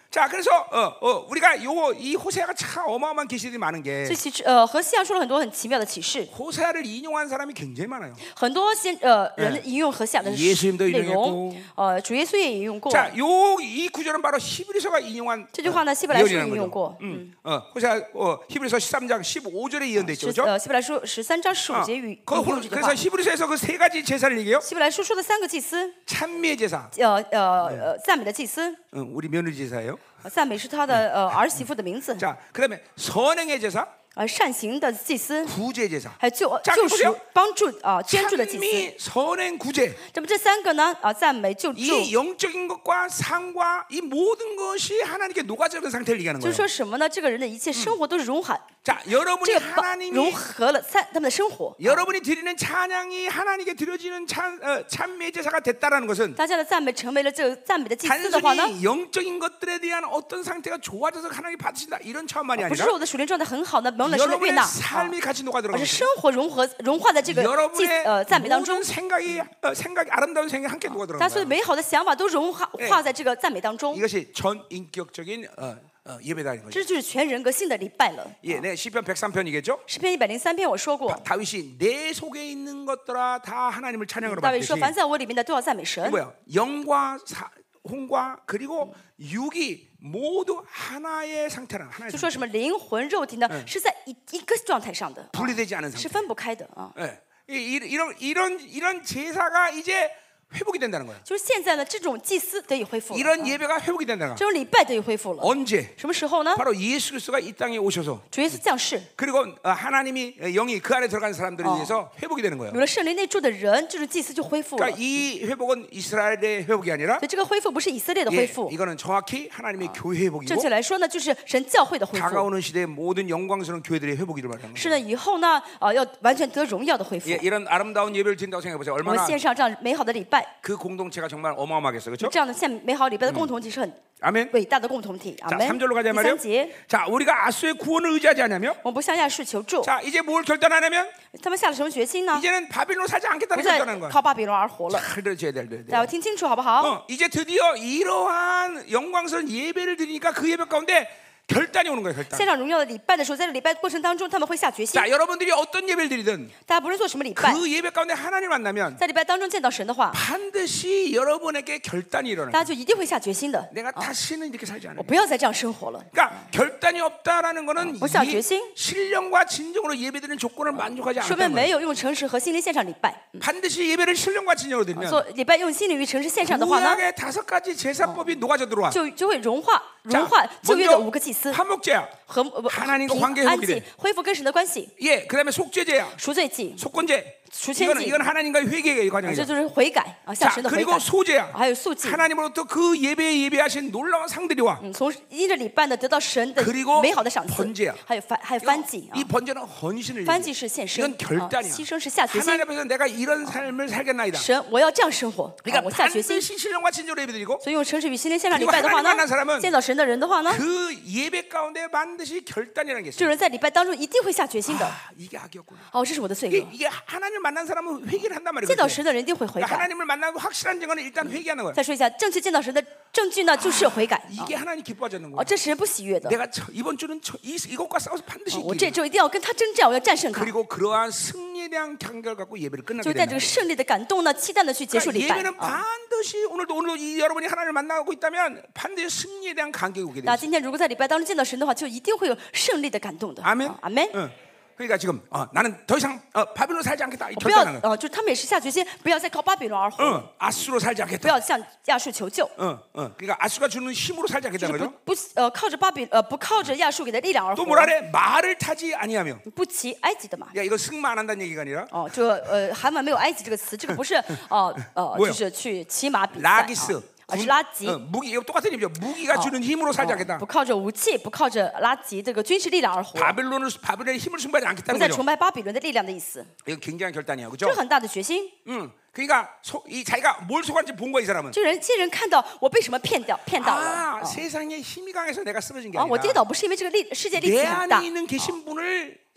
자, 그래서 어, 어, 우리가 요 이 호세아가 참 어마어마한 계시들이 많은 게 所以其实呃和西亚说了很多很奇妙的启示， 호세아를 인용한 사람이 굉장히 많아요. 很多先呃人引用和西亚的 예수님도 内 인용했고 容，呃主耶稣也引用过。 자, 요 이 구절은 바로 히브리서가 인용한 这句话呢，希伯来书 예언이라는 引用 거죠. 过。 음, 어, 호세아 어, 히브리서 십삼 장 십오 절에 예언돼 있죠, 是 그렇죠? 呃希伯来书十三章十五 어, 节语 그 引 호- 用这句 그래서 话。 히브리서에서 그 세 가지 제사를 얘기해요. 希伯来书说的三个祭司， 찬미의 제사, 呃呃呃赞美的祭司， 응, 우리 며느리 제사예요. 呃赞美是他的呃儿媳妇的名字， 자, 그다음에 선행의 제사, 呃善行的祭司， 구제 제사. 还有救 자 救 보세요 赎帮助啊捐助的祭司。 찬미, 선행, 구제. 那么这三个呢啊赞美救助， 이 영적인 것과 상과 이 모든 것이 하나님께 녹아지는 상태를 얘기하는 就是 거예요. 说什么呢？这个人的一切生活都是融合， 자, 여러분이 这个帮 하나님이 融合了三他们的生活。 여러분이 드리는 찬양이 하나님께 드려지는 찬 어, 찬미 제사가 됐다라는 것은 大家的赞美成为了这个赞美的祭司的话呢， 단순히 영적인 것들에 대한 어떤 상태가 좋아져서 하나님이 받으신다 이런 차원만이 不是 아니라 说我的属灵状态很好呢，蒙了神的悦 여러분의 纳， 삶이 같이 녹아 而 들어가는 是 거예요. 生活融合融化在这个祭 여러분의 呃赞美当中 모든 ， 생각이 어, 생각이 아름다운 생각이 함께 녹아 大家 들어가는 所有 거예요. 美好的想法都融化化在这个赞美当中， 이것이 전 인격적인 어, 어, 예배다는 거죠. 这就是全人格性的礼拜了。 예, 네, 시편 백삼 편이겠죠. 诗篇一百零三篇我说过， 다윗이 내 속에 있는 것들아 다 하나님을 찬양으로 大卫说 받듯이 凡在我里面的都要赞美神。 뭐야? 영과 사, 혼과 그리고 육이 모두 하나의 상태라 하나의 就说 상태. 什么灵魂肉体呢，是在一一个状态上的，啊 분리되지 않은 是 상태. 分不开的啊。 예. 이, 이, 이런 이런 이런 제사가 이제 회복이 된다는 거야. 就是现在呢，这种祭司得以恢复了， 이런 啊 예배가 회복이 된다는 这 거야. 种礼拜得以恢复了。 언제? 什么时候呢？ 바로 예수 그리스도가 이 땅에 오셔서 主耶稣降世， 그리고 어, 하나님이 어, 영이 그 안에 들어간 사람들에 어. 의해서 회복이 되는 거예요. 有了圣灵内住的人，这种祭司就恢复了。 그러니까 이 회복은 이스라엘의 회복이 아니라 所以这个恢复不是以色列的恢 예, 复， 이거는 정확히 하나님의 교회 正 회복이고 确来说呢，就是神教会的恢复。 다가오는 시대의 모든 영광스러운 교회들의 회복이를 말하는 是 거예요. 呢，以后呢，啊，要完全得荣耀的恢复 예, 。 이런 아름다운 예배를 드린다고 생각해 보세요. 我们 얼마나 献上这样美好的礼拜， 그 공동체가 정말 어마어마하겠어요. 그렇죠? 这样的献美好礼拜的共同体是很 아멘. 伟大的共同体。阿 자, 门。 삼 절로 가자 第 말이에요. 三节， 자, 우리가 아수의 구원을 의지하지 않냐며? 我们不向亚述求助， 자, 이제 뭘 결단하냐면 他们下了什么决心呢？ 이제는 바빌론 살지 不 않겠다는 再 결단하는 거야. 靠巴比伦而活了。 잘 들으셔야 될 때. 大家要听清楚好不好？ 어, 이제 드디어 이러한 영광스러운 예배를 드리니까 그 예배 가운데 결단이 오는 거예요. 결단. 献上荣耀的礼拜的时候，在这礼拜过程当中，他们会下决心。 자, 여러분들이 어떤 예배를 드리든 大家不论做什么礼拜， 그 예배 가운데 하나님을 만나면 在礼拜当中见到神的话， 반드시 여러분에게 결단이 일어나요. 大家就一定会下决心的。 내가 다시는 이렇게 살지 我 않아요. 不要再这样生活了。 그러니까 결단이 없다라는 거는 어, 벌써 이 决心? 신령과 진정으로 예배드리는 조건을 만족하지 说明 않았다는 没 거예요. 有用诚实和心灵献上礼拜。 반드시 예배를 신령과 진정으로 드리면 做礼拜用心灵与诚实献上的话呢， 구약의 다섯 가지 제사법이 녹아져 들어와. 就就会融化 자, 融化旧约的 먼저 五个祭司 화목제야. 和呃 하나님과 平 관계 安 회복이 祭 돼 ， 恢复跟神的关系， 예, 그다음에 속죄제야. 赎罪祭， 속건제. 수천지. 이거는 이건 하나님과의 회개의 这 과정이죠. 就是悔改啊，向 자, 神的悔 그리고 改， 소제야. 还有素祭。 하나님으로부터 그 예배에 예배하신 놀라운 상들이와 嗯，从因着礼拜呢得到神的 그리고 美好的赏赐 번제야 ， 还有翻还有翻祭啊 이 ， 번제는 헌신을 翻 얘기해요. 祭是献身， 이건 결단이야. 啊牺牲是下决心。 하나님 앞에서 내가 이런 삶을 살겠나이다. 神，我要这样生活，啊 그러니까 我下决心。 반드시 신령과 진정으로 예배드리고 所以用诚实与心灵献上礼 그리고 拜的话 하나님 呢 만난 사람은 ， 见到神的人的话呢， 그 예배 가운데 반드시 결단이라는 게 这 있어요. 人在礼拜当中一定会下决心的。 아, 이게 악이었구나. 哦，这是我的罪 이게, 恶。 이게 하나님 만난 사람은 회개를 한단 말이에요. 见到 그렇지? 神的人一定会悔 그러니까 改。 하나님을 만나고 확실한 증거는 일단 회개하는 거예요. 再说一下，正确见到神的证据呢，就是悔改。啊 이게 하나님 기뻐하지 않는 哦， 거예요. 这是神不喜悦的。 내가 저, 이번 주는 저, 이, 이것과 싸워서 반드시 我这 이기는 周一定要跟他征战，我要战胜他。 그리고 그러한 승리에 대한 경결 갖고 예배를 就 끝나게 带这 된다. 个胜利的感动呢，期待的去结束 그러니까 礼拜。 예배는 啊， 반드시 오늘도 오늘도 이 여러분이 하나님을 만나고 있다면 반드시 승리에 대한 간격이 오게 那 돼요. 今天如果在礼拜当中见到神的话，就一定会有胜利的感动的。 아멘. 啊阿门。 응. 그러니까 지금 어, 나는 더 이상 어, 바빌론 살지 않겠다. 이 不要 결단하는 거야. 呃，就是他们也是下决心，不要再靠巴比伦而活， 응. 아수로 살지 不 않겠다. 要向亚述求救， 응. 응. 그러니까 아수가 주는 힘으로 살지 就 않겠다는 是 거죠. 不不呃靠着巴比呃不靠着亚述给的力量而 또 活， 뭐라 그래? 말을 타지 아니하며. 不骑埃及的马。 야, 이거 승마 안 한다는 얘기가 아니라 哦，这个呃韩文没有埃及这个词，这个不是呃呃 뭐요 就是去骑马比赛 라기스 啊，而是拉吉。 어, 무기 이거 똑같은 의미죠. 무기가 주는 힘으로 살지 哦 않겠다. 不靠着武器，不靠着拉吉这个军事力量而活， 바빌론을 바빌론의 힘을 승부하지 不 않겠다는 再 거죠. 崇拜巴比伦的力量的意思， 이거 굉장한 결단이야, 这 그렇죠? 是很大的决心。 응. 그러니까 소, 이 자기가 뭘 속았는지 본 거야, 이 사람은. 这人这些人看到我被什么骗掉骗到了 아, 啊 세상에 힘이 강해서 내가 쓰러진 게 啊！我跌 아니라 倒不是因为这个力世界力 내 气很大 안에 있는 계신 분을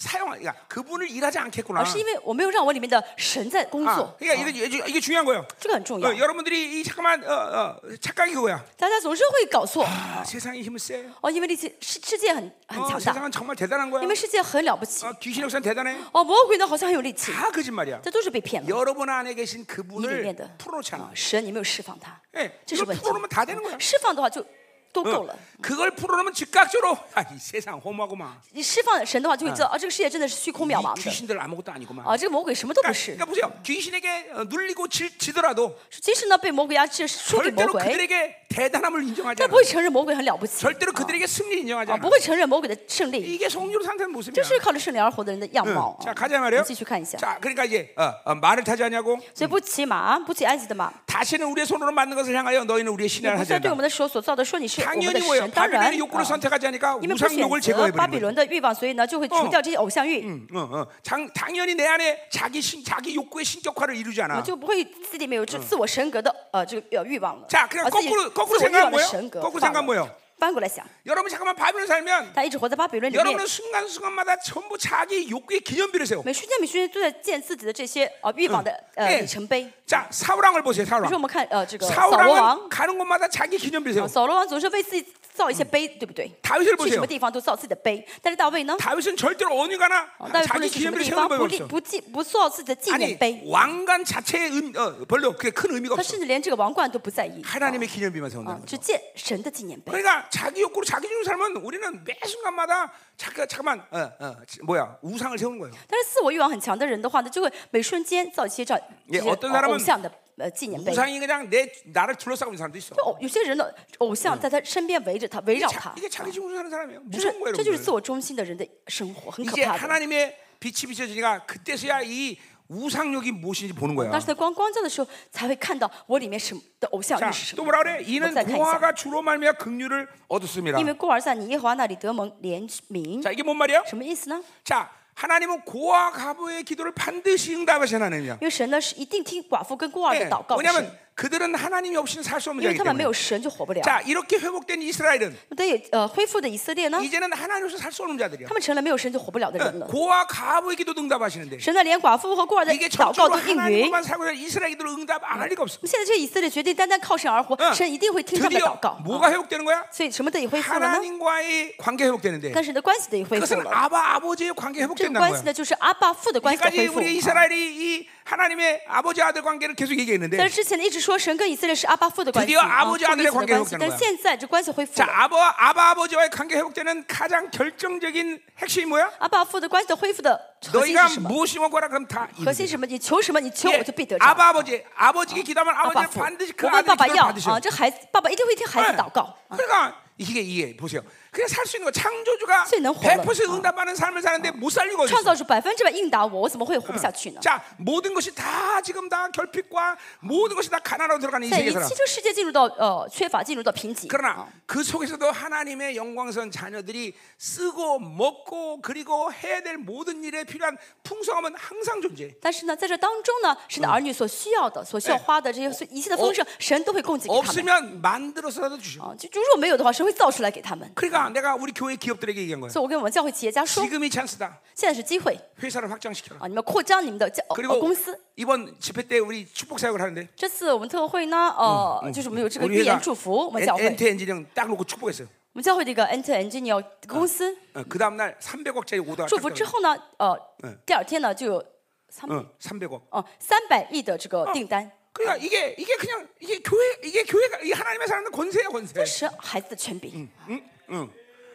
사용, 그러니까 그분을 일하지 않겠구나. 而是因为我没有让我里面的神在工 아, 作， 그러니까 이게, 이게, 이게 중요한 거예요. 这个很重要 어, 。 여러분들이 이 잠깐만 어, 어, 착각이 그거야. 大家总是会搞错 아, 세상이 힘은 세. 哦，因为这些世世界很很 어, 强大， 세상은 정말 대단한 거야. 因为世界很了不起 어, 귀신 역사는 대단해. 哦，魔鬼呢好像很有力气， 다 거짓말이야. 这都是被骗了。 여러분 안에 계신 你里 그분을 面的 풀어놓지 않아. 啊神，你没有释放他， 예, 这是 이걸 问题。 풀어놓으면 다 되는 거야. 释放的话就都够 어, 了。 그걸 풀어놓으면 즉각적으로 아, 이 세상 험하고만. 你释放神的话，就会知道啊，这个世界真的是虚空渺 이 茫的 귀신들 아무것도 아니구만. 啊，这个魔鬼什么都不 그러니까, 是。 그러니까 보세요. 귀신에게 어, 눌리고 지, 지더라도 即使呢被魔鬼压制，输给魔 절대로 鬼， 그들에게 대단함을 인정하지 但 않아. 不会承认魔鬼很了不起， 절대로 그들에게 승리 인정하지 啊， 않아. 不会承认魔鬼的胜利。 이게 성령으로 산다는 모습이야. 这是靠着圣灵而活的人的样貌。 자 啊 가자 我 말이에요. 们继续看一下， 자 그러니까 이제 어, 어, 말을 타지 않냐고. 所以不骑马，不骑埃及的马， 다시는 우리의 손으로 만든 것을 향하여 너희는 우리의 也 신이라 不 하지 再对我 않는다. 们的手所造的说你是我们的 당연히 뭐예요? 神。当然， 바빌론의 욕구를 啊 선택하지 않으니까 因为不选 우상욕을 择 제거해 巴比 버리는 거예요. 伦的欲望，所以呢就会除掉这些偶像欲， 어, 어. 장, 당연히 내 안에 자기 신, 자기 욕구의 신격화를 이루지 啊 않아. 就不会自己没有这自我神格的呃这个呃欲望了。 자, 그냥 啊自己 거꾸로 自 거꾸로 我欲 생각하면 望的 뭐예요? 神格 거꾸로 化 생각하면 了。 뭐예요? 翻过来想， 여러분 잠깐만 바빌론 살면 他一直活在巴比伦里面， 여러분은 순간순간마다 전부 자기 욕구의 기념비를 세워. 每瞬间每瞬间都在建自己的这些呃欲望的呃 예 里程碑。 자, 사울왕을 보세요. 比如说我 사울왕. 们看呃这个扫罗王， 사울왕은 가는 곳마다 자기 기념비를 啊 세워. 扫罗王总是为自己造一些碑，对不对？ 다윗을 去什 보세요. 么地方都造自己的碑，但是大卫呢？ 다윗은 절대로 어느 가나 大卫不 자기 论去什么 기념비를 地 세우는 方， 법이 不立 없어. 不记不造自己的纪念 아니 碑， 왕관 자체의 의, 어, 별로 그게 큰 의미가 他 없어. 甚至连这个王冠都不在意， 하나님의 기념비만 啊 세운다는 ， 只 거죠. 建神的纪念碑。 그러니까 자기 욕구로 자기 중으로 살면 우리는 매 순간마다 잠깐 잠깐만 어, 어, 뭐야 우상을 세우는 거예요. 但是自我欲望很强的人的话呢，就会每瞬间造一些这样 예 这些 어떤 呃 사람은 偶像的呃纪念碑。 우상이 그냥 내 나를 둘러싸고 있는 사람도 있어. 就偶有些人的偶像在他身边围着他，围 이게, 绕 자, 他， 이게 자기 중으로 사는 사람이에요. 就是 무서운 거예요, 这就是自 여러분들. 我中心的人的生活，很可 이제 怕的。 하나님의 빛이 비춰지니까 그때서야 이 우상욕이 무엇인지 보는 거야. 但是在光光照的时候，才会看到我里面什么的偶像 자, 欲是什 또 么。 뭐라 그래? 이는 我再看一下。 고아가 주로 말미암아 긍휼을 얻었습니다. 因为孤儿在你耶和华那里得蒙怜悯， 자, 이게 뭔 말이야? 什么意思呢？ 자, 하나님은 고아 가부의 기도를 반드시 응답하시는 하나님이야. 因为神呢是一定听寡妇跟孤儿的 예, 祷告的神， 왜냐하면 그들은 하나님이 없이는 살 수 없는 因为 자이기 他们没 때문에. 有神就活不了。 자, 이렇게 회복된 이스라엘은 但有呃恢复的以色列呢， 이제는 하나님 없이 살 수 없는 자들이야. 他们成了没有神就活不了的人了。 고아 가부의 기도 응답하시는데 神呢连寡妇和孤儿的 이게 祷告 전적으로 都应允。 하나님만 살고 있는 이스라엘 기도를 응답 안 할 리가 없어. 现在这些以色列决定单单靠神而活， 응. 神一定会听他们的 드디어 祷告。 뭐가 회복되는 거야? 所以什么得以恢复了呢？ 하나님과의 관계 회복되는데 跟神的关系得以恢复 그것은 了。 아바 아버지의 관계 这个 회복된다는 关系 거야. 呢，就是阿爸父的关系的 여기까지 恢复。 우리 이스라엘이 이 하나님의 아버지 아들 관계를 계속 在 얘기했는데 之前呢，一直说神跟以色列是阿爸父的关系， 드디어 啊 아버지 父 아들의 与子的 관계가 关系。 회복되는 但 거야. 现在这关系恢复 자, 了。 아바 아바 아버지와의 관계 회복되는 가장 결정적인 핵심이 뭐야? 阿爸父的关系的恢复的核心 너희가 是什么？ 무엇이 원하라 그럼 다 核心 이루게. 是什么？你求什么，你求我 예, 就必得着。 아바 아버지 아버지께 기도하면 阿爸 아버지는 父， 반드시 그 我问 아들의 爸爸 기도를 要 받으셔. 啊，这孩子爸爸一定会听孩子祷告。 그러니까 이게 이게 보세요. 그냥 살 수 있는 거 창조주가 所以能活了。 백 퍼센트 응답하는 삶을 사는데 못 살 리가 创 어딨어. 造主百分之百应答我，我怎么会活不下去呢？ 자, 모든 것이 다 지금 다 결핍과 모든 것이 다 가난으로 들어가는 이 在一 세계 살아. 切这个世界进入到呃缺乏，进入到贫瘠。 그러나 그 속에서도 하나님의 영광선 자녀들이 쓰고 먹고 그리고 해야 될 모든 일에 필요한 풍성함은 항상 존재해. 但是呢，在这当中呢，神的儿女所需要的、所需要花的这些所一切的丰盛，神都会供给给他们。 없으면 만들어서라도 주셔. 啊，就如果没有的话，神会造出来给他们。 그러니까 내가 우리 교회 기업들에게 얘기한 거야. 所以我跟我们教会企业家说， 지금이 찬스다. 现在是机会 회사를 확장시켜라. 啊，你们扩张你们的教呃 그리고 公司。 이번 집회 때 우리 축복 사역을 하는데 这次我们特会呢，呃，就是我们有这个 우리 预 회사 言祝福，我们教会， 엔트 엔지니어 딱 놓고 축복했어요. 我们教会这个 Enter Engineer 公司 어, 그 다음 날 삼백억짜리 오더가 祝福之后呢，呃，第二天呢就有三 어, 삼백억. 哦三百亿的这个订单， 그러니까 이게 이게 그냥 이게 교회 이게 교회가 이 하나님의 사람은 권세야 권세. 这是孩子的权柄。 응, 응.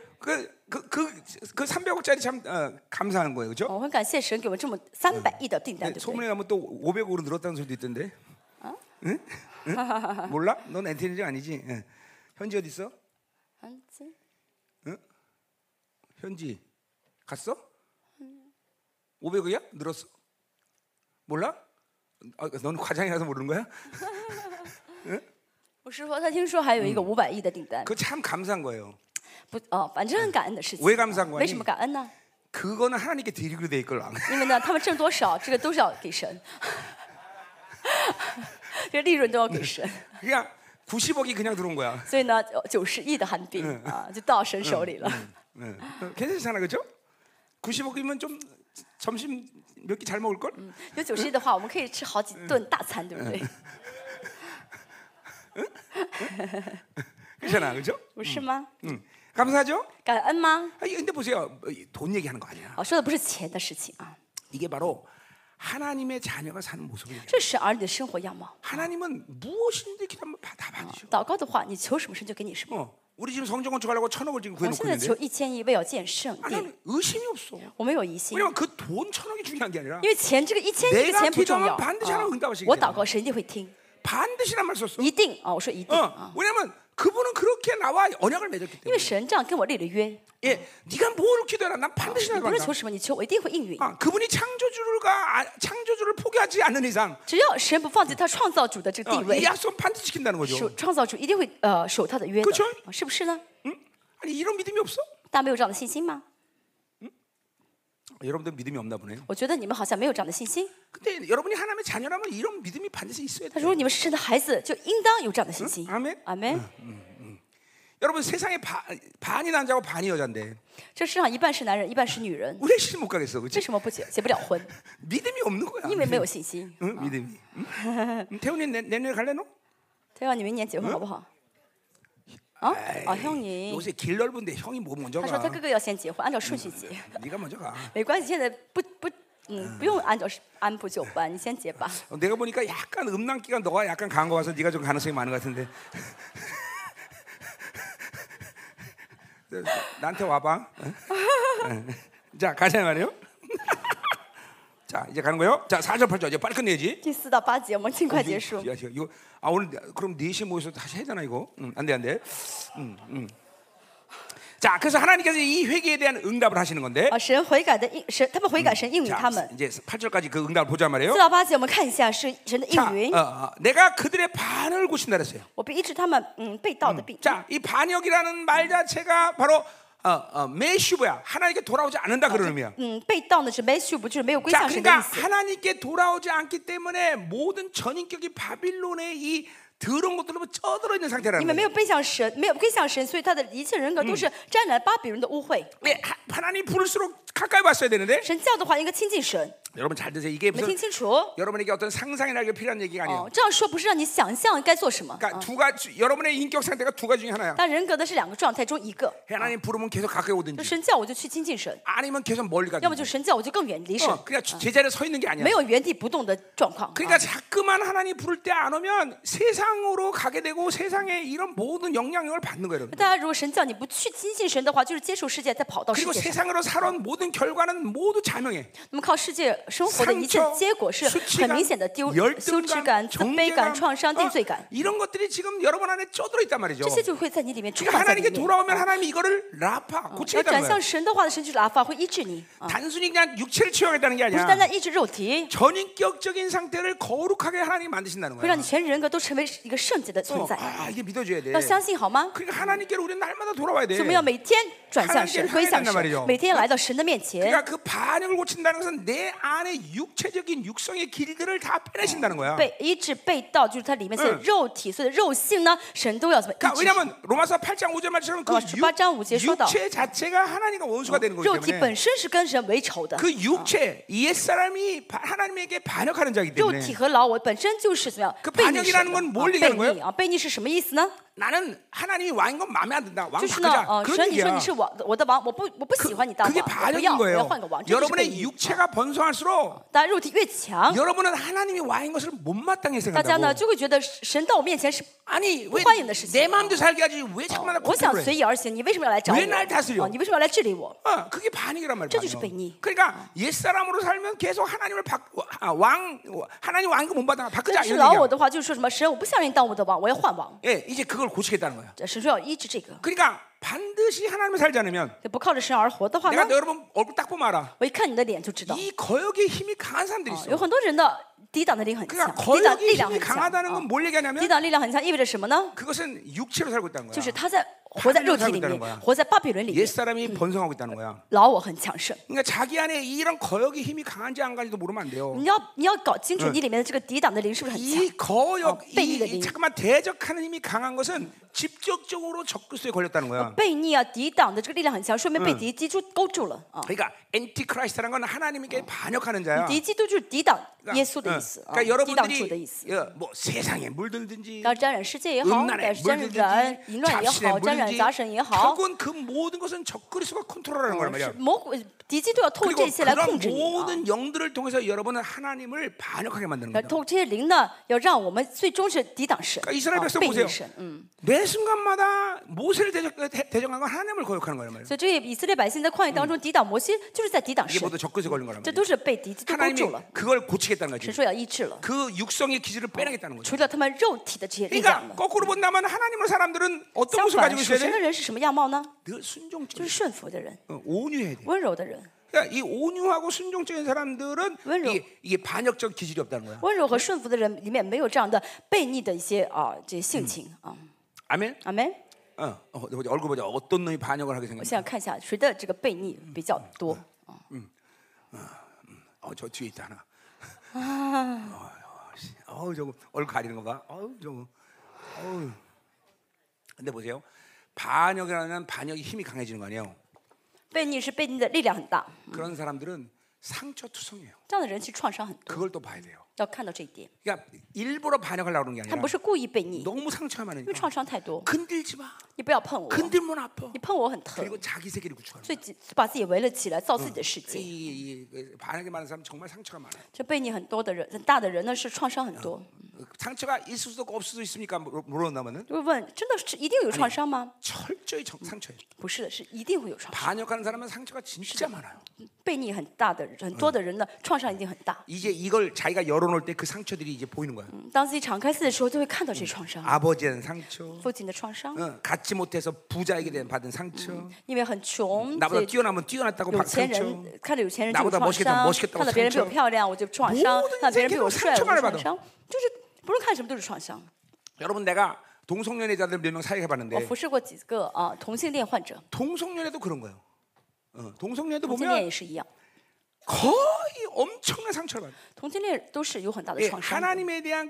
그그그그 삼백억짜리 참 어, 감사한 거예요, 그렇죠? 我很感谢神给我们这么三百亿的订单，对不对？ 소문에 가면 또 오백억으로 늘었다는 소리도 있던데. 응? 응? 몰라? 넌 엔티니지 아니지? 응. 현지 어디 있어? 嗯这 현지 갔어? 오백억이야? 늘었어? 몰라? 아, 너는 과장이라서 모르는 거야? 我是说他听说还有一个五百亿的订单， 그거 참 감사한 거예요. 不哦，反正很感恩的事情。 왜 감사한 거니? 为什么感恩呢？ 그거는 하나님께 드리기로 돼 있걸. 因为呢，他们挣多少，这个都是要给神，这个利润都要给神。 그냥 구십억이 그냥 들어온 거야. 所以呢，九十亿的韩币啊，就到神手里了。 응. 어, 괜찮잖아, 그렇죠? 구십오 개면 좀 점심 몇 끼 잘 먹을 걸? 有九十亿的话，我们可以吃好几顿大餐，对不对？ 그렇잖아, 그렇죠? 不是吗？ 응. 감사하죠? 感恩吗？ 아니, 근데 보세요, 돈 얘기하는 거 아니야. 哦，说的不是钱的事情啊， 이게 바로 하나님의 자녀가 사는 모습이에요. 这是儿女的生活样貌。 하나님은 무엇이든지 기도하면 다 받으셔. 祷告的话，你求什么神就给你什么。 어, 우리 지금 성전 건축하려고 천억을 지금 我 구해놓고 现在求 있는데, 一千亿为要建圣 아, 殿， 난 의심이 없어. 我没有疑心， 왜냐면 그 돈 천억이 중요한 게 아니라 因为钱这个一千亿的 내가 钱不重要。 기도하면 반드시 하나님 응답하시기 我 때문에 祷告神一定会听， 반드시란 말 썼어. 一定啊！我说一定 어, 啊， 왜냐면 그분은 그렇게 나와 언약을 맺었기 因为 때문에. 神这样跟我立了约， 예, 네가 뭘 기도해라, 난 반드시 你不是 나간다. 求什么，你求我一定会应允。 아, 그분이 창조주가 아, 창조주를 포기하지 않는 이상 只要神不放弃他创造主的这个地 어, 位 이 ， 약속 반드시 지킨다는 거죠. 守创造主一定会呃守他的约的 그쵸 ， 啊是不是呢？ 응? 아니 이런 믿음이 없어? 大家没有这样的信心吗？ 여러분들 믿음이 없나 보네요. 我觉得你们好像没有这样的信心。 근데 여러분이 하나님의 자녀라면 이런 믿음이 반드시 있어야 但 돼요. 如果你们是神的孩子，就应当有这样的信心。 아멘. 阿门。 여러분 세상에 바, 반이 남자고 반이 여자인데 这世上一半是男人，一半是女人， 왜 시집 못 가겠어, 为 그렇지? 什么不结结不了婚？ 믿음이 없는 거야. 因为没有信心。 응? 믿음이. 응? 응, 태훈이 내, 내년에 갈래 너? 他要你明年结婚好不好？啊啊，형님， 요새 길 넓은데 형이 뭐 먼저 他说 가? 他哥哥要先结婚，按照顺序结， 네가 먼저 가. 没关系，现在不不，嗯，不用按照按部就班，你先结吧。 어, 내가 보니까 약간 음란기가 너가 약간 강한 거 같아서 네가 좀 가능성이 많은 것 같은데. 나한테 와봐. 어? 어. 자 가자 말이요. 자 이제 가는 거요. 자 사 절 팔 절 이제 빨리 끝내야지. 第四到八节我们尽快结束。 야, 이거 아 오늘 그럼 네 시에 모여서 다시 해야 되나 이거? 응, 안 돼, 안 돼. 응, 응. 자, 그래서 하나님께서 이 회개에 대한 응답을 하시는 건데. 啊，神悔改的应神，他们悔改神应允 자, 他们。 이제 팔 절까지 그 응답을 보자 말이에요. 四到八节我们看一下是神的 자, 应允 어, ， 어, 내가 그들의 반을 고친다 그랬어요. 我必医治他们嗯被盗的病。 자, 이 반역이라는 말 자체가 바로 어, 어, 메슈브야. 하나님께 돌아오지 않는다 그런 의미야. 嗯，被盗呢是没修不就是没有归 자, 向神的 그러니까 意思。 하나님께 돌아오지 않기 때문에 모든 전인격이 바빌론의 이 더러운 것들로 쪄들어 있는 你 상태라는 们没有 거예요. 背向神，没有归向神，所以他的一切人格都是沾染巴比伦的污秽。 왜 하- 하나님 부를수록 가까이 왔어야 되는데 神叫的话应该亲近神， 여러분 잘 드세요. 이게 你们 무슨 听清楚。 여러분에게 어떤 상상이나 이게 필요한 얘기가 아니에요. 哦，这样说不是让你想象该做什么， 그러니까 두 가지 여러분의 인격 상태가 두 가지 중에 하나야. 但人格的是两个状态中一个。 하나님 부르면 계속 가까이 就 오든지 神叫我就去亲近神， 아니면 계속 멀리 要么就 가든지. 神叫我就更远离神， 어, 그냥 제자리에 서 있는 게 아니야. 没有原地不动的状况。 그러니까 자꾸만 하나님 부를 때 안 오면 세상으로 가게 되고 세상의 이런 모든 영향력을 받는 거예요. 여러분. 大家如果神叫你不去亲近神的话，就是接受世界，再跑到世 그리고 界上。 세상으로 살아온 모든 결과는 모두 자명해. 那么靠世界生活的一切 상처, 结果是很明显的丢羞耻 열등감, 感、自卑感、 정죄감, 创伤、定罪感， 어, 이런 것들이 지금 여러분 안에 쪄들어 있단 말이죠. 这些就会在你里面充 그러니까 满在里 하나님께 面。 돌아오면 하나님이 이거를 라파 要 고치겠다는 转 거야. 向神的话，神就是拉法会医治你，啊 단순히 그냥 육체를 치유하겠다는 게 不是 아니야. 单单医治肉体， 전인격적인 상태를 거룩하게 하나님 만드신다는 会 거야. 让你全人格都成为一个圣洁的存 어, 在。 아, 이게 믿어줘야 돼. 要相信好吗？ 그러니까 하나님께로 우리는 날마다 돌아와야 돼. 所以我们要每天转向神， 하나님께로 归向 향해야 된단 말이죠 神，每天来到神的面前。 그러니까 그 반역을 고친다는 것은 내 안에 육체적인 육성의 길들을 다 빼내신다는 거야. 被医治被盗，就是它里面所有肉体、所有的肉性呢，神都要怎么医 그러니까 治？ 왜냐하면 로마서 팔 장 오 절 말처럼 그 어, 십팔 장 오 절 육, 说到 육체 자체가 하나님과 원수가 되는 거기 肉体 때문에 本身是跟神为仇的， 그 육체 옛 사람이 바- 하나님에게 반역하는 자이기 肉 때문에 体和老我本身就是怎么样 그 背逆 반역이라는 神 건 的 뭘 啊 얘기하는 背 거예요? 逆啊，背逆是什么意思呢？ 나는 하나님이 왕인 건 마음에 안 든다. 왕 就是呢， 바꾸자. 呃， 그런 神你说 얘기야. 你是我我的王，我不我不喜欢你当 그게 王，我不要， 반역인 我要 거예요. 换个王，这就是背 여러분의 逆。 육체가 번성할수록 当然肉体越强， 여러분은 하나님이 왕인 것을 못마땅히 大家呢 생각한다고. 就会觉得神到我面前是 아니 왜 欢迎的事情。 내 마음대로 살게 하지 왜 자꾸만 나 我想 컨트롤해? 随意而行，你为什么要来找我？ 왜날다스려 啊你为什么要来治理我？ 어, 그게 반역이란 말이야. 저주지 반역. 悖逆. 그러니까 옛 사람으로 살면 계속 하나님을 바, 아, 왕 하나님 왕인 거못 받아 바꾸자 但是 이런 老我 얘기야. 的话就是说什么神，我不想让你当我的王，我要换王。 예, 이제 그걸 고치겠다는 거야. 神说要医治这个， 그러니까 반드시 하나님을 살지 않으면 不靠着神而活的话 내가 呢， 너 여러분 얼굴 딱 보면 알아. 我一看你的脸就知道， 이 거역의 힘이 강한 사람들이 啊 있어. 有很多人的抵挡的力很强， 그러니까 抵挡 거역의 力量 힘이 很强。 강하다는 啊 건 뭘 抵 얘기하냐면 挡力量很强意味着什么呢？ 그것은 육체로 살고 있다는 就 거야. 是他在活在肉体里 살고있다는 面 거야 ， 活在巴比伦里 옛 面， 사람이 번성하고 있다는 거야. 老我很强盛。 그러니까 자기 안에 이런 거역의 힘이 강한지 안 강한지도 모르면 안 돼요. 你要你要搞清楚你里面的这个抵挡的灵是不是很强？ 이 거역, 어, 悖逆的 이, 이 灵. 잠깐만 대적하는 힘이 강한 것은 직접적으로 적그리스도에 걸렸다는 거야. 悖逆啊，抵挡的这个力量很强，说明被敌基督勾住了啊。 그러니까 엔티크라이스트라는 건 하나님께 반역하는 자야. 敌基督就是抵挡耶稣的意思啊， 그러니까 抵挡主的意 여러분들이 思。 어, 뭐 세상에 물들든지 要沾染世界也好， 음란에 要沾染 물들든지 淫乱也 잡신에 好，沾染 물든지 杂神也好， 결국은 그 모든 것은 적그리스도가 컨트롤하는 거란 是 말이야. 魔鬼敌基督要透过 그리고 这些来 그런 控制你啊。 모든 영들을 통해서 여러분은 하나님을 반역하게 만드는 要 거야. 透过这些灵呢，要让我们最终是抵挡神， 그러니까 이스라엘 啊 백성 背 보세요. 逆神。嗯， 매 순간마다 모세를 대적, 대- 대적한 건 하나님을 거역하는 거란 말이야. 所以这些以色列百姓在旷野当中抵挡摩西，就是在抵挡 이게 神， 모두 적그리스도 걸린 거란 这 말이야. 都是被敌基督勾 하나님이 住了。 그걸 고치겠다는 神 거지. 说要医治了， 그 육성의 기질을 빼내겠다는 거죠. 除掉他们肉体的这些力量 그러니까 了。 거꾸로 본다면 하나님의 사람들은 어떤 相 모습을 反， 가지고 属 있어야 神的 돼? 人是什么样貌呢？ 늘 就是 순종적, 顺服的人， 어, 온유해야 돼. 温柔的人。 그러니까 이 온유하고 순종적인 사람들은 温柔. 이게, 이게 반역적 기질이 없다는 거야. 温柔和顺服的人里面没有这样的悖逆的一些啊这些性情啊。 아멘. 阿门。 어, 어, 보자, 얼굴 보자. 어떤 놈이 반역을 하게 我 생겼냐? 想看一下谁的这个悖逆比较多。 어, 저 뒤에 있다 하나. 어, 어, 저거 얼굴 가리는 거 봐. 어, 저거. 어. 근데 보세요. 반역이라는 반역이 힘이 강해지는 거 아니에요? 悖逆是悖逆的力量很大， 그런 사람들은 상처투성이에요. 这样的人其实创伤很多， 그걸 또 봐야 돼요. 要看到这一点。 그러니까 일부러 반역하려고 그러는 게 他 아니라 不是故意悖逆， 너무 상처가 因为 많으니까 创伤太多， 건들지 마. 你不要碰我， 건들면 아파. 你碰我很疼， 그리고 자기 세계를 구축하는 所以自把自己围了起来，造自己的世 거예요. 界。 이, 이, 이 반역이 많은 사람 정말 상처가 많아요. 这悖逆很多的人，很大的人呢是创伤很多。 상처가 있을 수도 없고 없을 수도 있습니까? 물어- 물어본다면은 就会问，真的是一定有创伤吗？ 철저히 정- 상처예요. 不是的，是一定会有创伤。 반역하는 사람은 상처가 진짜 많아요. 悖逆很大的人，很多的人呢，创伤一定很大。 이제 이걸 자기가 열어놓을 때 그 상처들이 이제 보이는 거야. 嗯当自己敞开自己的时候，就会看到这些创伤， 아버지에 대한 상처, 父亲的创伤， 어, 갖지 못해서 부자에게 대한 받은 상처, 因为很穷， 나보다 所以 뛰어나면 뛰어났다고 有 받은 钱 상처. 人看着有钱人就有 나보다 创 멋있겠다 伤， 멋있겠다고 看到别人比我 상처. 漂亮我就创伤， 모든 看到别人比我 세계로 帅我就 상처만을 创 받아. 伤，就是不论看什么都是创伤。 여러분 내가 동성연애자들 몇 명 사역해 我 봤는데 服侍过几个啊同性恋患者， 동성연애도 그런 거예요. 어, 동성연애도 同性恋 보면 也是一样， 거의 엄청난 상처를 받아요. 同性恋都是有很大的 예, 创伤的。 하나님에 대한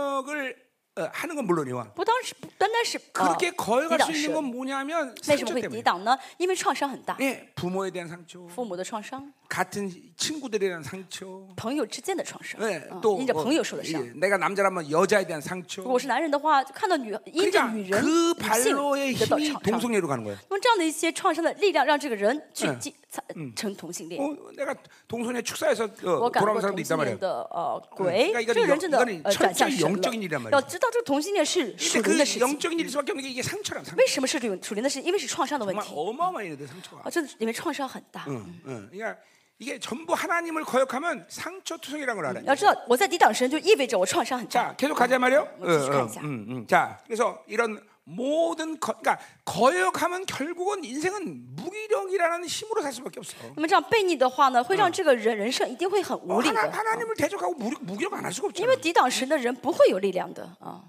거역을 어, 하는 건 물론이와 不当时不单单是啊 그렇게 抵 거역할 挡 수 있는 神， 건 뭐냐면 为什么 상처 会抵 때문에. 挡呢？因为创伤很大， 예, 부모에 대한 상처, 父母的创伤， 같은 친구들에 대한 상처, 朋友之间的创伤， 예, 啊 또 因着 어, 朋友受的伤。 예, 내가 남자라면 여자에 대한 상처. 如果是男人的话，就看到女因着 그러니까 女人 그 女性 발로의 得到 힘이 创伤。 동성애로 가는 거예요. 那么这样的一些创伤的力量，让这个人去嗯进成同性恋。 어, 내가 동성애 축사에서 我 어, 感过 돌아온 同 사람도 性 있단 恋 말이에요. 的呃鬼 그러니까 ， 这个人真的 이거는 呃转向 철저히 神 영적인 일이란 了。 말이에요. 要知道这个同性恋是属 근데 灵的 그 事情。 영적인 일일 수밖에 없는 게 이게 상처란 상처. 为什么是属属灵的事？因为是创伤的问 정말 题 어마어마해요, 상처가. 啊，这里面创伤很大。 응, 응. 그러니까 이게 전부 하나님을 거역하면 상처투성이라는 걸 알아요. 要知道，我在抵挡神，就意味着我创伤很大。 자, 계속 가자 말이요. 뭐 계속하자. 음, 음. 자, 그래서 이런 모든 거, 그러니까 거역하면 결국은 인생은 무기력이라는 힘으로 살 수밖에 없어. 那么这样悖逆的话呢，会让这个人人生一定会很无力 하나, 的， 하나님을 대적하고 무력, 무기력 안 할 수가 因 없잖아. 为抵挡神的人不会有力量的啊。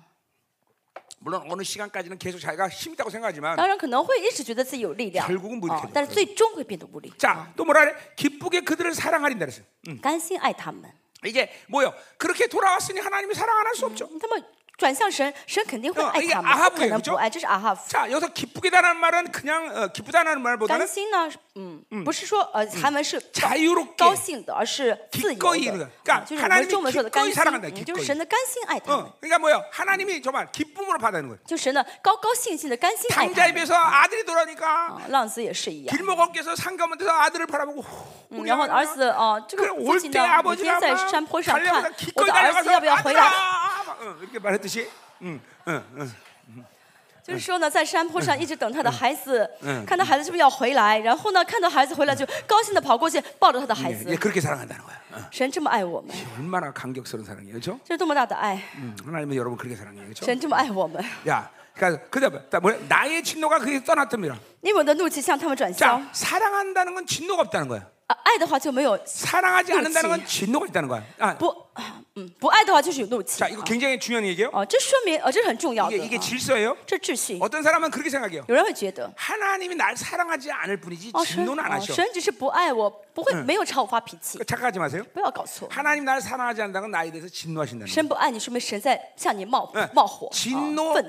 물론 어느 시간까지는 계속 자기가 힘 있다고 생각하지만 当然可能会一直觉得自己有力量 결국은 무력해져 啊，但是最终会变得无力。 자, 또 뭐라 그래? 기쁘게 그들을 사랑하린다 그랬어요. 甘心爱他们， 이제 뭐요? 그렇게 돌아왔으니 하나님이 사랑 안 할 수 없죠. 他们转向神，神肯定会 어 爱 이게 他们， 아하브예요 不可能 그죠 不爱。这是阿哈夫。 자, 여기서 기쁘게다라는 말은 그냥 어, 기쁘다는 말보다는 甘心呢，嗯，不是说呃韩文是高 자유롭게 高兴的，而是自由 기꺼이 的 이는 거야 ， 啊 그러니까 就是我们 하나님이 中文说的甘 기꺼이 心， 사랑한다. 嗯 기꺼이. 就是神的甘心爱他们， 어, 그러니까 뭐요? 하나님이 정말 기쁨으로 받아는 거예요. 就神的高高兴兴的甘心爱他 당자에 们。 비해서 아들이 돌아오니까 啊，浪子也是一样。 길목업계에서 상가문에서 아들을 바라보고 嗯然后儿子啊，这个 그래 父 올 亲 때 呢，每 아버지가 天在 막 山坡上看 달려가서 我 기꺼이 的儿子 달려가서 要不要回来。 아들아 막, 어, 이렇게 말했듯이 응, 응, 응. 就是说呢，在山坡上一直等他的孩子，看他孩子是不是要回来，然后呢，看到孩子回来就高兴的跑过去抱着他的孩 예, 子 예, 。 그렇게 사랑한다는 거야. 어. 神这么爱我们， 얼마나 감격스러운 사랑이에요, 그렇죠? 这是多么大的爱！ 음, 하나님은 여러분 그렇게 사랑해요, 그렇죠? 神这么爱我们， 야, 그러니까 그다음에 뭐 나의 진노가 그게 떠났답니다. 因为我的怒气向他们转向 자, 。 사랑한다는 건 진노가 없다는 거야. 啊，爱的话就没有 사랑하지 않는다는 건 진노가 있다는 거야. 아, 不，嗯，不爱的话就是有怒气。 자, 이거 굉장히 중요한 얘기예요. 哦，这说明，呃，这是很重要的 이게, 이게 啊 질서예요. 这秩序。 어떤 사람은 그렇게 생각해요. 有人会觉得， 하나님이 날 사랑하지 않을 뿐이지 哦，神， 진노는 안 哦， 하셔. 神只是不爱我，不会没有朝我发脾气， 착각하지 마세요. 不要搞错。 하나님 날 사랑하지 않는다는 건 나에 대해서 진노하신다는 거예요. 神不爱你，说明神在向你冒 예, 冒火、 진노 啊愤怒。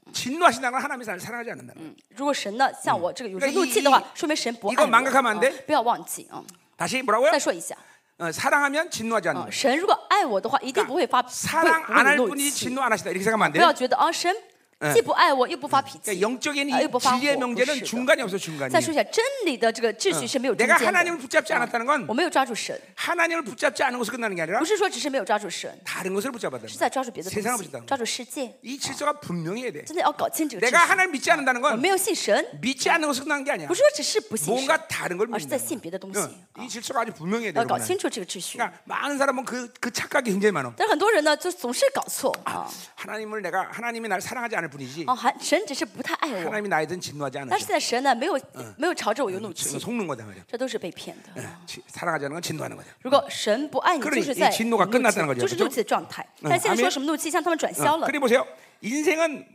진노하신다는 건 하나님이 나를 사랑하지 않는다는 거예요. 如果神呢像我这个有这 그러니까 怒 이 气的话，说明神不爱 이거 我。 망각하면 안 돼 啊不要忘记啊！ 다시 뭐라고요? 再说一下， 어, 사랑하면 진노하지 않는 啊 거예요. 神如果爱我的话，一定不会发，不会 사랑 不 안 会 할 有怒 뿐이 气。 진노 안 하시다 이렇게 생각하면 안 不要 돼요. 觉得啊，神既不爱我，又不发脾 그러니까 气。 영적인 啊， 이 又不发 지혜의 火，不 명제는 是的。 중간이 없어 중간이. 再说一下，真理的这个秩序是没有中 내가 间 하나님을 的。 붙잡지 않았다는 건 我没有抓住神， 하나님을 붙잡지 않은 것으로 끝나는 게 아니라 不是说只是没有抓住神， 다른 것을 붙잡았다는 是 거예요. 在抓住别的 세상을 东西 붙잡다는 ， 抓住世界。 이 질서가 분명해야 돼. 真的要搞清这个秩 내가 序。 하나님 믿지 않는다는 我 건 没有信神， 믿지 않는 것으로 끝나는 게 아니야. 不是说只是不信神， 뭔가 다른 걸 而是在 믿는다. 信别的东西。 이 질서가 아주 분명해야 돼. 要搞 여러분. 清楚这个秩序。 그러니까 많은 사람은 그, 그 착각이 굉장히 많아. 但是很多人呢，就总是搞错啊。 하나님을 내가 하나님이 나를 사랑하지 않을 뿐이지 哦，还神只是不太爱我， 하나님이 나에 대해 진노하지 但 않으셔. 是在神呢，没有没有朝着我有怒 지금 气， 속는 거다 말이야. 这都是被骗的。 지- 사랑하지 않는 건 진노하는 거다. 如果神不爱你， 그러니 就是在 이 진노가 怒 끝났다는 气， 거죠 就是怒气的状态。但现在说什么怒气，向他们转消了。 그리고 보세요. 인생은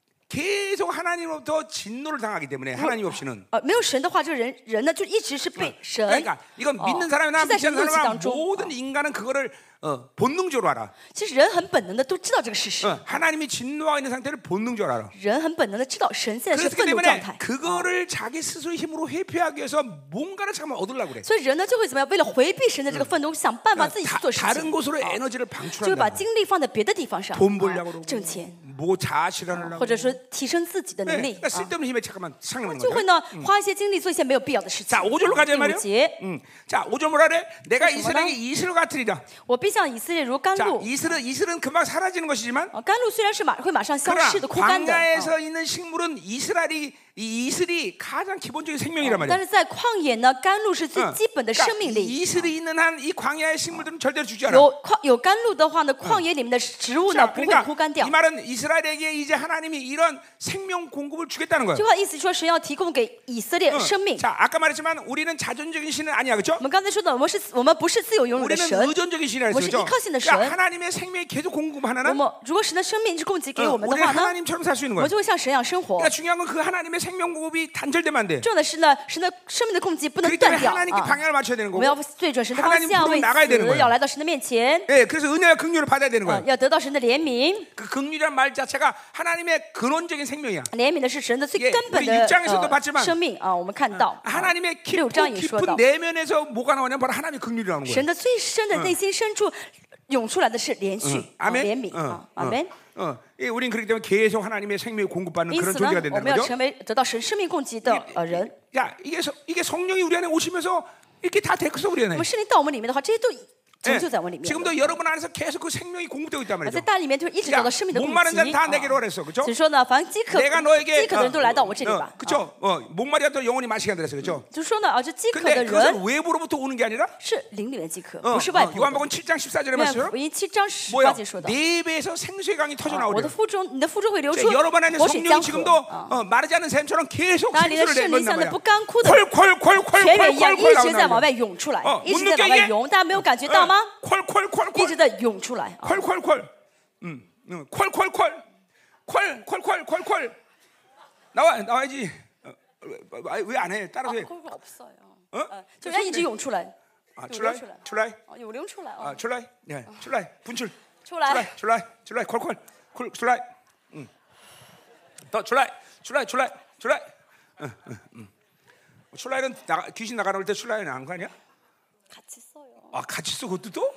계속 하나님으로부터 진노를 당하기 때문에 하나님 없이는 呃，没有神的话，这个人人呢，就一直是被神。 그러니까 이건 哦 믿는 사람이나 是在 믿지 神 않는 怒气 사람이나 当中。 모든 인간은 그거를 어, 본능적으로 알아. 其实人很本能的都知道这个事实， 어, 하나님이 진노하고 있는 상태를 본능적으로 알아. 人很本能的知道神现在是 그렇기 愤怒状 때문에 态。 그거를 자기 스스로의 힘으로 회피하기 위해서 뭔가를 잠깐 얻으려고 그래. 所以人呢就会怎么样？为了回避神的这个愤怒，想办法自己去 다, 做事 다른 情， 곳으로 啊 에너지를 就会把 방출한다. 精力放在别的地方上， 돈 벌려고 啊 그러고 挣钱， 뭐 자아실현하려고 或者说提升自己的 네, 能力 그러니까 啊， 쓸데없는 힘에 잠깐만 상하는 就会 거죠. 呢花一些精力做一些没有必要的事情。 자, 오 절로 가자 第五 말이요. 节， 음. 자, 오 절 뭐라 그래? 내가 그래서 뭐라? 이스라엘에게 이슬을 같으리라. 我必向以色列如甘 자, 露。 이슬은 이슬은 금방 사라지는 것이지만 啊，甘露虽然是马会马上消 그러나 逝的、枯干的，啊 광야에서 있는 식물은 이스라엘이 이 이슬이 가장 기본적인 생명이란 但 말이야. 是在旷野呢，甘露是最 어. 基本的 그러니까 生命力。 이슬이 있는 한 이 광야의 식물들은 절대로 죽지 않아. 有旷有甘露的话呢，旷野里面的植物呢 자, 不会 그러니까 枯干掉 이 。 말은 이스라엘에게 이제 하나님이 이런 생명 공급을 주겠다는 这 거예요. 句话意思说，神要提供给以色列 어. 生命。 자, 아까 말했지만 우리는 자존적인 신은 아니야, 그렇죠? 我们刚才说的，我们是我们不是自由拥有的 우리는 神。 의존적인 신이라 뭐 했죠. 이익하시는 그러니까 신. 하나님의 생명이 계속 那 공급하나는 么，如果神的生命是供给给 어, 我们的 우리는 话呢， 하나님처럼 살 수 있는 我 거야. 们就会像神一样生活。 그러니까 중요한 건 그 하나님의 생명 공급이 단절되면 안 돼. 重要的是呢，神的生命的供给不能 그렇기 断 때문에 掉 하나님께 啊！ 방향을 맞춰야 되는 我 거고. 们要对准神的方 하나님 向， 부르면 为 나가야 되는 此 거야. 要来到神的面前， 예, 그래서 은혜와 긍휼을 받아야 되는 啊 거야. 要得到神的怜悯。 그 긍휼이란 말 자체가 하나님의 근원적인 생명이야. 怜悯的是神的最 예 根本 우리 的 육 장에서도 呃 봤지만 生命啊！我们看到啊 하나님의 六章 깊은, 也说到 깊은 ， 내면에서 뭐가 나오냐면 바로 하나님의 긍휼이 나오는 거야. 神的最深的内心深处涌出来的是连续啊 아멘. 怜悯 어, 啊， 어, 阿门。 어, 예, 우린 그렇기 때문에 계속 하나님의 생명을 공급받는 因 그런 此呢 존재가 ， 我 된다는 们要 거죠. 成为得到神生命供给的呃人。 야, 이게 서, 이게 성령이 우리 안에 오시면서 이렇게 다 됐어 우리 我 안에. 们圣灵到我们里面的话，这些都 예, 成就在我们里面了。 지금도 여러분 안에서 계속 그 생명이 공급되고 있단 我 말이죠. 在大里面就一直得到生命的供 목마른 给。 자는 다 啊 내게로 그랬어, 그렇죠? 所以说呢，凡饥渴 내가 너에게 饥渴的人都来到我这里吧。 그렇죠? 어, 목마리가 또 영원히 마시게 한다 그랬어, 그렇죠? 就是说呢，啊，这饥渴的 근데 그것은 人 외부로부터 오는 게 아니라 是灵里面饥渴， 어, 不是外 어, 部的。 요한복음 칠 장 십사 절에 约 봤어요. 翰福音七章十 뭐야? 八节说的， 내 배에서 생수의 강이 터져 啊我 나오려. 的腹中，你的腹中会流出 여러분 안에 活水 성령이 江 지금도 河。啊 어, 마르지 않은 샘처럼 계속 当然，你的 생수를 圣 내고 灵 있단 像那 말이야. 不干枯的 콜콜콜콜 泉源一样，一 콜콜 直在往 나오는 外涌出来 어 ， 一 못 直在 느껴 往外 이게? 涌。大家没有感觉到吗？ 콜콜콜콜 一直在涌出来。啊 콜콜콜 음, 음, 콜콜콜 콜콜콜콜콜 나와 나와야지. 왜 안 해? 따라서 해. 콜콜 없어요. 어? 呃就人家一直涌出来， 아, 涌 출라이 流出来， 출라이 哦，涌流出来 아, 啊， 출라이 예, 출라이 분출 出来。 출라이 출라이 출라이 콜콜 콜 출라이 음. 더 출라이 출라이 출라이 출라이 응, 응, 응. 출라이는 나가, 귀신 나가는 때 출라이는 안 가냐? 같이 써요. 아 같이 쓰 그것도 또?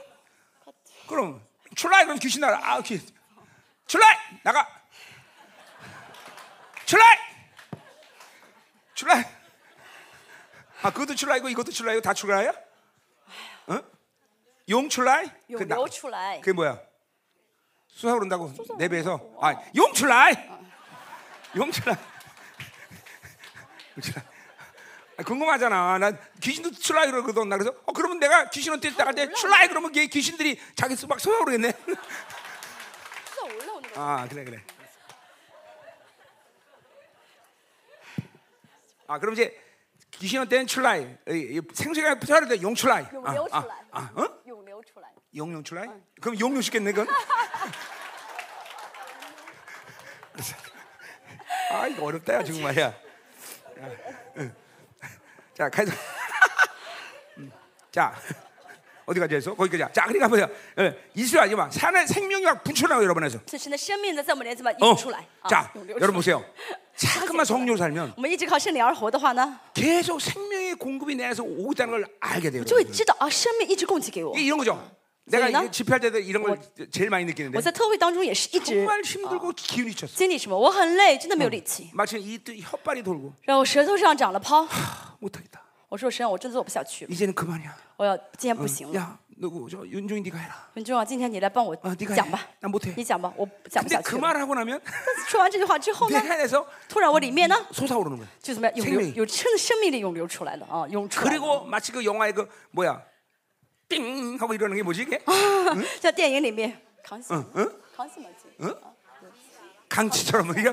그럼 출라이 그럼 귀신 나가 아 귀 출라이 나가 출라이 출라이 아 그것도 출라이고 이것도 출라이고 다 출라이야? 어? 용 출라이? 涌 그 나- 流出来。 그게 뭐야? 수사 오른다고 내 배에서 아 용출라이 용출라이 용출라이 아, 궁금하잖아. 난 귀신도 출라이 그러거든. 나 그래서 어 그러면 내가 귀신한테 나갈 때 출라이 그러면 걔 귀신들이 자기 막 쏟아 오르겠네. 쏟아 올라오는 거. 아 그래 그래. 아 그럼 이제 귀신한테는 출라이, 생수가 붙어야 돼 용출라이. 아, 涌流出 아, 来。 아, 어? 涌流出来。 용용 출라이? 그럼 용용 시켰네 그건. 아 이거 어렵다 야 정말이야. 야, 응. 자 가자. 자 어디까지 했어? 거기까지. 자, 그러니까 보세요. 예, 이스라엘 막 산에 생명이 막 붙여나고 여러분에서. 这神的生命呢，在我们里面怎么 어, 涌出来？ 자, 涌流出来 여러분 보세요. 자꾸만 성령으로 살면 我们一直靠圣灵而活的话呢， 계속 생명의 공급이 내 안에서 오고 있다는 걸 알게 돼요. 就会知道啊，生命一直供给给我。 이게 이런 거죠. 내가 저희는 이게 집회할 때도 이런 걸 제일 많이 느끼는데 我在特会当中也是一直 정말 힘들고 기운이 쳤어. 经历什么，我很累，真的没有力气， 마치 이 또 혓발이 돌고 然后舌头上长了泡。 하, 못하겠다. 我说神，我真做不下去了， 이제는 그만이야. 我要今天不行了。 야, 누구 저 윤종이 네가 해라. 很重要，今天你来帮我 아, 네가 讲 해. 吧， 난 못해. 你讲吧，我讲不 근데 下 그 去了。 말을 하고 나면 但是说完这句话之后 내 呢， 안에서 突然我里面呢， 솟아오르는 거야. 就怎么样，涌流 생명이 有生生命力涌流出来了啊，涌出来了。 그리고 마치 그 영화의 그 뭐야, 띵 하고 이러는 게 뭐지 이게? 在电影里面，康熙， 응? 康熙嘛，记 응? 강치처럼 이게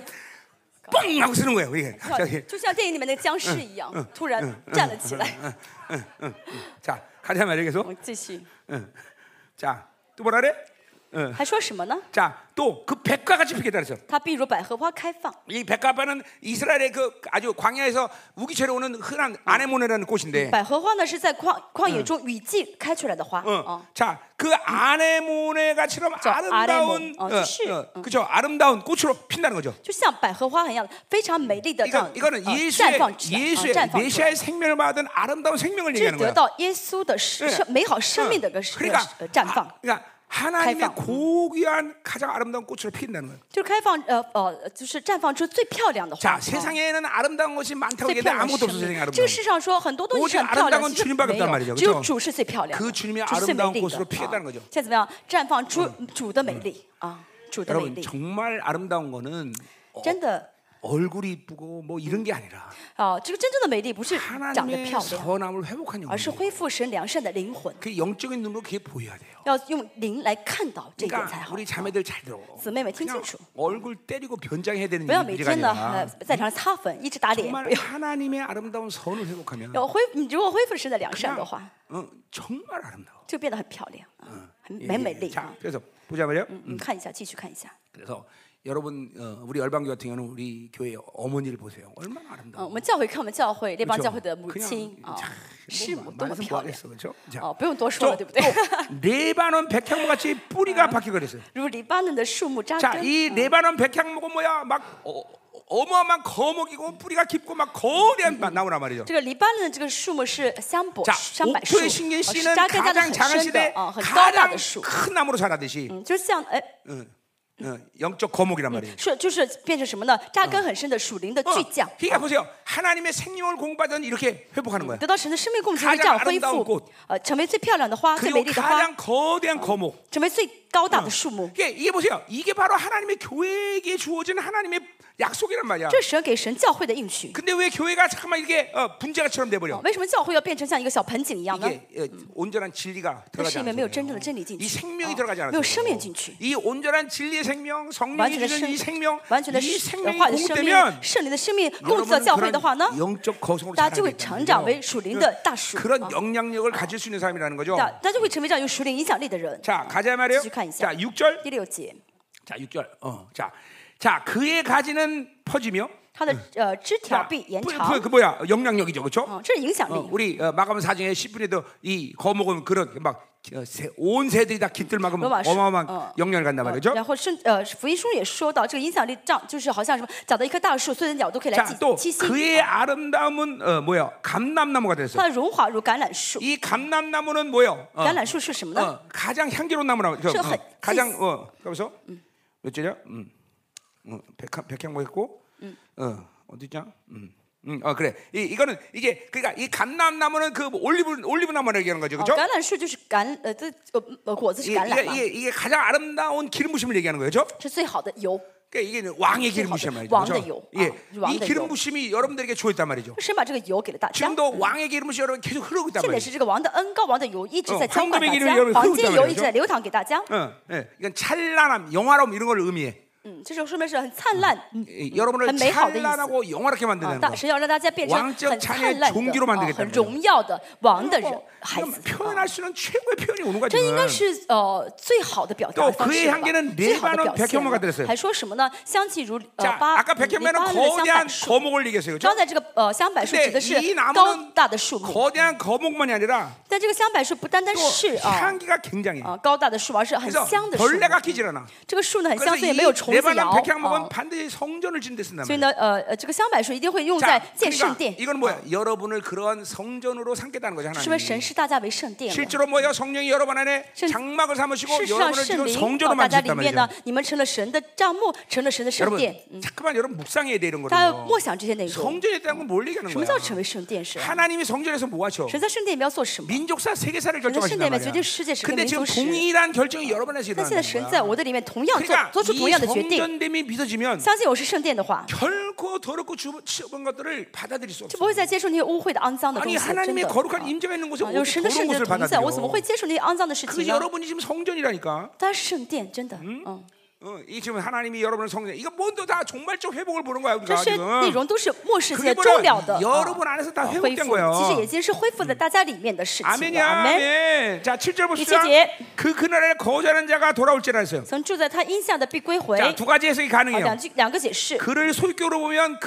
뻥 하고 쓰는 거예요. 이게 要 저기. 就像电影里面那个僵尸一样，突然站了起来。 응, 응, 응. 자, 가자 말이야 我 계속. 们继续， 응. 자, 또 뭐라 그래? 응. 还说什么呢？ 자, 또 그 백과 같이 피겠다 그랬어. 它必如百合花开放。 이 백합화는 이스라엘의 그 아주 광야에서 우기처럼 오는 흔한 아네모네라는 꽃인데. 百合花呢是在旷旷野中雨季开出来的花 어. 啊， 자, 그 아네모네가처럼 저 아름다운, 아네몬. 어, 就是. 그죠? 아름다운 꽃으로 핀다는 거죠. 就像百合花一样，非常美丽的这样 이거, 이거는 呃 예수의 绽放出来，啊 예수의 绽放出来。 메시아의 생명을 받은 아름다운 생명을 这是 얘기하는 得 거야. 到耶稣的生生美好生命的个 그러니까, 呃绽放， 아, 그러니까 하나님의 開放. 고귀한 가장 아름다운 꽃으로 피인다는 거예요. 就是开放呃呃，就是绽放出最漂亮的花。 자, 啊 세상에는 아름다운 것이 많다고 最 얘기하는데 漂亮的 아무것도 生 없어. 세상에 命。这 아름다운 个世上说很多东西是 오직 很漂亮， 아름다운 其实 주님밖에 没 없단 有， 말이죠. 只有 그렇죠? 主是最漂亮 그 的， 주님의 主是最美 아름다운 丽 꽃으로 的。 피했다는 啊 거죠. 现在怎么样绽放出主的美丽啊？主的美 여러분 丽， 정말 아름다운 거는 어, 真的 얼굴이 이쁘고 뭐 이런 게 아니라 啊，这个真正的美丽不是长得 하나님의 漂亮， 선함을 회복한 而是 영혼. 恢复神良善的灵魂， 그 영적인 눈으로 그게 보여야 돼요. 要用灵来看到这一点才 그러니까 好。 우리 자매들 잘 들어. 姊妹们听 그냥 清楚， 얼굴 때리고 변장해야 되는 不要每 일이 天呢 아니라 呃在场上擦粉，一直打脸， 정말 不要。 하나님의 아름다운 선을 회복하면 要恢，你如果恢复神的良善的 그냥 话， 어, 정말 아름다워. 就变得很漂亮啊，很 예, 很美 예. 丽 자, 啊。 그래서 보자 말이요. 嗯，嗯看一下，继续看一下。 그래서 여러분 어, 우리 열방교 같은 경우는 우리 교회 어머니를 보세요. 얼마나 嗯， 아름다워. 我们教会看我们教会列邦 그렇죠? 教会的母 그냥 亲啊 참, ， 师 뭐 母多么 말해서 漂亮 뭐하겠어, 그렇죠? 哦，不用多说了，对不对？ 레바논 백향목 같이 뿌리가 박히고 그랬어요. 如黎巴嫩的树木扎 자, 根， 이 레바논 백향목은 뭐야? 막 어, 어마어마한 거목이고 뿌리가 깊고 막 거대한 막 나무란 말이죠. 这个黎巴嫩的这个树木是香柏 자, 香柏树， 옥토의 呃 신긴 是 씨는 扎根在那 가장 很 작은 深的 시대 啊，很高大 가장 的树， 큰 나무로 자라듯이 嗯，就像哎， 어, 어, 영적 거목이란 말이에요. 是就是变成什么呢？扎根很深的属灵的 어, 巨匠， 그러니까 보세요. 하나님의 생명을 공부하던 이렇게 회복하는 거야. 得到神的生命供给会这样恢 가장아름다운꽃 复，呃，成为最漂亮的花，最 그리고 美丽的花， 가장 거대한 거목. 成为最高大的树木。 이게, 이게 보세요. 이게 바로 하나님의 교회에게 주어진 하나님의 약속이란 말이야. 这是神给神教会的应许。 근데 왜 교회가 잠깐만 이렇게 어, 분재가처럼 돼버려? 为什么教会要变成像一个小盆景一样呢？ 이게 어, 온전한 진리가 那 들어가지 是因为没有 않아서 真正的真理进 이 去， 생명이 啊 들어가지 没 않아서 有生命进去， 이 온전한 진리의 생명, 完 성령이 全的 주는 生 이 생명, 完全的 이 生 생명이 化的生命 공급되면 ， 圣灵的生命供给到 여러분은 教会的话呢， 그런 영적 거성으로 大家就会 자라게 成长为属灵的大树， 그런 啊 영향력을 가질 수 있는 사람이라는 거죠. 大大家就会成为这样有属灵影响力的人。 자, 가자 말이에요. 继续看一下 자, 육 절. 第六节， 자, 육 절. 어, 자, 자, 그의 가지는 퍼지며 它的呃枝条 자, 必延 그, 长 그, ， 그 뭐야? 영향력이죠, 그렇죠? 啊，这是影响 어, 力。 우리 어, 마가복음 사 장에 십 분에도 이 거목은 그런 막 온 세들이 다 깃들 만큼 로마 시- 어마어마한 어. 영향을 간단 말이죠. 然后圣呃福音书也说到，这个影响力这样就是好像什么，长到一棵大树，所有的鸟都可以来 자, 또 栖息。 그의 아름다움은 어, 뭐야? 감람나무가 됐어요. 它的荣华如橄榄树， 이 감람나무는 뭐요? 어, 橄榄树是什么呢？ 어, 가장 향기로운 나무라고. 그, 是 어, 很 가장 어, 그래서 몇 절이야? 음. 어, 백향 백향목 했고. 어, 어디냐? 음. 음, 어 그래. 이 이거는 이게 그러니까 이 감람나무는 그 올리브 올리브 나무라고 얘기하는 거죠, 哦 그렇죠? 橄榄树就是橄呃这呃呃果子是 이게, 橄榄 이게, 嘛， 이게, 이게 가장 아름다운 기름 부심을 얘기하는 거죠. 是最好的油。 그러니까 이게 왕의 기름 부심 말이죠. 왕의 그렇죠? 요. 예, 아, 왕의 이 기름 요. 부심이 여러분들에게 주어졌단 말이죠. 神把这个油给了大家。 지금도 왕의 기름 부심이 여러분 계속 흐르고 있단 现在 말이죠. 是这个王的恩膏，王的油一直在 어 浇灌大 황금의 家 기름이 여러분 ， 黄 흐르고 金 있단 油 말이죠. 一直在流淌给大家。 어, 예, 이건 찬란함, 영화로움 이런 걸 의미해. 嗯，这种说明是很灿烂， 여러분을 很美好的意思。 찬란하고 영화롭게 啊， 만드는 大 거. 神要让大家变成 왕적 很 자녀의 灿烂 종기로 的、啊 만들겠다는 很荣耀的王的人 뭐, 孩子。 표현할 수 있는 최고의 표현이 오는 거야 这应该 지금. 是呃最好的表达 또 方 그의 式了吧 향기는 最好的 레바논 表现 백향목과 了 같았어요. 还说什么呢？香气如呃 자, 巴 아까 黎 백향목에는 巴嫩的香 거대한 柏树。 거목을 얘기했어요. 刚 그렇죠? 才这个呃香柏树 근데 指的是 이 나무는 高大的树木， 거대한 거목만이 아니라 但这个香柏树不单单 또 是啊 향기가 굉장해. 啊高大的树，而是很 그래서 香的树木。 벌레가 끼질 않아. 这个树呢很 그래서 香，所以 이 没有虫子 레바논 咬。 백향목은 啊 반드시 성전을 짓는 데 쓴단 所以 말이야. 呢，呃呃，这个香柏树一定会用在 자, 建圣 그러니까 殿， 이건 뭐야? 여러분을 그러한 성전으로 삼겠다는 거죠 是不是 하나님. 神视大家为圣殿了？ 실제로 뭐야? 성령이 여러분 안에 圣 장막을 삼으시고 事实上， 여러분을 圣 지금 灵 성전으로 到大家里 만드셨단 面呢 말이죠. ， 你们成了神的帐幕，成了神的圣 여러분 殿。 잠깐만 여러분 묵상해야 돼 이런 大家要 거를. 默想这些内容。 성전에 대한 건 뭘 얘기하는 什么 거야? 叫成为圣殿？是 하나님이 성전에서 뭐 하셔? 神在圣殿里面要做什么？ 민족사 세계사를 神在圣 결정하신단 殿里面 말이야. 决定世界史跟 근데 民 지금 族史。 동일한 결정이 여러분에서 但现在 일어나는 神在 거야. 我的里面同样做 그러니까 做出 이 同样的决定。 성전됨이 믿어지면 相信我是圣殿的话， 결코 더럽고 좁은 것들을 받아들일 수 就 없어. 不会再接受那些污秽的、肮脏的东 아니 西。真 하나님의 的， 거룩한 임재가 있는 곳에 啊有 어떻게 神的 더러운 圣者 것을 同在，我怎么 받아들여? 会接受那些肮脏的事 그 情呢？ 여러분이 지금 성전이라니까. 它是圣殿，真的，嗯， 어, 이 지금 하나님이 여러분을 성전. 이거 모두 다 종말적 회복을 보는 거야 这 우리가 些内 지금. 容都是末世 그게 界终了的 뭐야? 啊 여러분 안에서 다 恢 회복된 复，其实 거예요. 已经是恢复在大家里面的事情了。 아멘이야. 阿门。 아멘. 자, 칠 절 봅시다. 이节. 그 그날에 거절하는 자가 돌아올지라 했어요. 曾住在他荫下的必归回。 자, 두 가지 해석이 啊， 가능해요. 两句两个解释。 그를 소유격으로 보면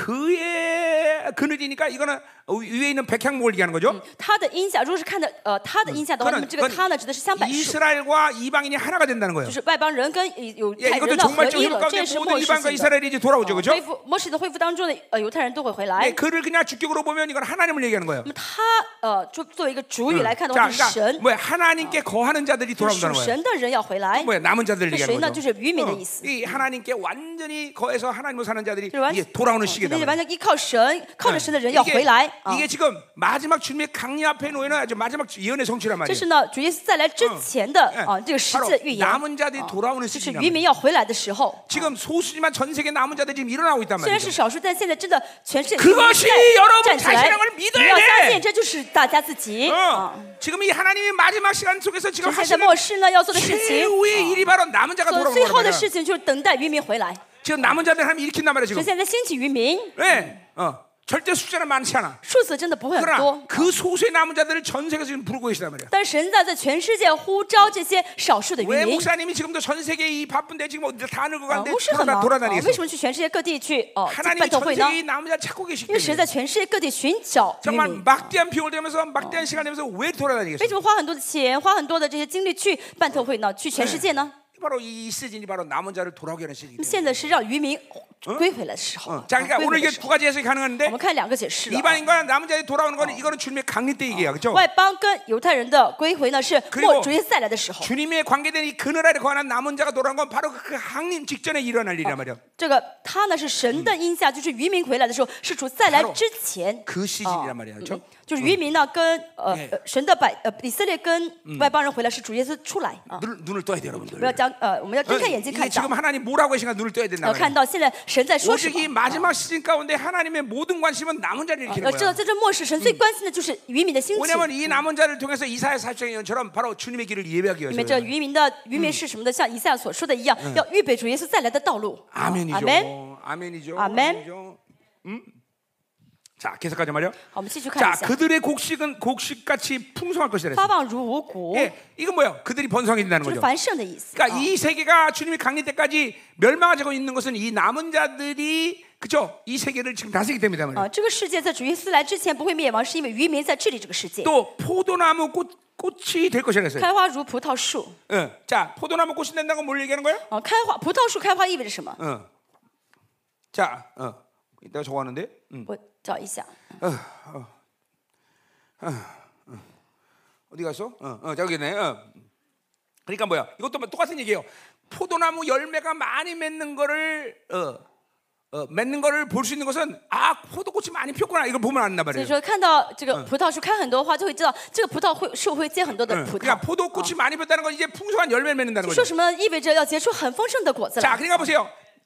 그의 그늘이니까 이거는 위에 있는 백향목을 얘기하는 거죠. 他的荫下，如果是看的呃他的荫下的话，那 그는 么这个他呢指的是香柏树， 이스라엘과 이방인이 하나가 된다는 거예요. 就是外邦人跟犹 예, 太 이것도 人呢合 종말적 一 회복 了，这 가운데 也是 모든 末世 이방과 性的。 이스라엘이 이제 돌아오죠, 恢 그렇죠? 复末世的恢复当中的呃犹太人都会回来。 예, 그를 그냥 주격으로 보면 이건 하나님을 얘기하는 거예요. 那么他呃就作为一个主语来看的 자, 话，是 그러니까 神， 뭐야 하나님께 거하는 자들이 就是属 돌아온다는 거예요. 神的人要回来。 뭐야 남은 자들 那谁 얘기하는 呢？ 거죠. 就是渔民的 어, 意思。 이 하나님께 완전히 거해서 하나님으로 사는 자들이 就是完 이게 돌아오는 那 시기다. 些完全依靠神、靠着神的人要 이게, 回来啊。 이게 지금 마지막 주님의 강림 앞에 놓이는 아주 마지막 예언의 성취란 这 말이에요. 是呢，主耶稣再来之前的 예, 啊这个实 바로 际的预言， 남은 자들이 啊 돌아오는 就是 시기란 渔 말이에요. 民要回来的时候。 지금 소수지만 전 세계 남은 자들이 지금 일어나고 있단 虽然是 말이죠. 少数，但现在真的全世界 그것이 在 여러분 站起来， 자신을 믿어야 你要相 돼. 信这就是大家自己 어, 啊。 지금 이 하나님의 마지막 시간 속에서 지금 现在 하시는 末世呢要做的事情， 최후의 일이 바로 남은 자가 做 돌아오는 最后的 거란 事 말이야. 情就是等待渔民回来。 지금 남은 자들 하나님 일으킨단 말이야 所 지금. 以现在兴起渔民， 네, 어, 절대 숫자는 많지 않아. 数字真的不会很 그러나 多， 그 소수의 남은 자들을 전 세계에서 지금 부르고 계시단 말이야. 但是神在在全世界呼召这些少数的渔 왜 民。 목사님이 지금도 전 세계 이 바쁜데 지금 어디 다 늙어 啊， 가는데 牧师很 다 忙，啊 돌아다니겠어? 为什么去全世界各地去哦去 하나님이 办特 전 会呢？ 세계 이 남은 자를 찾고 계시기 因为神 때문에 在全世界各地寻找渔 정말 民。 막대한 비용을 들면서 막대한 시간을 내면서 왜 为 돌아다니겠어? 什么花很多的钱，花很多的这些精力去办特会呢？去全世界呢？ 바로 이 시즌이 바로 남은 자를 돌아오게 하는 那 시즌이기 么现在是让渔民归回来的时候。 때문에. 자, 啊 그러니까 归 오늘 回的 이게 时 두 候 가지 해석이 我 가능한데 们看两个解释了。 이방인과 남은 자들이 돌아오는 거는 이거는 주님의 강림 때 얘기야, 그렇죠? 外邦跟犹太人的归回呢，是 그리고 末主耶稣再来的时候。 주님의 관계된 이 그늘 아래 거하는 남은 자가 돌아온 건 바로 그 강림 직전에 일어날 일이란 말이야. 这个他呢是神的荫下，就是渔民回来的时候，是主再来之前。 그 시즌이란 말이야, 그렇죠? 就是渔民呢跟呃 예 呃神的百呃以色列跟外邦人回来，是主耶稣出来啊。 눈을, 눈을 떠야 돼, 여러분들. 不要将呃我们要睁开眼睛 이게 看 지금 到， 하나님 뭐라고 하시는가 눈을 떠야 된다 要 말이야. 看到现在神在说什 오직 이 么。 마지막 시즌 가운데 하나님의 모든 관심은 남은 자를 要 일으키는 知道 거야. 在这末世，神最关心的就是渔民的兴起。 왜냐하면 이 남은 자를 통해서 이사야 사십장 예언처럼 바로 주님의 길을 예배하기 因为这 위해서. 渔民的渔民是什么的？像以赛亚所说的一样，要预备主耶稣再来的道路。 아멘이죠. 阿门。 아멘이죠. 아멘. 아멘이죠. 음? 자, 계속하자 말이요. 好，我们继续看 자, 一下。 그들의 곡식은 곡식같이 풍성할 것이라 发 했어요. 旺如五谷， 예, 이건 뭐야? 그들이 번성해진다는 就是 거죠. 繁盛的意思。 그러니까 啊 이 세계가 주님이 강림 때까지 멸망하고 있는 것은 이 남은 자들이 그죠? 이 세계를 지금 다스리기 때문이다 말이에요. 啊，这个世界在主耶稣来之前不会灭亡，是因为渔民在治理这个世界。 또 포도나무 꽃 꽃이 될 것이라 했어요. 开花如葡萄树。 예. 자, 포도나무 꽃이 된다는 건 뭘 얘기하는 거예요? 啊，开花葡萄树开花意味着什么？ 어. 자, 어. 내가 적어왔는데. 음. 我找一下。 어디 갔어? 어, 어, 저기네. 어. 그러니까 뭐야? 이것도 똑같은 얘기예요. 포도나무 열매가 많이 맺는 거를 어, 어, 맺는 거를 볼 수 있는 것은 아 포도꽃이 많이 폈구나 이걸 보면 안단 所以 말이에요. 说，看到这个葡萄树开很多花，就会知道这个葡萄会树会结很多的 응. 葡萄。 그러니까 포도꽃이 많이 폈다는 건 이제 풍성한 열매를 맺는다는 说 거죠. 什么意味着要结出很丰盛的果子 자, 来？ 그러니까 보세요.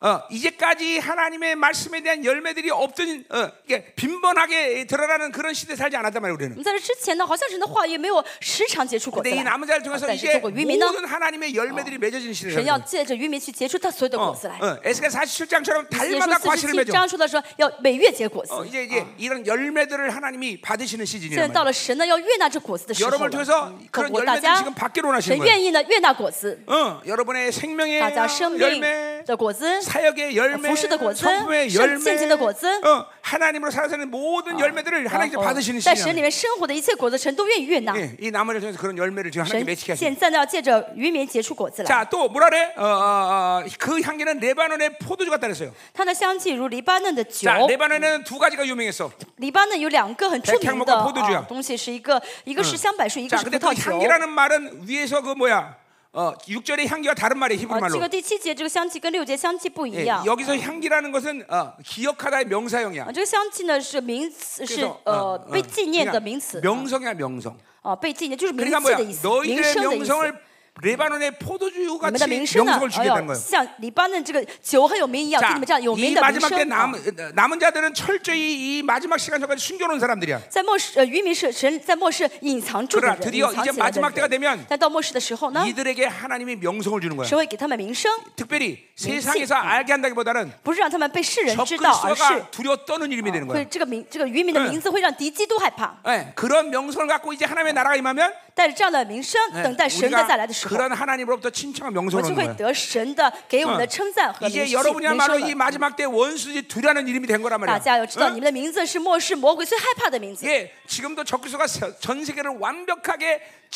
어, 이제까지 하나님의 말씀에 대한 열매들이 없던 어, 이게 빈번하게 드러나는 그런 시대에 살지 않았단 말이에요. 我 우리는. 们在这之前呢，好像神的话语没有时常结出果子 근데 이 来。 남은 자를 통해서 但是 이제 透过渔民呢， 모든 하나님의 열매들이 맺어지는 神 시대예요. 要借着渔民去结出他所有的果子来。 어, 에스겔 사십칠 장처럼 耶稣 달마다 四十 과실을 七 맺어. 章说的说要每月结果子。 어, 이제 이제 이런 열매들을 하나님이 받으시는 现在 시즌이란 到 말이에요. 了神呢要悦纳这果子的时候 여러분을 了。 통해서 透 그런 过大 열매들을 家， 지금 받기로 神 원하시는 거예요. 愿意呢悦纳果子， 어, 여러분의 생명의 大家生命 열매, 的果子， 사역의 열매, 服侍的果子， 성품의 圣 열매, 现今的果子。 어, 하나님으로 살아가는 모든 열매들을 然 하나님께 后 받으시는 在神 시즌이에요. 里面生活的一切果子，神都愿意悦纳。 예, 이 나머지를 통해서 그런 열매를 지금 하나님께 神 맺히게 하시는. 现在呢要借着渔民结出果子来。 자, 또 뭐라 그래? 어, 어, 어, 그 향기는 레바논의 포도주 같다 그랬어요. 它的香气如黎巴嫩的酒。 자, 레바논에는 두 가지가 유명했어. 黎巴嫩有两个很著名 백향목과 的 포도주야 啊东西，是一个一个是香柏树，一个 자, 是葡 근데 그 萄酒。 향기라는 말은 위에서 그 뭐야? 어, 육 절의 향기가 다른 말이에요. 히브리 啊， 말로. 这个第七节这个香气跟六节香气不一 예, 样。 여기서 향기라는 것은 어, 기억하다의 명사형이야. 啊，这个香气呢是名词，是 그래서, 呃 어, 어, 被纪念的 그러니까 名词。 명성이야 명성. 啊，被纪念就是名 그러니까 字 뭐야? 的意思，名 너희들의 声的意思。 명성을 레바논의 포도주 你们 같이 的名声呢， 명성을 哎 주겠다는 呦， 거예요. 像黎巴嫩这个酒很有名一样，给 자, 你们这样有 이 名的名 마지막 때 声。啊 남은, 남은 자들은 철저히 이 마지막 시간 전까지 숨겨놓은 사람들이야. 在末世，呃，渔民是神在末世隐藏住的 그러나 人， 드디어 隐藏 이제 起来的 마지막 때가 人。 되면 但到末世的时候呢， 이들에게 하나님이 명성을 주는 거야. 神会给他们名声， 특별히 세상에서 알게 한다기보다는 不是让他们被世人 적 知道，而是 그리스도가 두려워 떠는 이름이 되는 会 거야. 这个名这个渔民的名字会让敌基督害怕。 예, 그런 명성을 갖고 이제 하나님의 나라가 임하면 带着这样的名声， 예, 等待神的再来的时候， 그런 하나님으로부터 친청한 我 명성을 就 얻는 会 거야. 得神的给我们的称赞和名 이제 名 여러분이야말로 声 이 了。 마지막 때 원수지 두려는 이름이 된 거란 大 말이야. 家要知道， 어? 你们的名字是末世魔鬼最害怕的名字。 예, 지금도 적그리스도가 전 세계를 완벽하게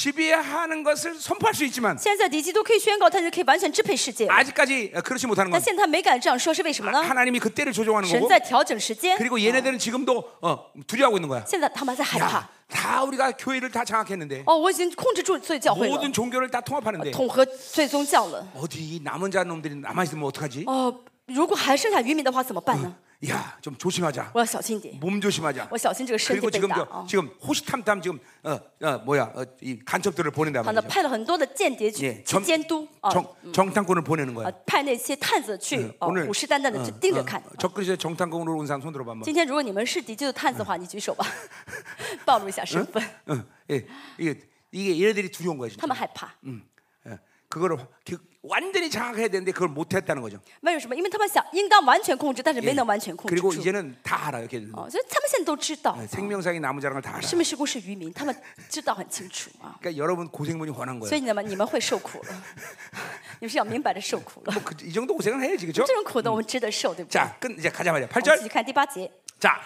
지배하는 것을 선포할 수 있지만 现在敌基督可以宣告，他就可以完全支配世界。 아직까지 그렇지 못하는 但 건 现在他没敢这样说，是为什么呢？ 하나님이 그때를 조종하는 神 거고 在调整时间。 그리고 얘네들은 지금도 어, 두려워하고 있는 거야. 现在他们还在害怕。 야, 다 우리가 교회를 다 장악했는데 哦，我已经控制住所有教会了， 모든 종교를 다 통합하는데 统合所有宗教了。 어디 이 남은 자 놈들이 남아 있으면 어떡하지? 哦，如果还剩下渔民的话怎么办呢？ 야, 좀 조심하자. 我要小心点， 몸 조심하자. 我小心这个身体 그리고 被 지금 打 저, 啊。 지금 호시탐탐 지금 어, 어 뭐야 어, 이 간첩들을 보낸단 他呢 말이죠. 派了很多的间谍去 예, 去监督啊， 정, 정탐꾼을 보내는 啊 거야. 派那些探子去哦， 오늘 虎视眈眈的去盯着看。 적그리스도 정탐꾼으로 온 사람 손 들어봐 한번. 今天如果你们是敌基督探子的话，你举手吧，暴露一下身份。 어, 예, 이게 이게 얘네들이 두려운 거야 他 진짜. 们害怕， 예, 그거를 그, 완전히 장악해야 되는데 그걸 못했다는 거죠. 为什么？因为他们想应当完全控制，但是没能完全控制 그리고 住。 이제는 다 알아 이렇게. 哦，所以他们现在都知道， 생명상의 나무 자랑을 다 알아. 生命事故是渔民，他们知道很清楚啊。 그러니까 여러분 고생문이 훤한 所 거예요. 以你们你们会受苦了，你们是要明白的受苦了。 뭐 그, 이 정도 고생은 해야지 그렇죠? 这种苦的我们值得受，对不对？ 자, 끝 이제 가자 말이야. 我 팔 们 절. 继续看第八节。 자,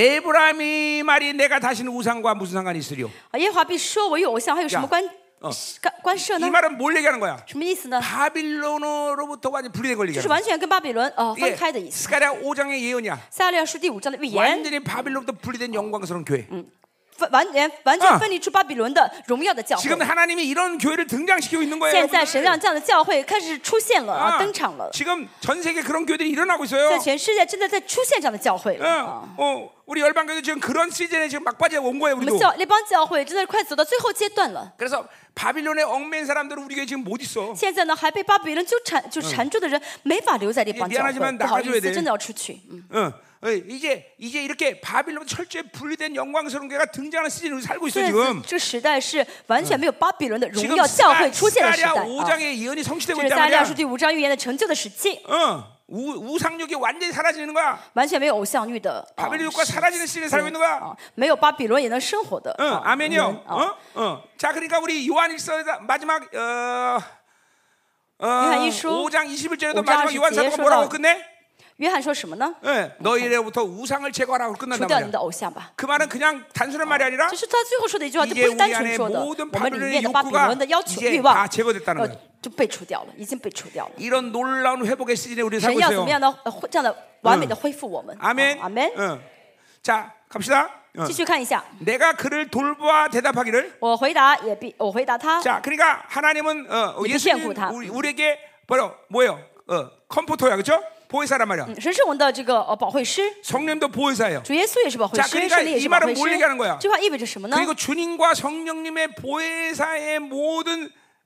에브라임이 말이 내가 다시는 우상과 무슨 상관이 있으리요? 啊，耶和华必说：“我有偶像，还有什么关关关涉呢 이 ？ 말은 뭘 얘기하는 거야? 什么意思呢？ 바빌론으로부터 완전 분리된 걸 就是 얘기하는 거야. 完全跟巴比伦呃分 이게 开的意思。 스가랴 오 장의 예언이야. 撒利亚书第五章的预言， 완전히 바빌론부터 분리된 영광스러운 교회. 分完全完全分离出巴比伦的荣耀的教会。 지금 하나님이 이런 교회를 등장시키고 있는 거예요. 现在神 여러분들. 让这样的教会开始出现了 아, 啊，登场了。 지금 전 세계 그런 교회들이 일어나고 있어요. 在全世界正在在出现这样的教会了啊。 어, 어, 우리 열방교도 지금 그런 시즌에 지금 막바지에 온 거예요. 我们 우리도. 教那帮教会真的快走到最后阶段了。 그래서 바빌론에 얽매인 사람들은 우리 교회 지금 못 있어. 现在呢，还被巴比伦纠缠就缠住的人没法留在这帮教 미안하지만 会，不好 나가줘야 意 돼 思，真的要出去。嗯， 어, 어, 이제 이제 이렇게 바빌론 철저히 분리된 영광스러운 교회가 등장하는 시즌을 살고 있어 现在 지금. 这个时代是完全没有巴比伦的荣 지금 耀教会出现的时代 스가랴 오 啊。 장의 예언이 성취되고 这是 있단 撒利亚 말이야. 书第五章预言的成就的时期， 어, 우, 우상욕이 완전히 사라지는 거야. 完全没有偶像欲的啊 바빌론과 사라지는 시즌에 살고 있는 거야. 啊，没有巴比伦也能生活的 어, 啊 아멘이요. 人啊。 어, 어. 자, 그러니까 우리 요한일서 마지막 어, 어, 요한일서 오 장 이십일 절에도 오 장 마지막 요한 사도가 이십 뭐라고 절에서 끝내? 约翰说什么呢？ 예, 너희로부터 우상을 제거하라고 除 끝난단 掉你们 말이야. 的偶像吧。 그 말은 그냥 단순한 말이 아니라 只是他最后说的一句话，就不 이제 是单 우리 纯 안에 说的， 모든 我们里 바빌론의 面的巴比 욕구가 伦的要求 이제 欲 다 望， 제거됐다는 呃 거예요. ， 就被除掉了，已经被除掉了。 이런 놀라운 회복의 시즌에 우리 神 살고 要怎 있어요. 么样的呃恢这样的完美的恢复我们？ 아멘. 阿门。 어. 자, 갑시다. 어. 继续看一下， 내가 그를 돌보아 대답하기를. 我回答也必我回答他， 자, 그러니까 하나님은 어, 이렇게 예수님 피하고 다. 우리, 우리에게 바로 뭐예요? 어, 컴포터야, 그렇죠? 보혜사란 말이야. 嗯，神是我们的这个呃保惠师， 성령도 보혜사예요. 主耶稣也是保惠 자 师， 그러니까 圣灵也 이 是保 말은 惠 뭘 师 얘기하는 거야? 。 这话意味着什么呢？ 그리고 주님과 성령님의 보혜사의 모든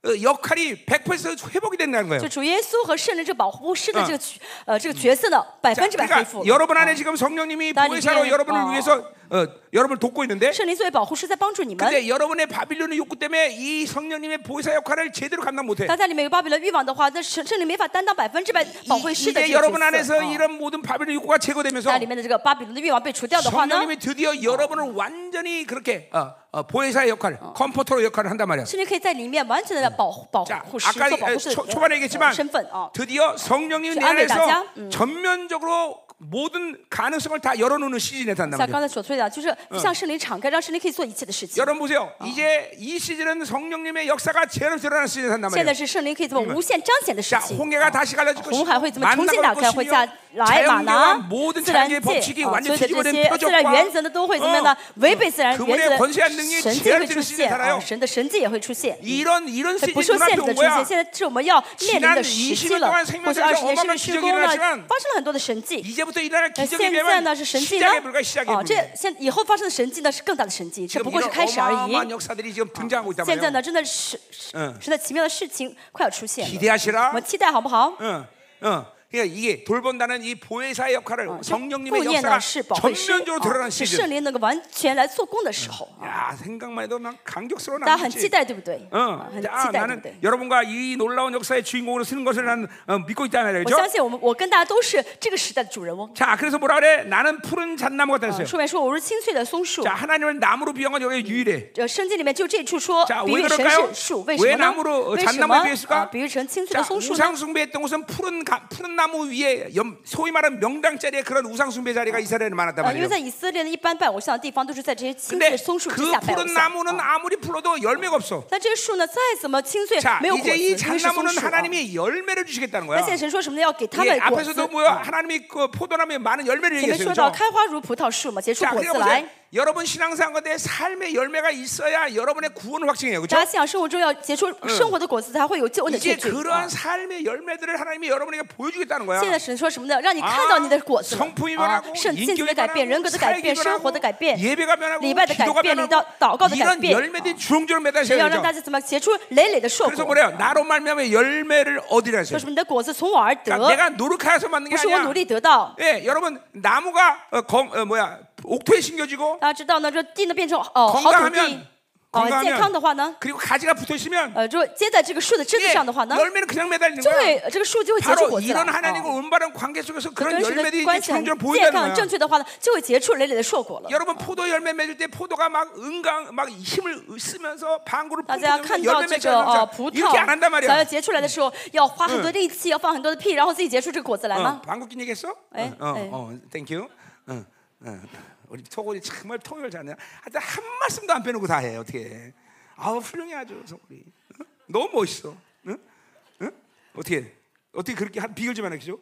어, 역할이 백 퍼센트 회복이 된다는 거예요. 就主耶稣和圣灵这保护师的这个角呃这个角色呢，百分之百恢复 그러니까 了。 여러분 안에 지금 성령님이 나 보혜사로 이제, 여러분을 어. 위해서 어, 여러분을 돕고 있는데 圣灵作为保护师在帮助你们。 근데 여러분의 바빌론의 욕구 때문에 이 성령님의 보혜사 역할을 제대로 감당 못해. 但在里面有巴比伦欲望的话，那圣圣灵没法担当百分之百保护师的 이제 这个 여러분 角 안에서 色。 이런 모든 바빌론 욕구가 제거되면서 在里面的这个巴比伦的欲望被除掉的话呢， 성령님이 드디어 여러분을 완전히 그렇게 어, 어, 보혜사의 역할, 컴포터로 역할을 한단 말이야. 圣灵可以在里面完全的保护保 자, 护师 아까 做保护师 초, 的 초반에 呃 얘기했지만 身份啊。 드디어 성령님이 내 저 안에 안에서 나자? 음. 전면적으로 모든 가능성을 다 열어놓는 시즌에 산단 像 말이야. 刚才所说的，就是向圣灵敞开，让圣灵可以做一切的事情。 여러분 보세요. 이제 이 시즌은 성령님의 역사가 제대로 드러나는 시즌에 산단 现 말이야. 在是圣灵可以做无限彰显的事 자, 情。 홍해가 다시 갈라질 红海会 것이고 怎么重新打 만나갈 开？会 것이며 下来马 자연계와 拿 모든 自然 자연계의 界 법칙이 啊，所 완전히 有的这 뒤집어진 些自然原 표적과 则呢，都会怎么样呢？违背自然 어, 原则 그분의 권세한 的 능력이 神迹会 제한되는 出 시즌에 现啊， 살아요. 神的神迹也会出现。 이런 이런 不 시즌 受限 눈앞에 制 온 的出现， 거야. 现在是我们要面临的时 지난 期 이십 了 년동안。 圣过去经二十年圣灵 어마어마한 施 기적이 工呢， 일어났지만 发生了很多的神迹。 이제부터 일어날 那 기적에 现在 비하면 呢是神迹呢 시작에 불과 ？ 시작에 哦，这 불과. 现以后发生的神迹呢是更大的神迹，这 지금 不过是 이런 开始而已。 어마어마한 역사들이 지금 등장하고 있단 现在 말이에요. 呢，真的是嗯神的奇妙的事情快要出现了， 기대하시라. 我们期待好不好？ 응, 응. 그러니까 이게 돌본다는 이 보혜사의 역할을 顾 성령님의 念 역사가 呢是保惠师， 전면적으로 啊 드러나는 是 시즌. 圣灵能够完全来做工的时候。 야, 생각만 해도 막 감격스러워 大家很期 나지. 待，对不对？ 응. 啊很期 자, 待，对不 나는 对？ 여러분과 이 놀라운 역사의 주인공으로 쓰는 것을 난 어, 믿고 있단 말이에요. 我 그렇죠? 相信我们，我跟大家都是这个时代的主人翁。 자, 그래서 뭐라 그래? 나는 푸른 잣나무 같다 啊 했어요. 书面说我是青翠的松树。 자, 하나님을 나무로 비유한 건 여기 유일해. 这圣经里面就这处说 자 比 왜 喻神 그럴까요? 是树，为什 왜 么呢？ 나무로 为什 잣나무에 么 비했을까? 啊？比喻成青翠 자, 的松树呢？ 우상 숭배했던 곳은 푸른 가, 푸른 나무 위에 염, 소위 말하는 명당 자리에 그런 우상 숭배 자리가 이스라엘에 많았단 啊，因为 말이에요. 在以色列呢，一般拜偶像的地方都是在这些青翠 근데 的松树之 그 下拜偶 푸른 像。 나무는 아무리 풀어도 열매가 없어. 但这个树呢，再怎么青翠 자, 没有果 이제 子， 이 因为是松 잣나무는 树啊。 하나님이 열매를 주시겠다는 那 거야. 现在神说什么呢？要给他 예, 们果子。 앞에서도 뭐야? 하나님이 그 포도나무에 많은 열매를 前面 얘기했어요. 说到 그렇죠? 开花如葡萄树嘛，结出 자, 果子 그러니까 来 보세요. 。 여러분 신앙생활 가운데 삶의 열매가 있어야 여러분의 구원을 확증해요. 大 그렇죠? 家信仰生活中要结出生活的果子，才会有救恩的 이제 确据。 그러한 삶의 열매들을 하나님이 여러분에게 보여주겠다는 거야. 现在神说什么呢？让你看到你的果子了 성품이 啊 변하고 ， 圣性 인격이 情的改变，人格的改 변하고 变， 사역이 生活的改 변하고 变， 예배가 변하고 礼拜的改 기도가 变，礼 변하고 祷祷告的改 이런 变。 열매들이 주렁주렁 神 맺어져요. 要让大 그렇죠? 家怎么结出累累的硕 그래서 果？ 뭐래요? 나로 말미암아 열매를 얻으라 说 했어요. 什么？你的果子从我而得， 그러니까 내가 노력해서 만든 게 不是我努 아니야. 力得到。 예, 여러분 나무가 어, 건, 어, 뭐야 옥토에 심겨지고 大家知道呢，这地呢变成哦好土 건강하면 地，哦健康的话呢， 그리고 가지가 붙어 있으면 呃，就接在这个树的枝子 예, 上的话呢， 열매는 그냥 매달리는 就 거야. 会这个树就会结出 바로 果子来。 이런 하나님과 哦 올바른 관계 속에서 그런 跟神的 열매들이 关 이제 系很 주렁주렁 健 보인다는 康、正 거야. 确的话呢，就会结出累累的硕果了。 여러분 포도 열매 맺을 때 포도가 막 은강 막 힘을 쓰면서 방구를 大家 뿜뿜 看到 열매 这 맺지 个呃 않는 葡 이렇게 안 萄 한단 想要 말이야. 结出来的时候，要花很多力气，要放很多的屁，然后自己结出这个果子来 어, 吗？ 방구 낀 얘기했어? 에, 어, 어, 에. 어, 땡큐. 어, 어. 우리 토골이 정말 통역을 잘하네. 하여튼 한 말씀도 안 빼놓고 다 해. 어떻게 해. 아우 훌륭해 아주 소리. 어? 너무 멋있어. 응? 응? 어떻게 해? 어떻게 그렇게 한 비결 좀 하나 해줘?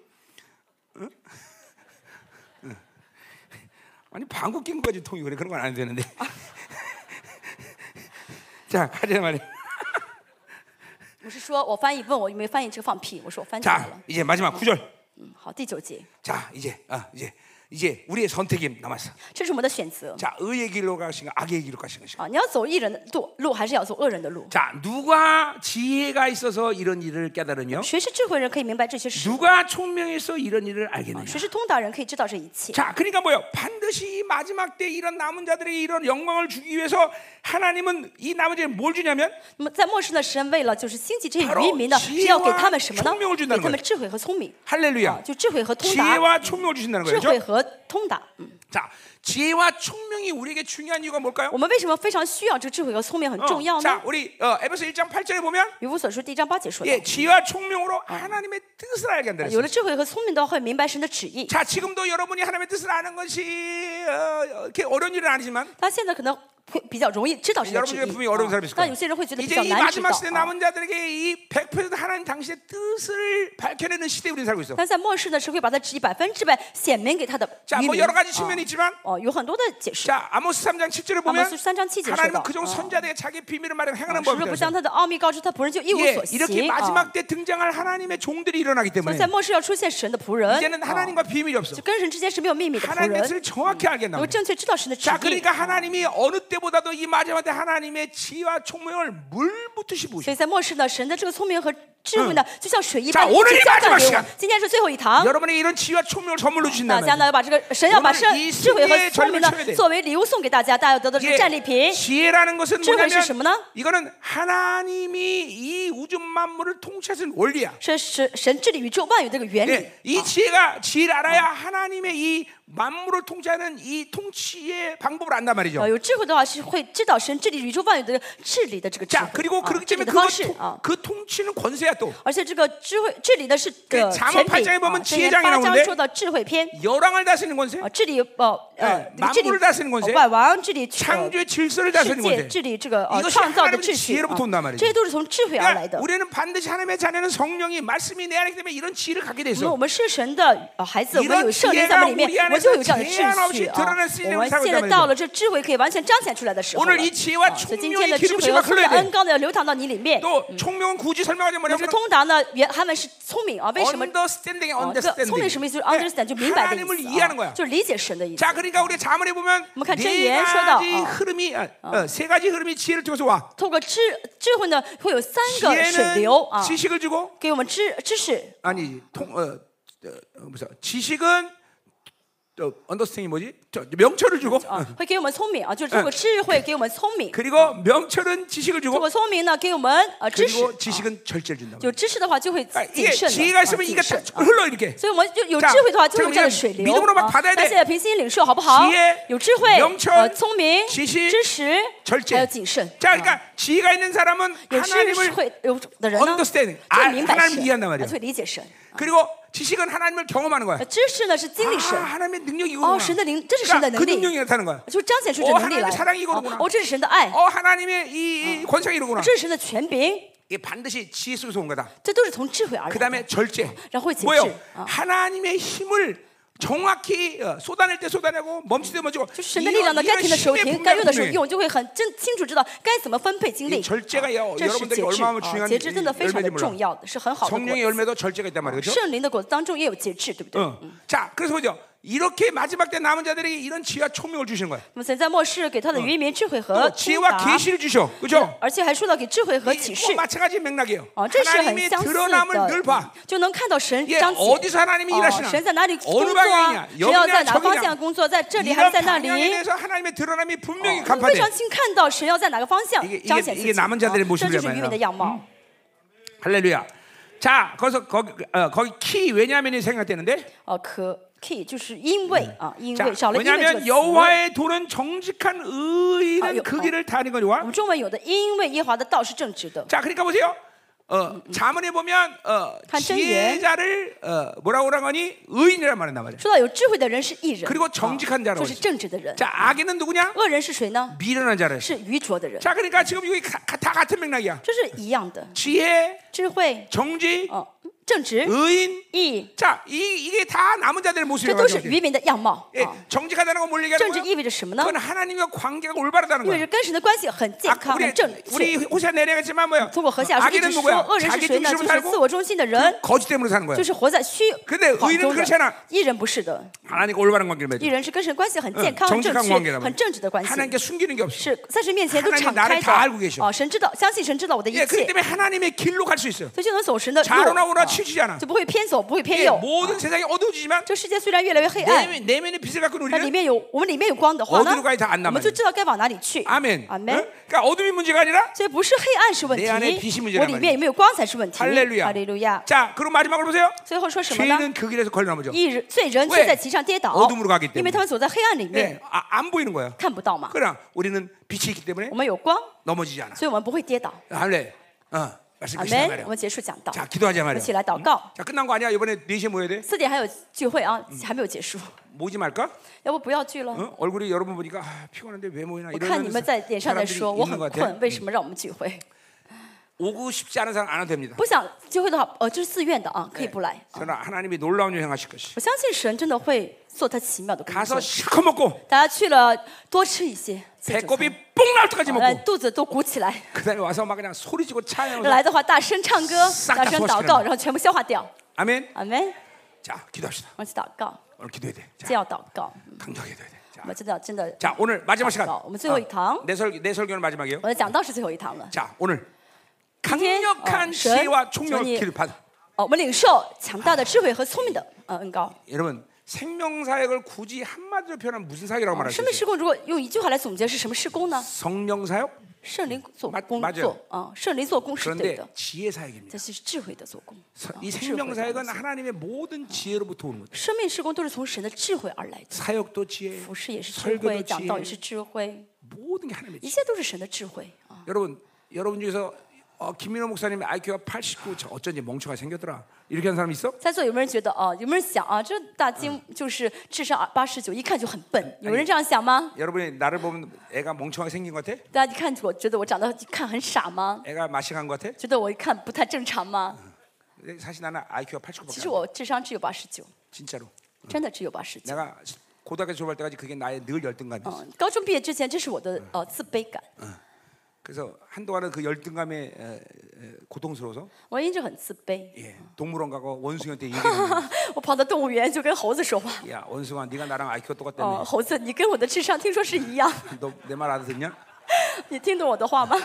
응? 응. 아니 방구 낀 거까지 통역을 해. 그런 건 안 해도 되는데. 자 가자 말이야. 我是说我翻译问我有没有翻译这个放屁，我说我翻译好 자 了。 이제 마지막 구 절. 嗯，好，第九节， 자 이제 아 이제 이제 우리의 선택이 남았어. 这是我们的选择 자 의의 길로 가신가 악의 길로 가신 것인가. 啊！你要走义人的路，路还是要走恶人的路？ 자 누가 지혜가 있어서 이런 일을 깨달으며 谁是智慧人可以明白这些事？ 누가 총명해서 이런 일을 알겠느냐. 谁是通达人可以知道这一切？ 자 그러니까 뭐요? 반드시 마지막 때 이런 남은 자들에게 이런 영광을 주기 위해서 하나님은 이 남은 자에게 뭘 주냐면 那么在末世呢，神为了就是兴起这些 바로 渔民呢，是要给他们什么呢？ 지혜와 총명을 给 준다는 他们 거예요. 智慧和聪明啊， 할렐루야. 就智慧和通达， 지혜와 총명을 주신다는 智 거죠. 慧和通达。嗯， 자 지혜와 총명이 우리에게 중요한 이유가 뭘까요? 我们为什么非常需要这个智慧和聪明很 어, 重要 자 呢？ 우리 어, 에베소 일 장 팔 절에 보면 以弗所书第一章八节说的， 예, 지혜와 총명으로 하나님의 뜻을 알게 한다 有 그랬어요. 了智慧和聪明的话，会明白神的旨意。 자 지금도 여러분이 하나님의 뜻을 아는 것이 어, 이렇게 어려운 일은 아니지만 他现在可能会比较容易知道神的 여러분 旨 중에 意 분명히 어려운 啊 사람이 있을 但 거예요. 有些人会觉得比 이제 较 이 难知道 마지막 시대 啊 남은 자들에게 이 백 퍼센트 하나님 당신의 뜻을 밝혀내는 시대에 우리는 살고 있어. 但在末世呢，是会把他旨意百分之百显明给他的 자 渔 뭐 民 여러 가지 啊 측면이 있지만 哦，有很多的解释。 자 아모스 삼 장 칠 절을 보면 아모스 삼 장 칠 절 하나님은 说到, 그종 어. 선자들에게 자기 비밀을 말하는 행하는 是不是不 법이다. 将他的奥秘告知他仆人，就一无 예, 所 이렇게 行啊？ 마지막 때 등장할 하나님의 종들이 일어나기 所以 때문에 在末世要出现神的仆人， 이제는 啊 하나님과 비밀이 없어. 就跟神之间是没有秘密的仆 하나님의 人， 뜻을 정확히 알게 能 한다. 够正确知道神的旨 자 意。 그러니까 하나님이 어느 때부터 무엇보다도 이 마지막 때 하나님의 지혜와 총명을 물 붓듯이 所 부으셔. 以在末世呢，神的这个聪明和智慧呢，就像水一 자 般一 오늘이 起浇灌 마지막 给我 시간 们。今天是最后一堂， 여러분에게 이런 지혜와 총명을 선물로 大 주신다는 家呢要把这个神要把圣 오늘 이 智慧和 승리의 聪明呢 전림을 쳐야 돼 作为礼物送给大家，大家要得到这个战利品。 지혜라는 것은 智慧是什么呢？ 뭐냐면 이거는 하나님이 이 우주 만물을 통치하신 원리야. 是神神治理宇宙万有这个原理。 네, 이 지혜가 지혜를 알아야 하나님의 이 만물을 통치하는 이 통치의 방법을 안단 말이죠. 呃，有智慧的话是会知道神治理宇宙万有的治理的这个智 자 慧， 그리고 啊 그렇기 治理 때문에 的 그거 方式 통- 啊。 그 통치는 권세야 또. 而且这个智慧治理的是 그 呃 잠언 权 팔 柄 장에 보면 啊， 지혜 箴言 장이 八章 나오는데 说到智慧篇 열왕을 다스리는 권세, 啊，治理呃呃 네 这个治理 만물을 다스리는 권세, 呃万王治理呃 창조의 질서를 世 다스리는 界 권세. 治理这个呃 이것이 创造的 하나님의 秩序 지혜로부터 啊 온단 말이죠. 这些都是从智慧而来 그러니까 的。 우리는 반드시 하나님의 자녀는 성령이 말씀이 내 안에 있기 때문에 이런 지혜를 갖게 돼 那 있어. 我们是神的呃孩子，我们 이런 有圣灵在我们里 지혜가 面 우리 ， 我们就有这样的 안에서 제한 秩 없이 序啊。 드러날 수 있는 我们 삶을 现在 살고 到 있단 了这智慧可以完全彰显出来的时候了 오늘 이 지혜와 啊所以今 총명의 天的智 기름 慧 부심을 和丰 흘러야 的 돼. 恩高的流淌到你里面。 또 총명은 굳이 설명하지 可是 뭐냐면 通达呢，原他们是聪明啊，为什么？ understanding, 啊，这个聪明 understanding. 什么意思？就是 네, understand 就明白的 하나님을 意思 이해하는 啊 거야. ， 就是理解神的意思。 자, 그러니까 우리 자문에 보면 뭐看 네 箴言说到, 가지 어. 흐름이 아, 어, 세 가지 흐름이 지혜를 통해서 와. 透过智智慧呢，会有三个水流 지혜는 啊， 지식을 주고 给我们知知识。 아니 통 어, 어, 어 무슨 지식은 저 언더스탠딩이 뭐지? 저 명철을 주고 啊，会给我们聪明啊，就是透过智慧给我们聪明， 그리고 명철은 지식을 透 주고 过聪明呢给我们呃知识。 그리고 지식은 절제를 준다. 有知识的话就会 아, 谨 이게 慎的， 지혜가 啊 있으면 谨 이게 慎 다 。 흘러 이렇게. 所以我们就有 자 智慧的话，就 자 有这样的 우리는 水流 믿음으로만 啊。 받아야 那 돼 现在凭信心领受好不好 지혜 ？ 有智慧、 명철 呃聪明、 지식 知识， 절제. 还有谨慎。 자, 그러니까 지혜가 있는 사람은 有智 하나님을 慧有的人呢， understanding 就会 아, 明白 하나님 神， 이해한단 말이야. 就会理解神。 그리고 지식은 하나님을 경험하는 거야. 呃知识呢是经历神 아, ， 하나님의 능력이 哦， 이거구나. 神的灵，这是神的 그러니까 그 能力， 능력이 나타나는 거야. 就彰显出这 어 能力 하나님의 来。 사랑이 이거구나. 哦，这是神的爱， 어 하나님의 이, 이 권세가 이거구나. 这是神的权柄， 이게 반드시 지혜 속에서 온 거다. 这都是从智慧而来 그 的。 다음에 절제. 然后会节 뭐요? 制啊， 하나님의 힘을 정확히 어, 쏟아낼 때 쏟아내고 멈출 때 멈추고. 就是神的力量呢，该停的时候 힘의 停，该用的时候 분명히 用，就会很真清楚知道该怎么分配精 이 力。 절제가 여, 这是 여러분들이 节制 얼마나 啊， 중요한 节制真的非常的 열매인지 重 몰라. 要的，是很好的果 성령의 子。 열매도 절제가 있단 말이죠. 圣灵的果子当中也有节制，对不对？ 어. 자, 그래서 보죠. 이렇게 마지막 때 남은 자들에게 이런 지혜와 총명을 주시는 거예요. 那么神在末世给他的渔民智慧和 또 通 지혜와 达， 계시를 주셔. 그죠? 而且还说到给智慧和启 이 示 꼭 。 마찬가지 맥락이에요. 哦，这是很 하나님의 相似 드러남을 늘 的 봐. ， 就能看到神 예, 彰显。 어디서 하나님이 哦 일하시나? 神在哪里工 어느 作 방향이냐? 啊？神要在 여기냐 哪方 저기냐? 向工作？在这里还是 이런 在那 방향에 里？ 대해서 하나님의 드러남이 분명히 非 간파돼. 常清看到神要在哪个方向 이게 이게 彰显自 이게 己。 남은 자들의 啊 모습이란 这就是渔民的 말이야. 样貌。 할렐루야. 자, 거기서 거기 어, 거기 키 왜냐면이 생각되는데. 哦，可 key 就是因为啊，因 자, 为少了因为这个 왜냐하면 词。 여호와의 도는 정직한 의인은 아, 여- 그 어. 길을 다니는 我 거니와. 们中文有的，因为耶和华的道是正直的。 자, 그러니까 보세요. 어, 자문에 보면 어, 한箴言. 지혜자를 어, 뭐라고 그러니 의인이란 말이란 말이야. 说到有智慧的人是义人， 그리고 정직한 啊 자라고 就是 그랬어. 正直的人。 자, 악인은 누구냐? 恶人是谁呢？ 미련한 자를. 是愚拙的人， 자, 그러니까 지금 여기 가- 다 같은 맥락이야. 这是一样的。 지혜, 智慧， 정직, 哦，正直、 의인. 义， 자, 이, 이게 다 남은 자들의 这 모습이라고 都是 하죠. 渔民的样貌 예, 啊。 정직하다는 건 뭘 正 얘기하는 直 거야? 意味着什么呢？ 그건 하나님과 관계가 올바르다는 意味 거야. 着跟神的关系很健 아, 康、 우리 很正 우리 确。 호세 내려갔지만 뭐야? 通过何下书一 악인은 直说， 누구야? 恶人是 자기 谁呢？ 중심으로 就是自 살고 我中心的人， 거짓 때문에 사는 거야. 就是活在虚 근데 谎 의인은 中 그렇지 的 않아. 。 义人不是的， 하나님과 올바른 관계를 맺어. 义人是跟神关系很健康、 응 很正 정직한 确、 관계란 很 말이야. 正直的关系。 하나님께 숨기는 게 없어. 是在神面前都 하나님 敞 나를 开 다 的 알고 계셔 哦，神知道，相信神知道我的一 예, 그렇기 切， 때문에 하나님의 길로 갈 수 있어. 所以就能走神的路， 좌로나 우로나 啊 치우치지 않아. 就不会偏左，不会偏 예, 右。 모든 세상이 어두워지지만 这世界虽然越来越黑暗， 내면, 내면의 빛을 갖고 있는 但里 우리는 面有我们里面有光的话呢， 어디로 가야 다 안단 我们就 말이야. 知道该往哪里去。 아멘. 阿门 응? 그러니까 어둠이 문제가 아니라 所以不是黑暗是问 내 안에 빛이 题， 문제란 我里面有没有光才是问题。 할렐루야. 哈利路亚。 자, 그리고 마지막으로 보세요. 最后说什么呢？ 죄인은 그 길에서 걸려넘어져. 义人罪人 왜 却在其上跌倒 어둠으로 가기 ， 因为 때문에. 他们走在黑暗里 예, 面， 아, 안 보이는 거야. 看不到嘛。 그러나 우리는 빛이 있기 때문에 我们有光， 넘어지지 않아. 所以我们不会跌倒。 할래. 어, 말씀 阿 끝이다 门。 말이야. 我们结束讲道， 자, 기도하자 我们 말이야. 一起来祷告。 자, 끝난 거 아니야? 이번에 네 시에 모여야 돼? 四点还有聚会啊，还没有结束， 모지 말까? 要不不要聚了？ 어? 얼굴이 여러분 보니까 아, 피곤한데 왜 모이나 我看你 이런 们在脸上在 사람들이 说我 있는 很 것 같아. 困，为什么让我们聚会？ 오고 싶지 않은 사람 안 와도 됩니다. 不想聚会的话，呃，这是自愿的啊，可以不来。 저는 하나님이 놀라운 일 행하실 것이. 我相信神真的会做他奇妙的工 가서 作。 실컷 먹고 大家去了多吃一些，谢主 배꼽이 뽕 나올 때까지 来 먹고 肚子都鼓起来。 그다음에 와서 막 그냥 소리지고 찬양하면서 来的话大声唱歌， 싹다 大声 소화시키는 祷告，然后全部消化掉。 아멘. 阿门。 자, 기도합시다. 我们一起祷告， 오늘 기도해야 돼. 这 자, 要祷告， 강력해야 돼. 我们真的真的。 자, 오늘 마지막 시간. 我们最后一堂， 내 설 내 설교는 마지막이에요. 我的讲道是最后一堂了。 자, 오늘 今天 강력한 呃神 지혜와 求 총명을 你 기를 받. 哦，我们领受强大的智慧和聪明的呃恩膏。 여러분 생명 사역을 굳이 한마디로 표현하면 무슨 사역이라고 말할 수 生命 있어요? 事工如果用一句话来总结是什么事工呢？ 성령 사역? 圣灵做 맞 工 맞아요 作啊，圣灵做工是对 그런데 的， 지혜 사역입니다. 这是智慧的做工。 서- 啊 이 智慧 생명 的 사역은 工作 하나님의 모든 지혜로부터 오는 거죠. 生命事工都是从神的智慧而来的， 사역도 지혜, 服饰也是智 설교도 慧，讲道 지혜, 也是智慧， 모든 게 하나님의 一 지혜. 切都是神的智慧啊。 여러분, 여러분 중에서 어, 김민호 목사님의 아이큐가 팔십구, 저 어쩐지 멍청하게 생겼더라. 이렇게 하는 사람 있어? 在座有没有人觉得啊？有没有人想啊？这大金就是智商八十九，一看就很笨，有人这样想吗？ 여러분이 나를 보면 애가 멍청하게 생긴 것 같아? 大家一看我觉得我长得一看很傻吗？ 애가 마식한 것 같아? 觉得我一看不太正常吗？ 사실 나는 아이큐가 팔십구밖에 其实 안 돼. 我智商只有八十九， 진짜로. 真的只有八十九。 내가 고등학교 졸업할 때까지 그게 나의 늘 열등감이었어. 嗯，高中毕业之前，这是我的呃自卑感， 그래서 한동안은 그 열등감에 에, 에, 고통스러워서 我一直很自卑。 예, 동물원 가고 원숭이한테 얘기했는데 我跑到动物园就跟猴子说话， 야 원숭아 네가 나랑 아이큐가 哦， 똑같다며 猴子，你跟我的智商听说是一样， 너 내 말 알아듣냐? 你听懂我的话吗？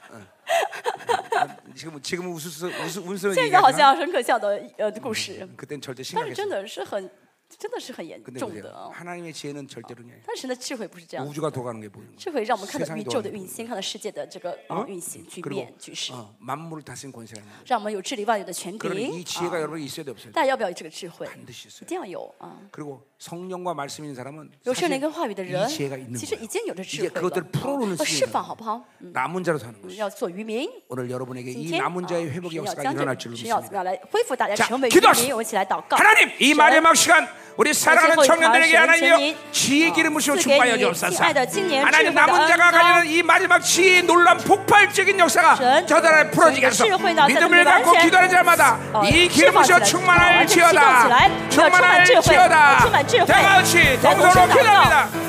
지금 지금 웃으면서 웃으 웃으면서 现在好 얘기하지만 像很可笑的呃故事， 그땐 절대 但是真 심각했어. 的是很，真的是很严 근데 重的 보세요. 啊。 하나님의 지혜는 절대로 아니에요. 但是神的智慧不是这样子， 우주가 돌아가는 게 보이는 거예요. 智慧让我们看到 세상이 宇宙的 돌아가는 运行，看到世界的这个啊运行局 그리고 面局势， 어, 만물을 다스린 권세가 있는 거예요. 让我们有治理万有的权 그러니 柄 이 지혜가 啊。 여러분이 있어야 돼 없어요? 大家要不要有这个智慧？ 반드시 一 있어요. 定要有啊！ 그리고 성령과 말씀 있는 사람은 有圣 사실 灵跟话语的人 이 ， 지혜가 있는 其实 거예요. 已经有着智 이제 慧 그것들을 了， 풀어놓는 要释放 시기예요. 好不好？ 남은 자로 사는 嗯 것이. 要做渔民。 오늘 여러분에게 今 이 天 남은 啊 자의 회복의 神要 역사가 将 일어날 这 줄을 神要怎么 믿습니다. 样来恢复大家 자 成为渔 기도하시오 民？我们一起来祷告。 하나님 이 神 마지막 시간 우리 사랑하는 청년들에게 하나님여 지혜 기름 부시고 赐给 축복하여 你 주옵소서. 亲爱的青年智慧 하나님 的 남은 恩 자가 膏。 가지는 이 마지막 지혜의 놀란 폭발적인 역사가 神 저들을 풀어지게 하소서. 智慧呢，在这里 믿음을 完 갖고 全 기도하는 자마다 呃 이 释 기름 放起 부시고 来， 충만할 完全启动起 지어다 来，要充满智慧， 충만할 要充 지어다 满智慧， 다 같이 来同声 동서로 祷告。 기도합니다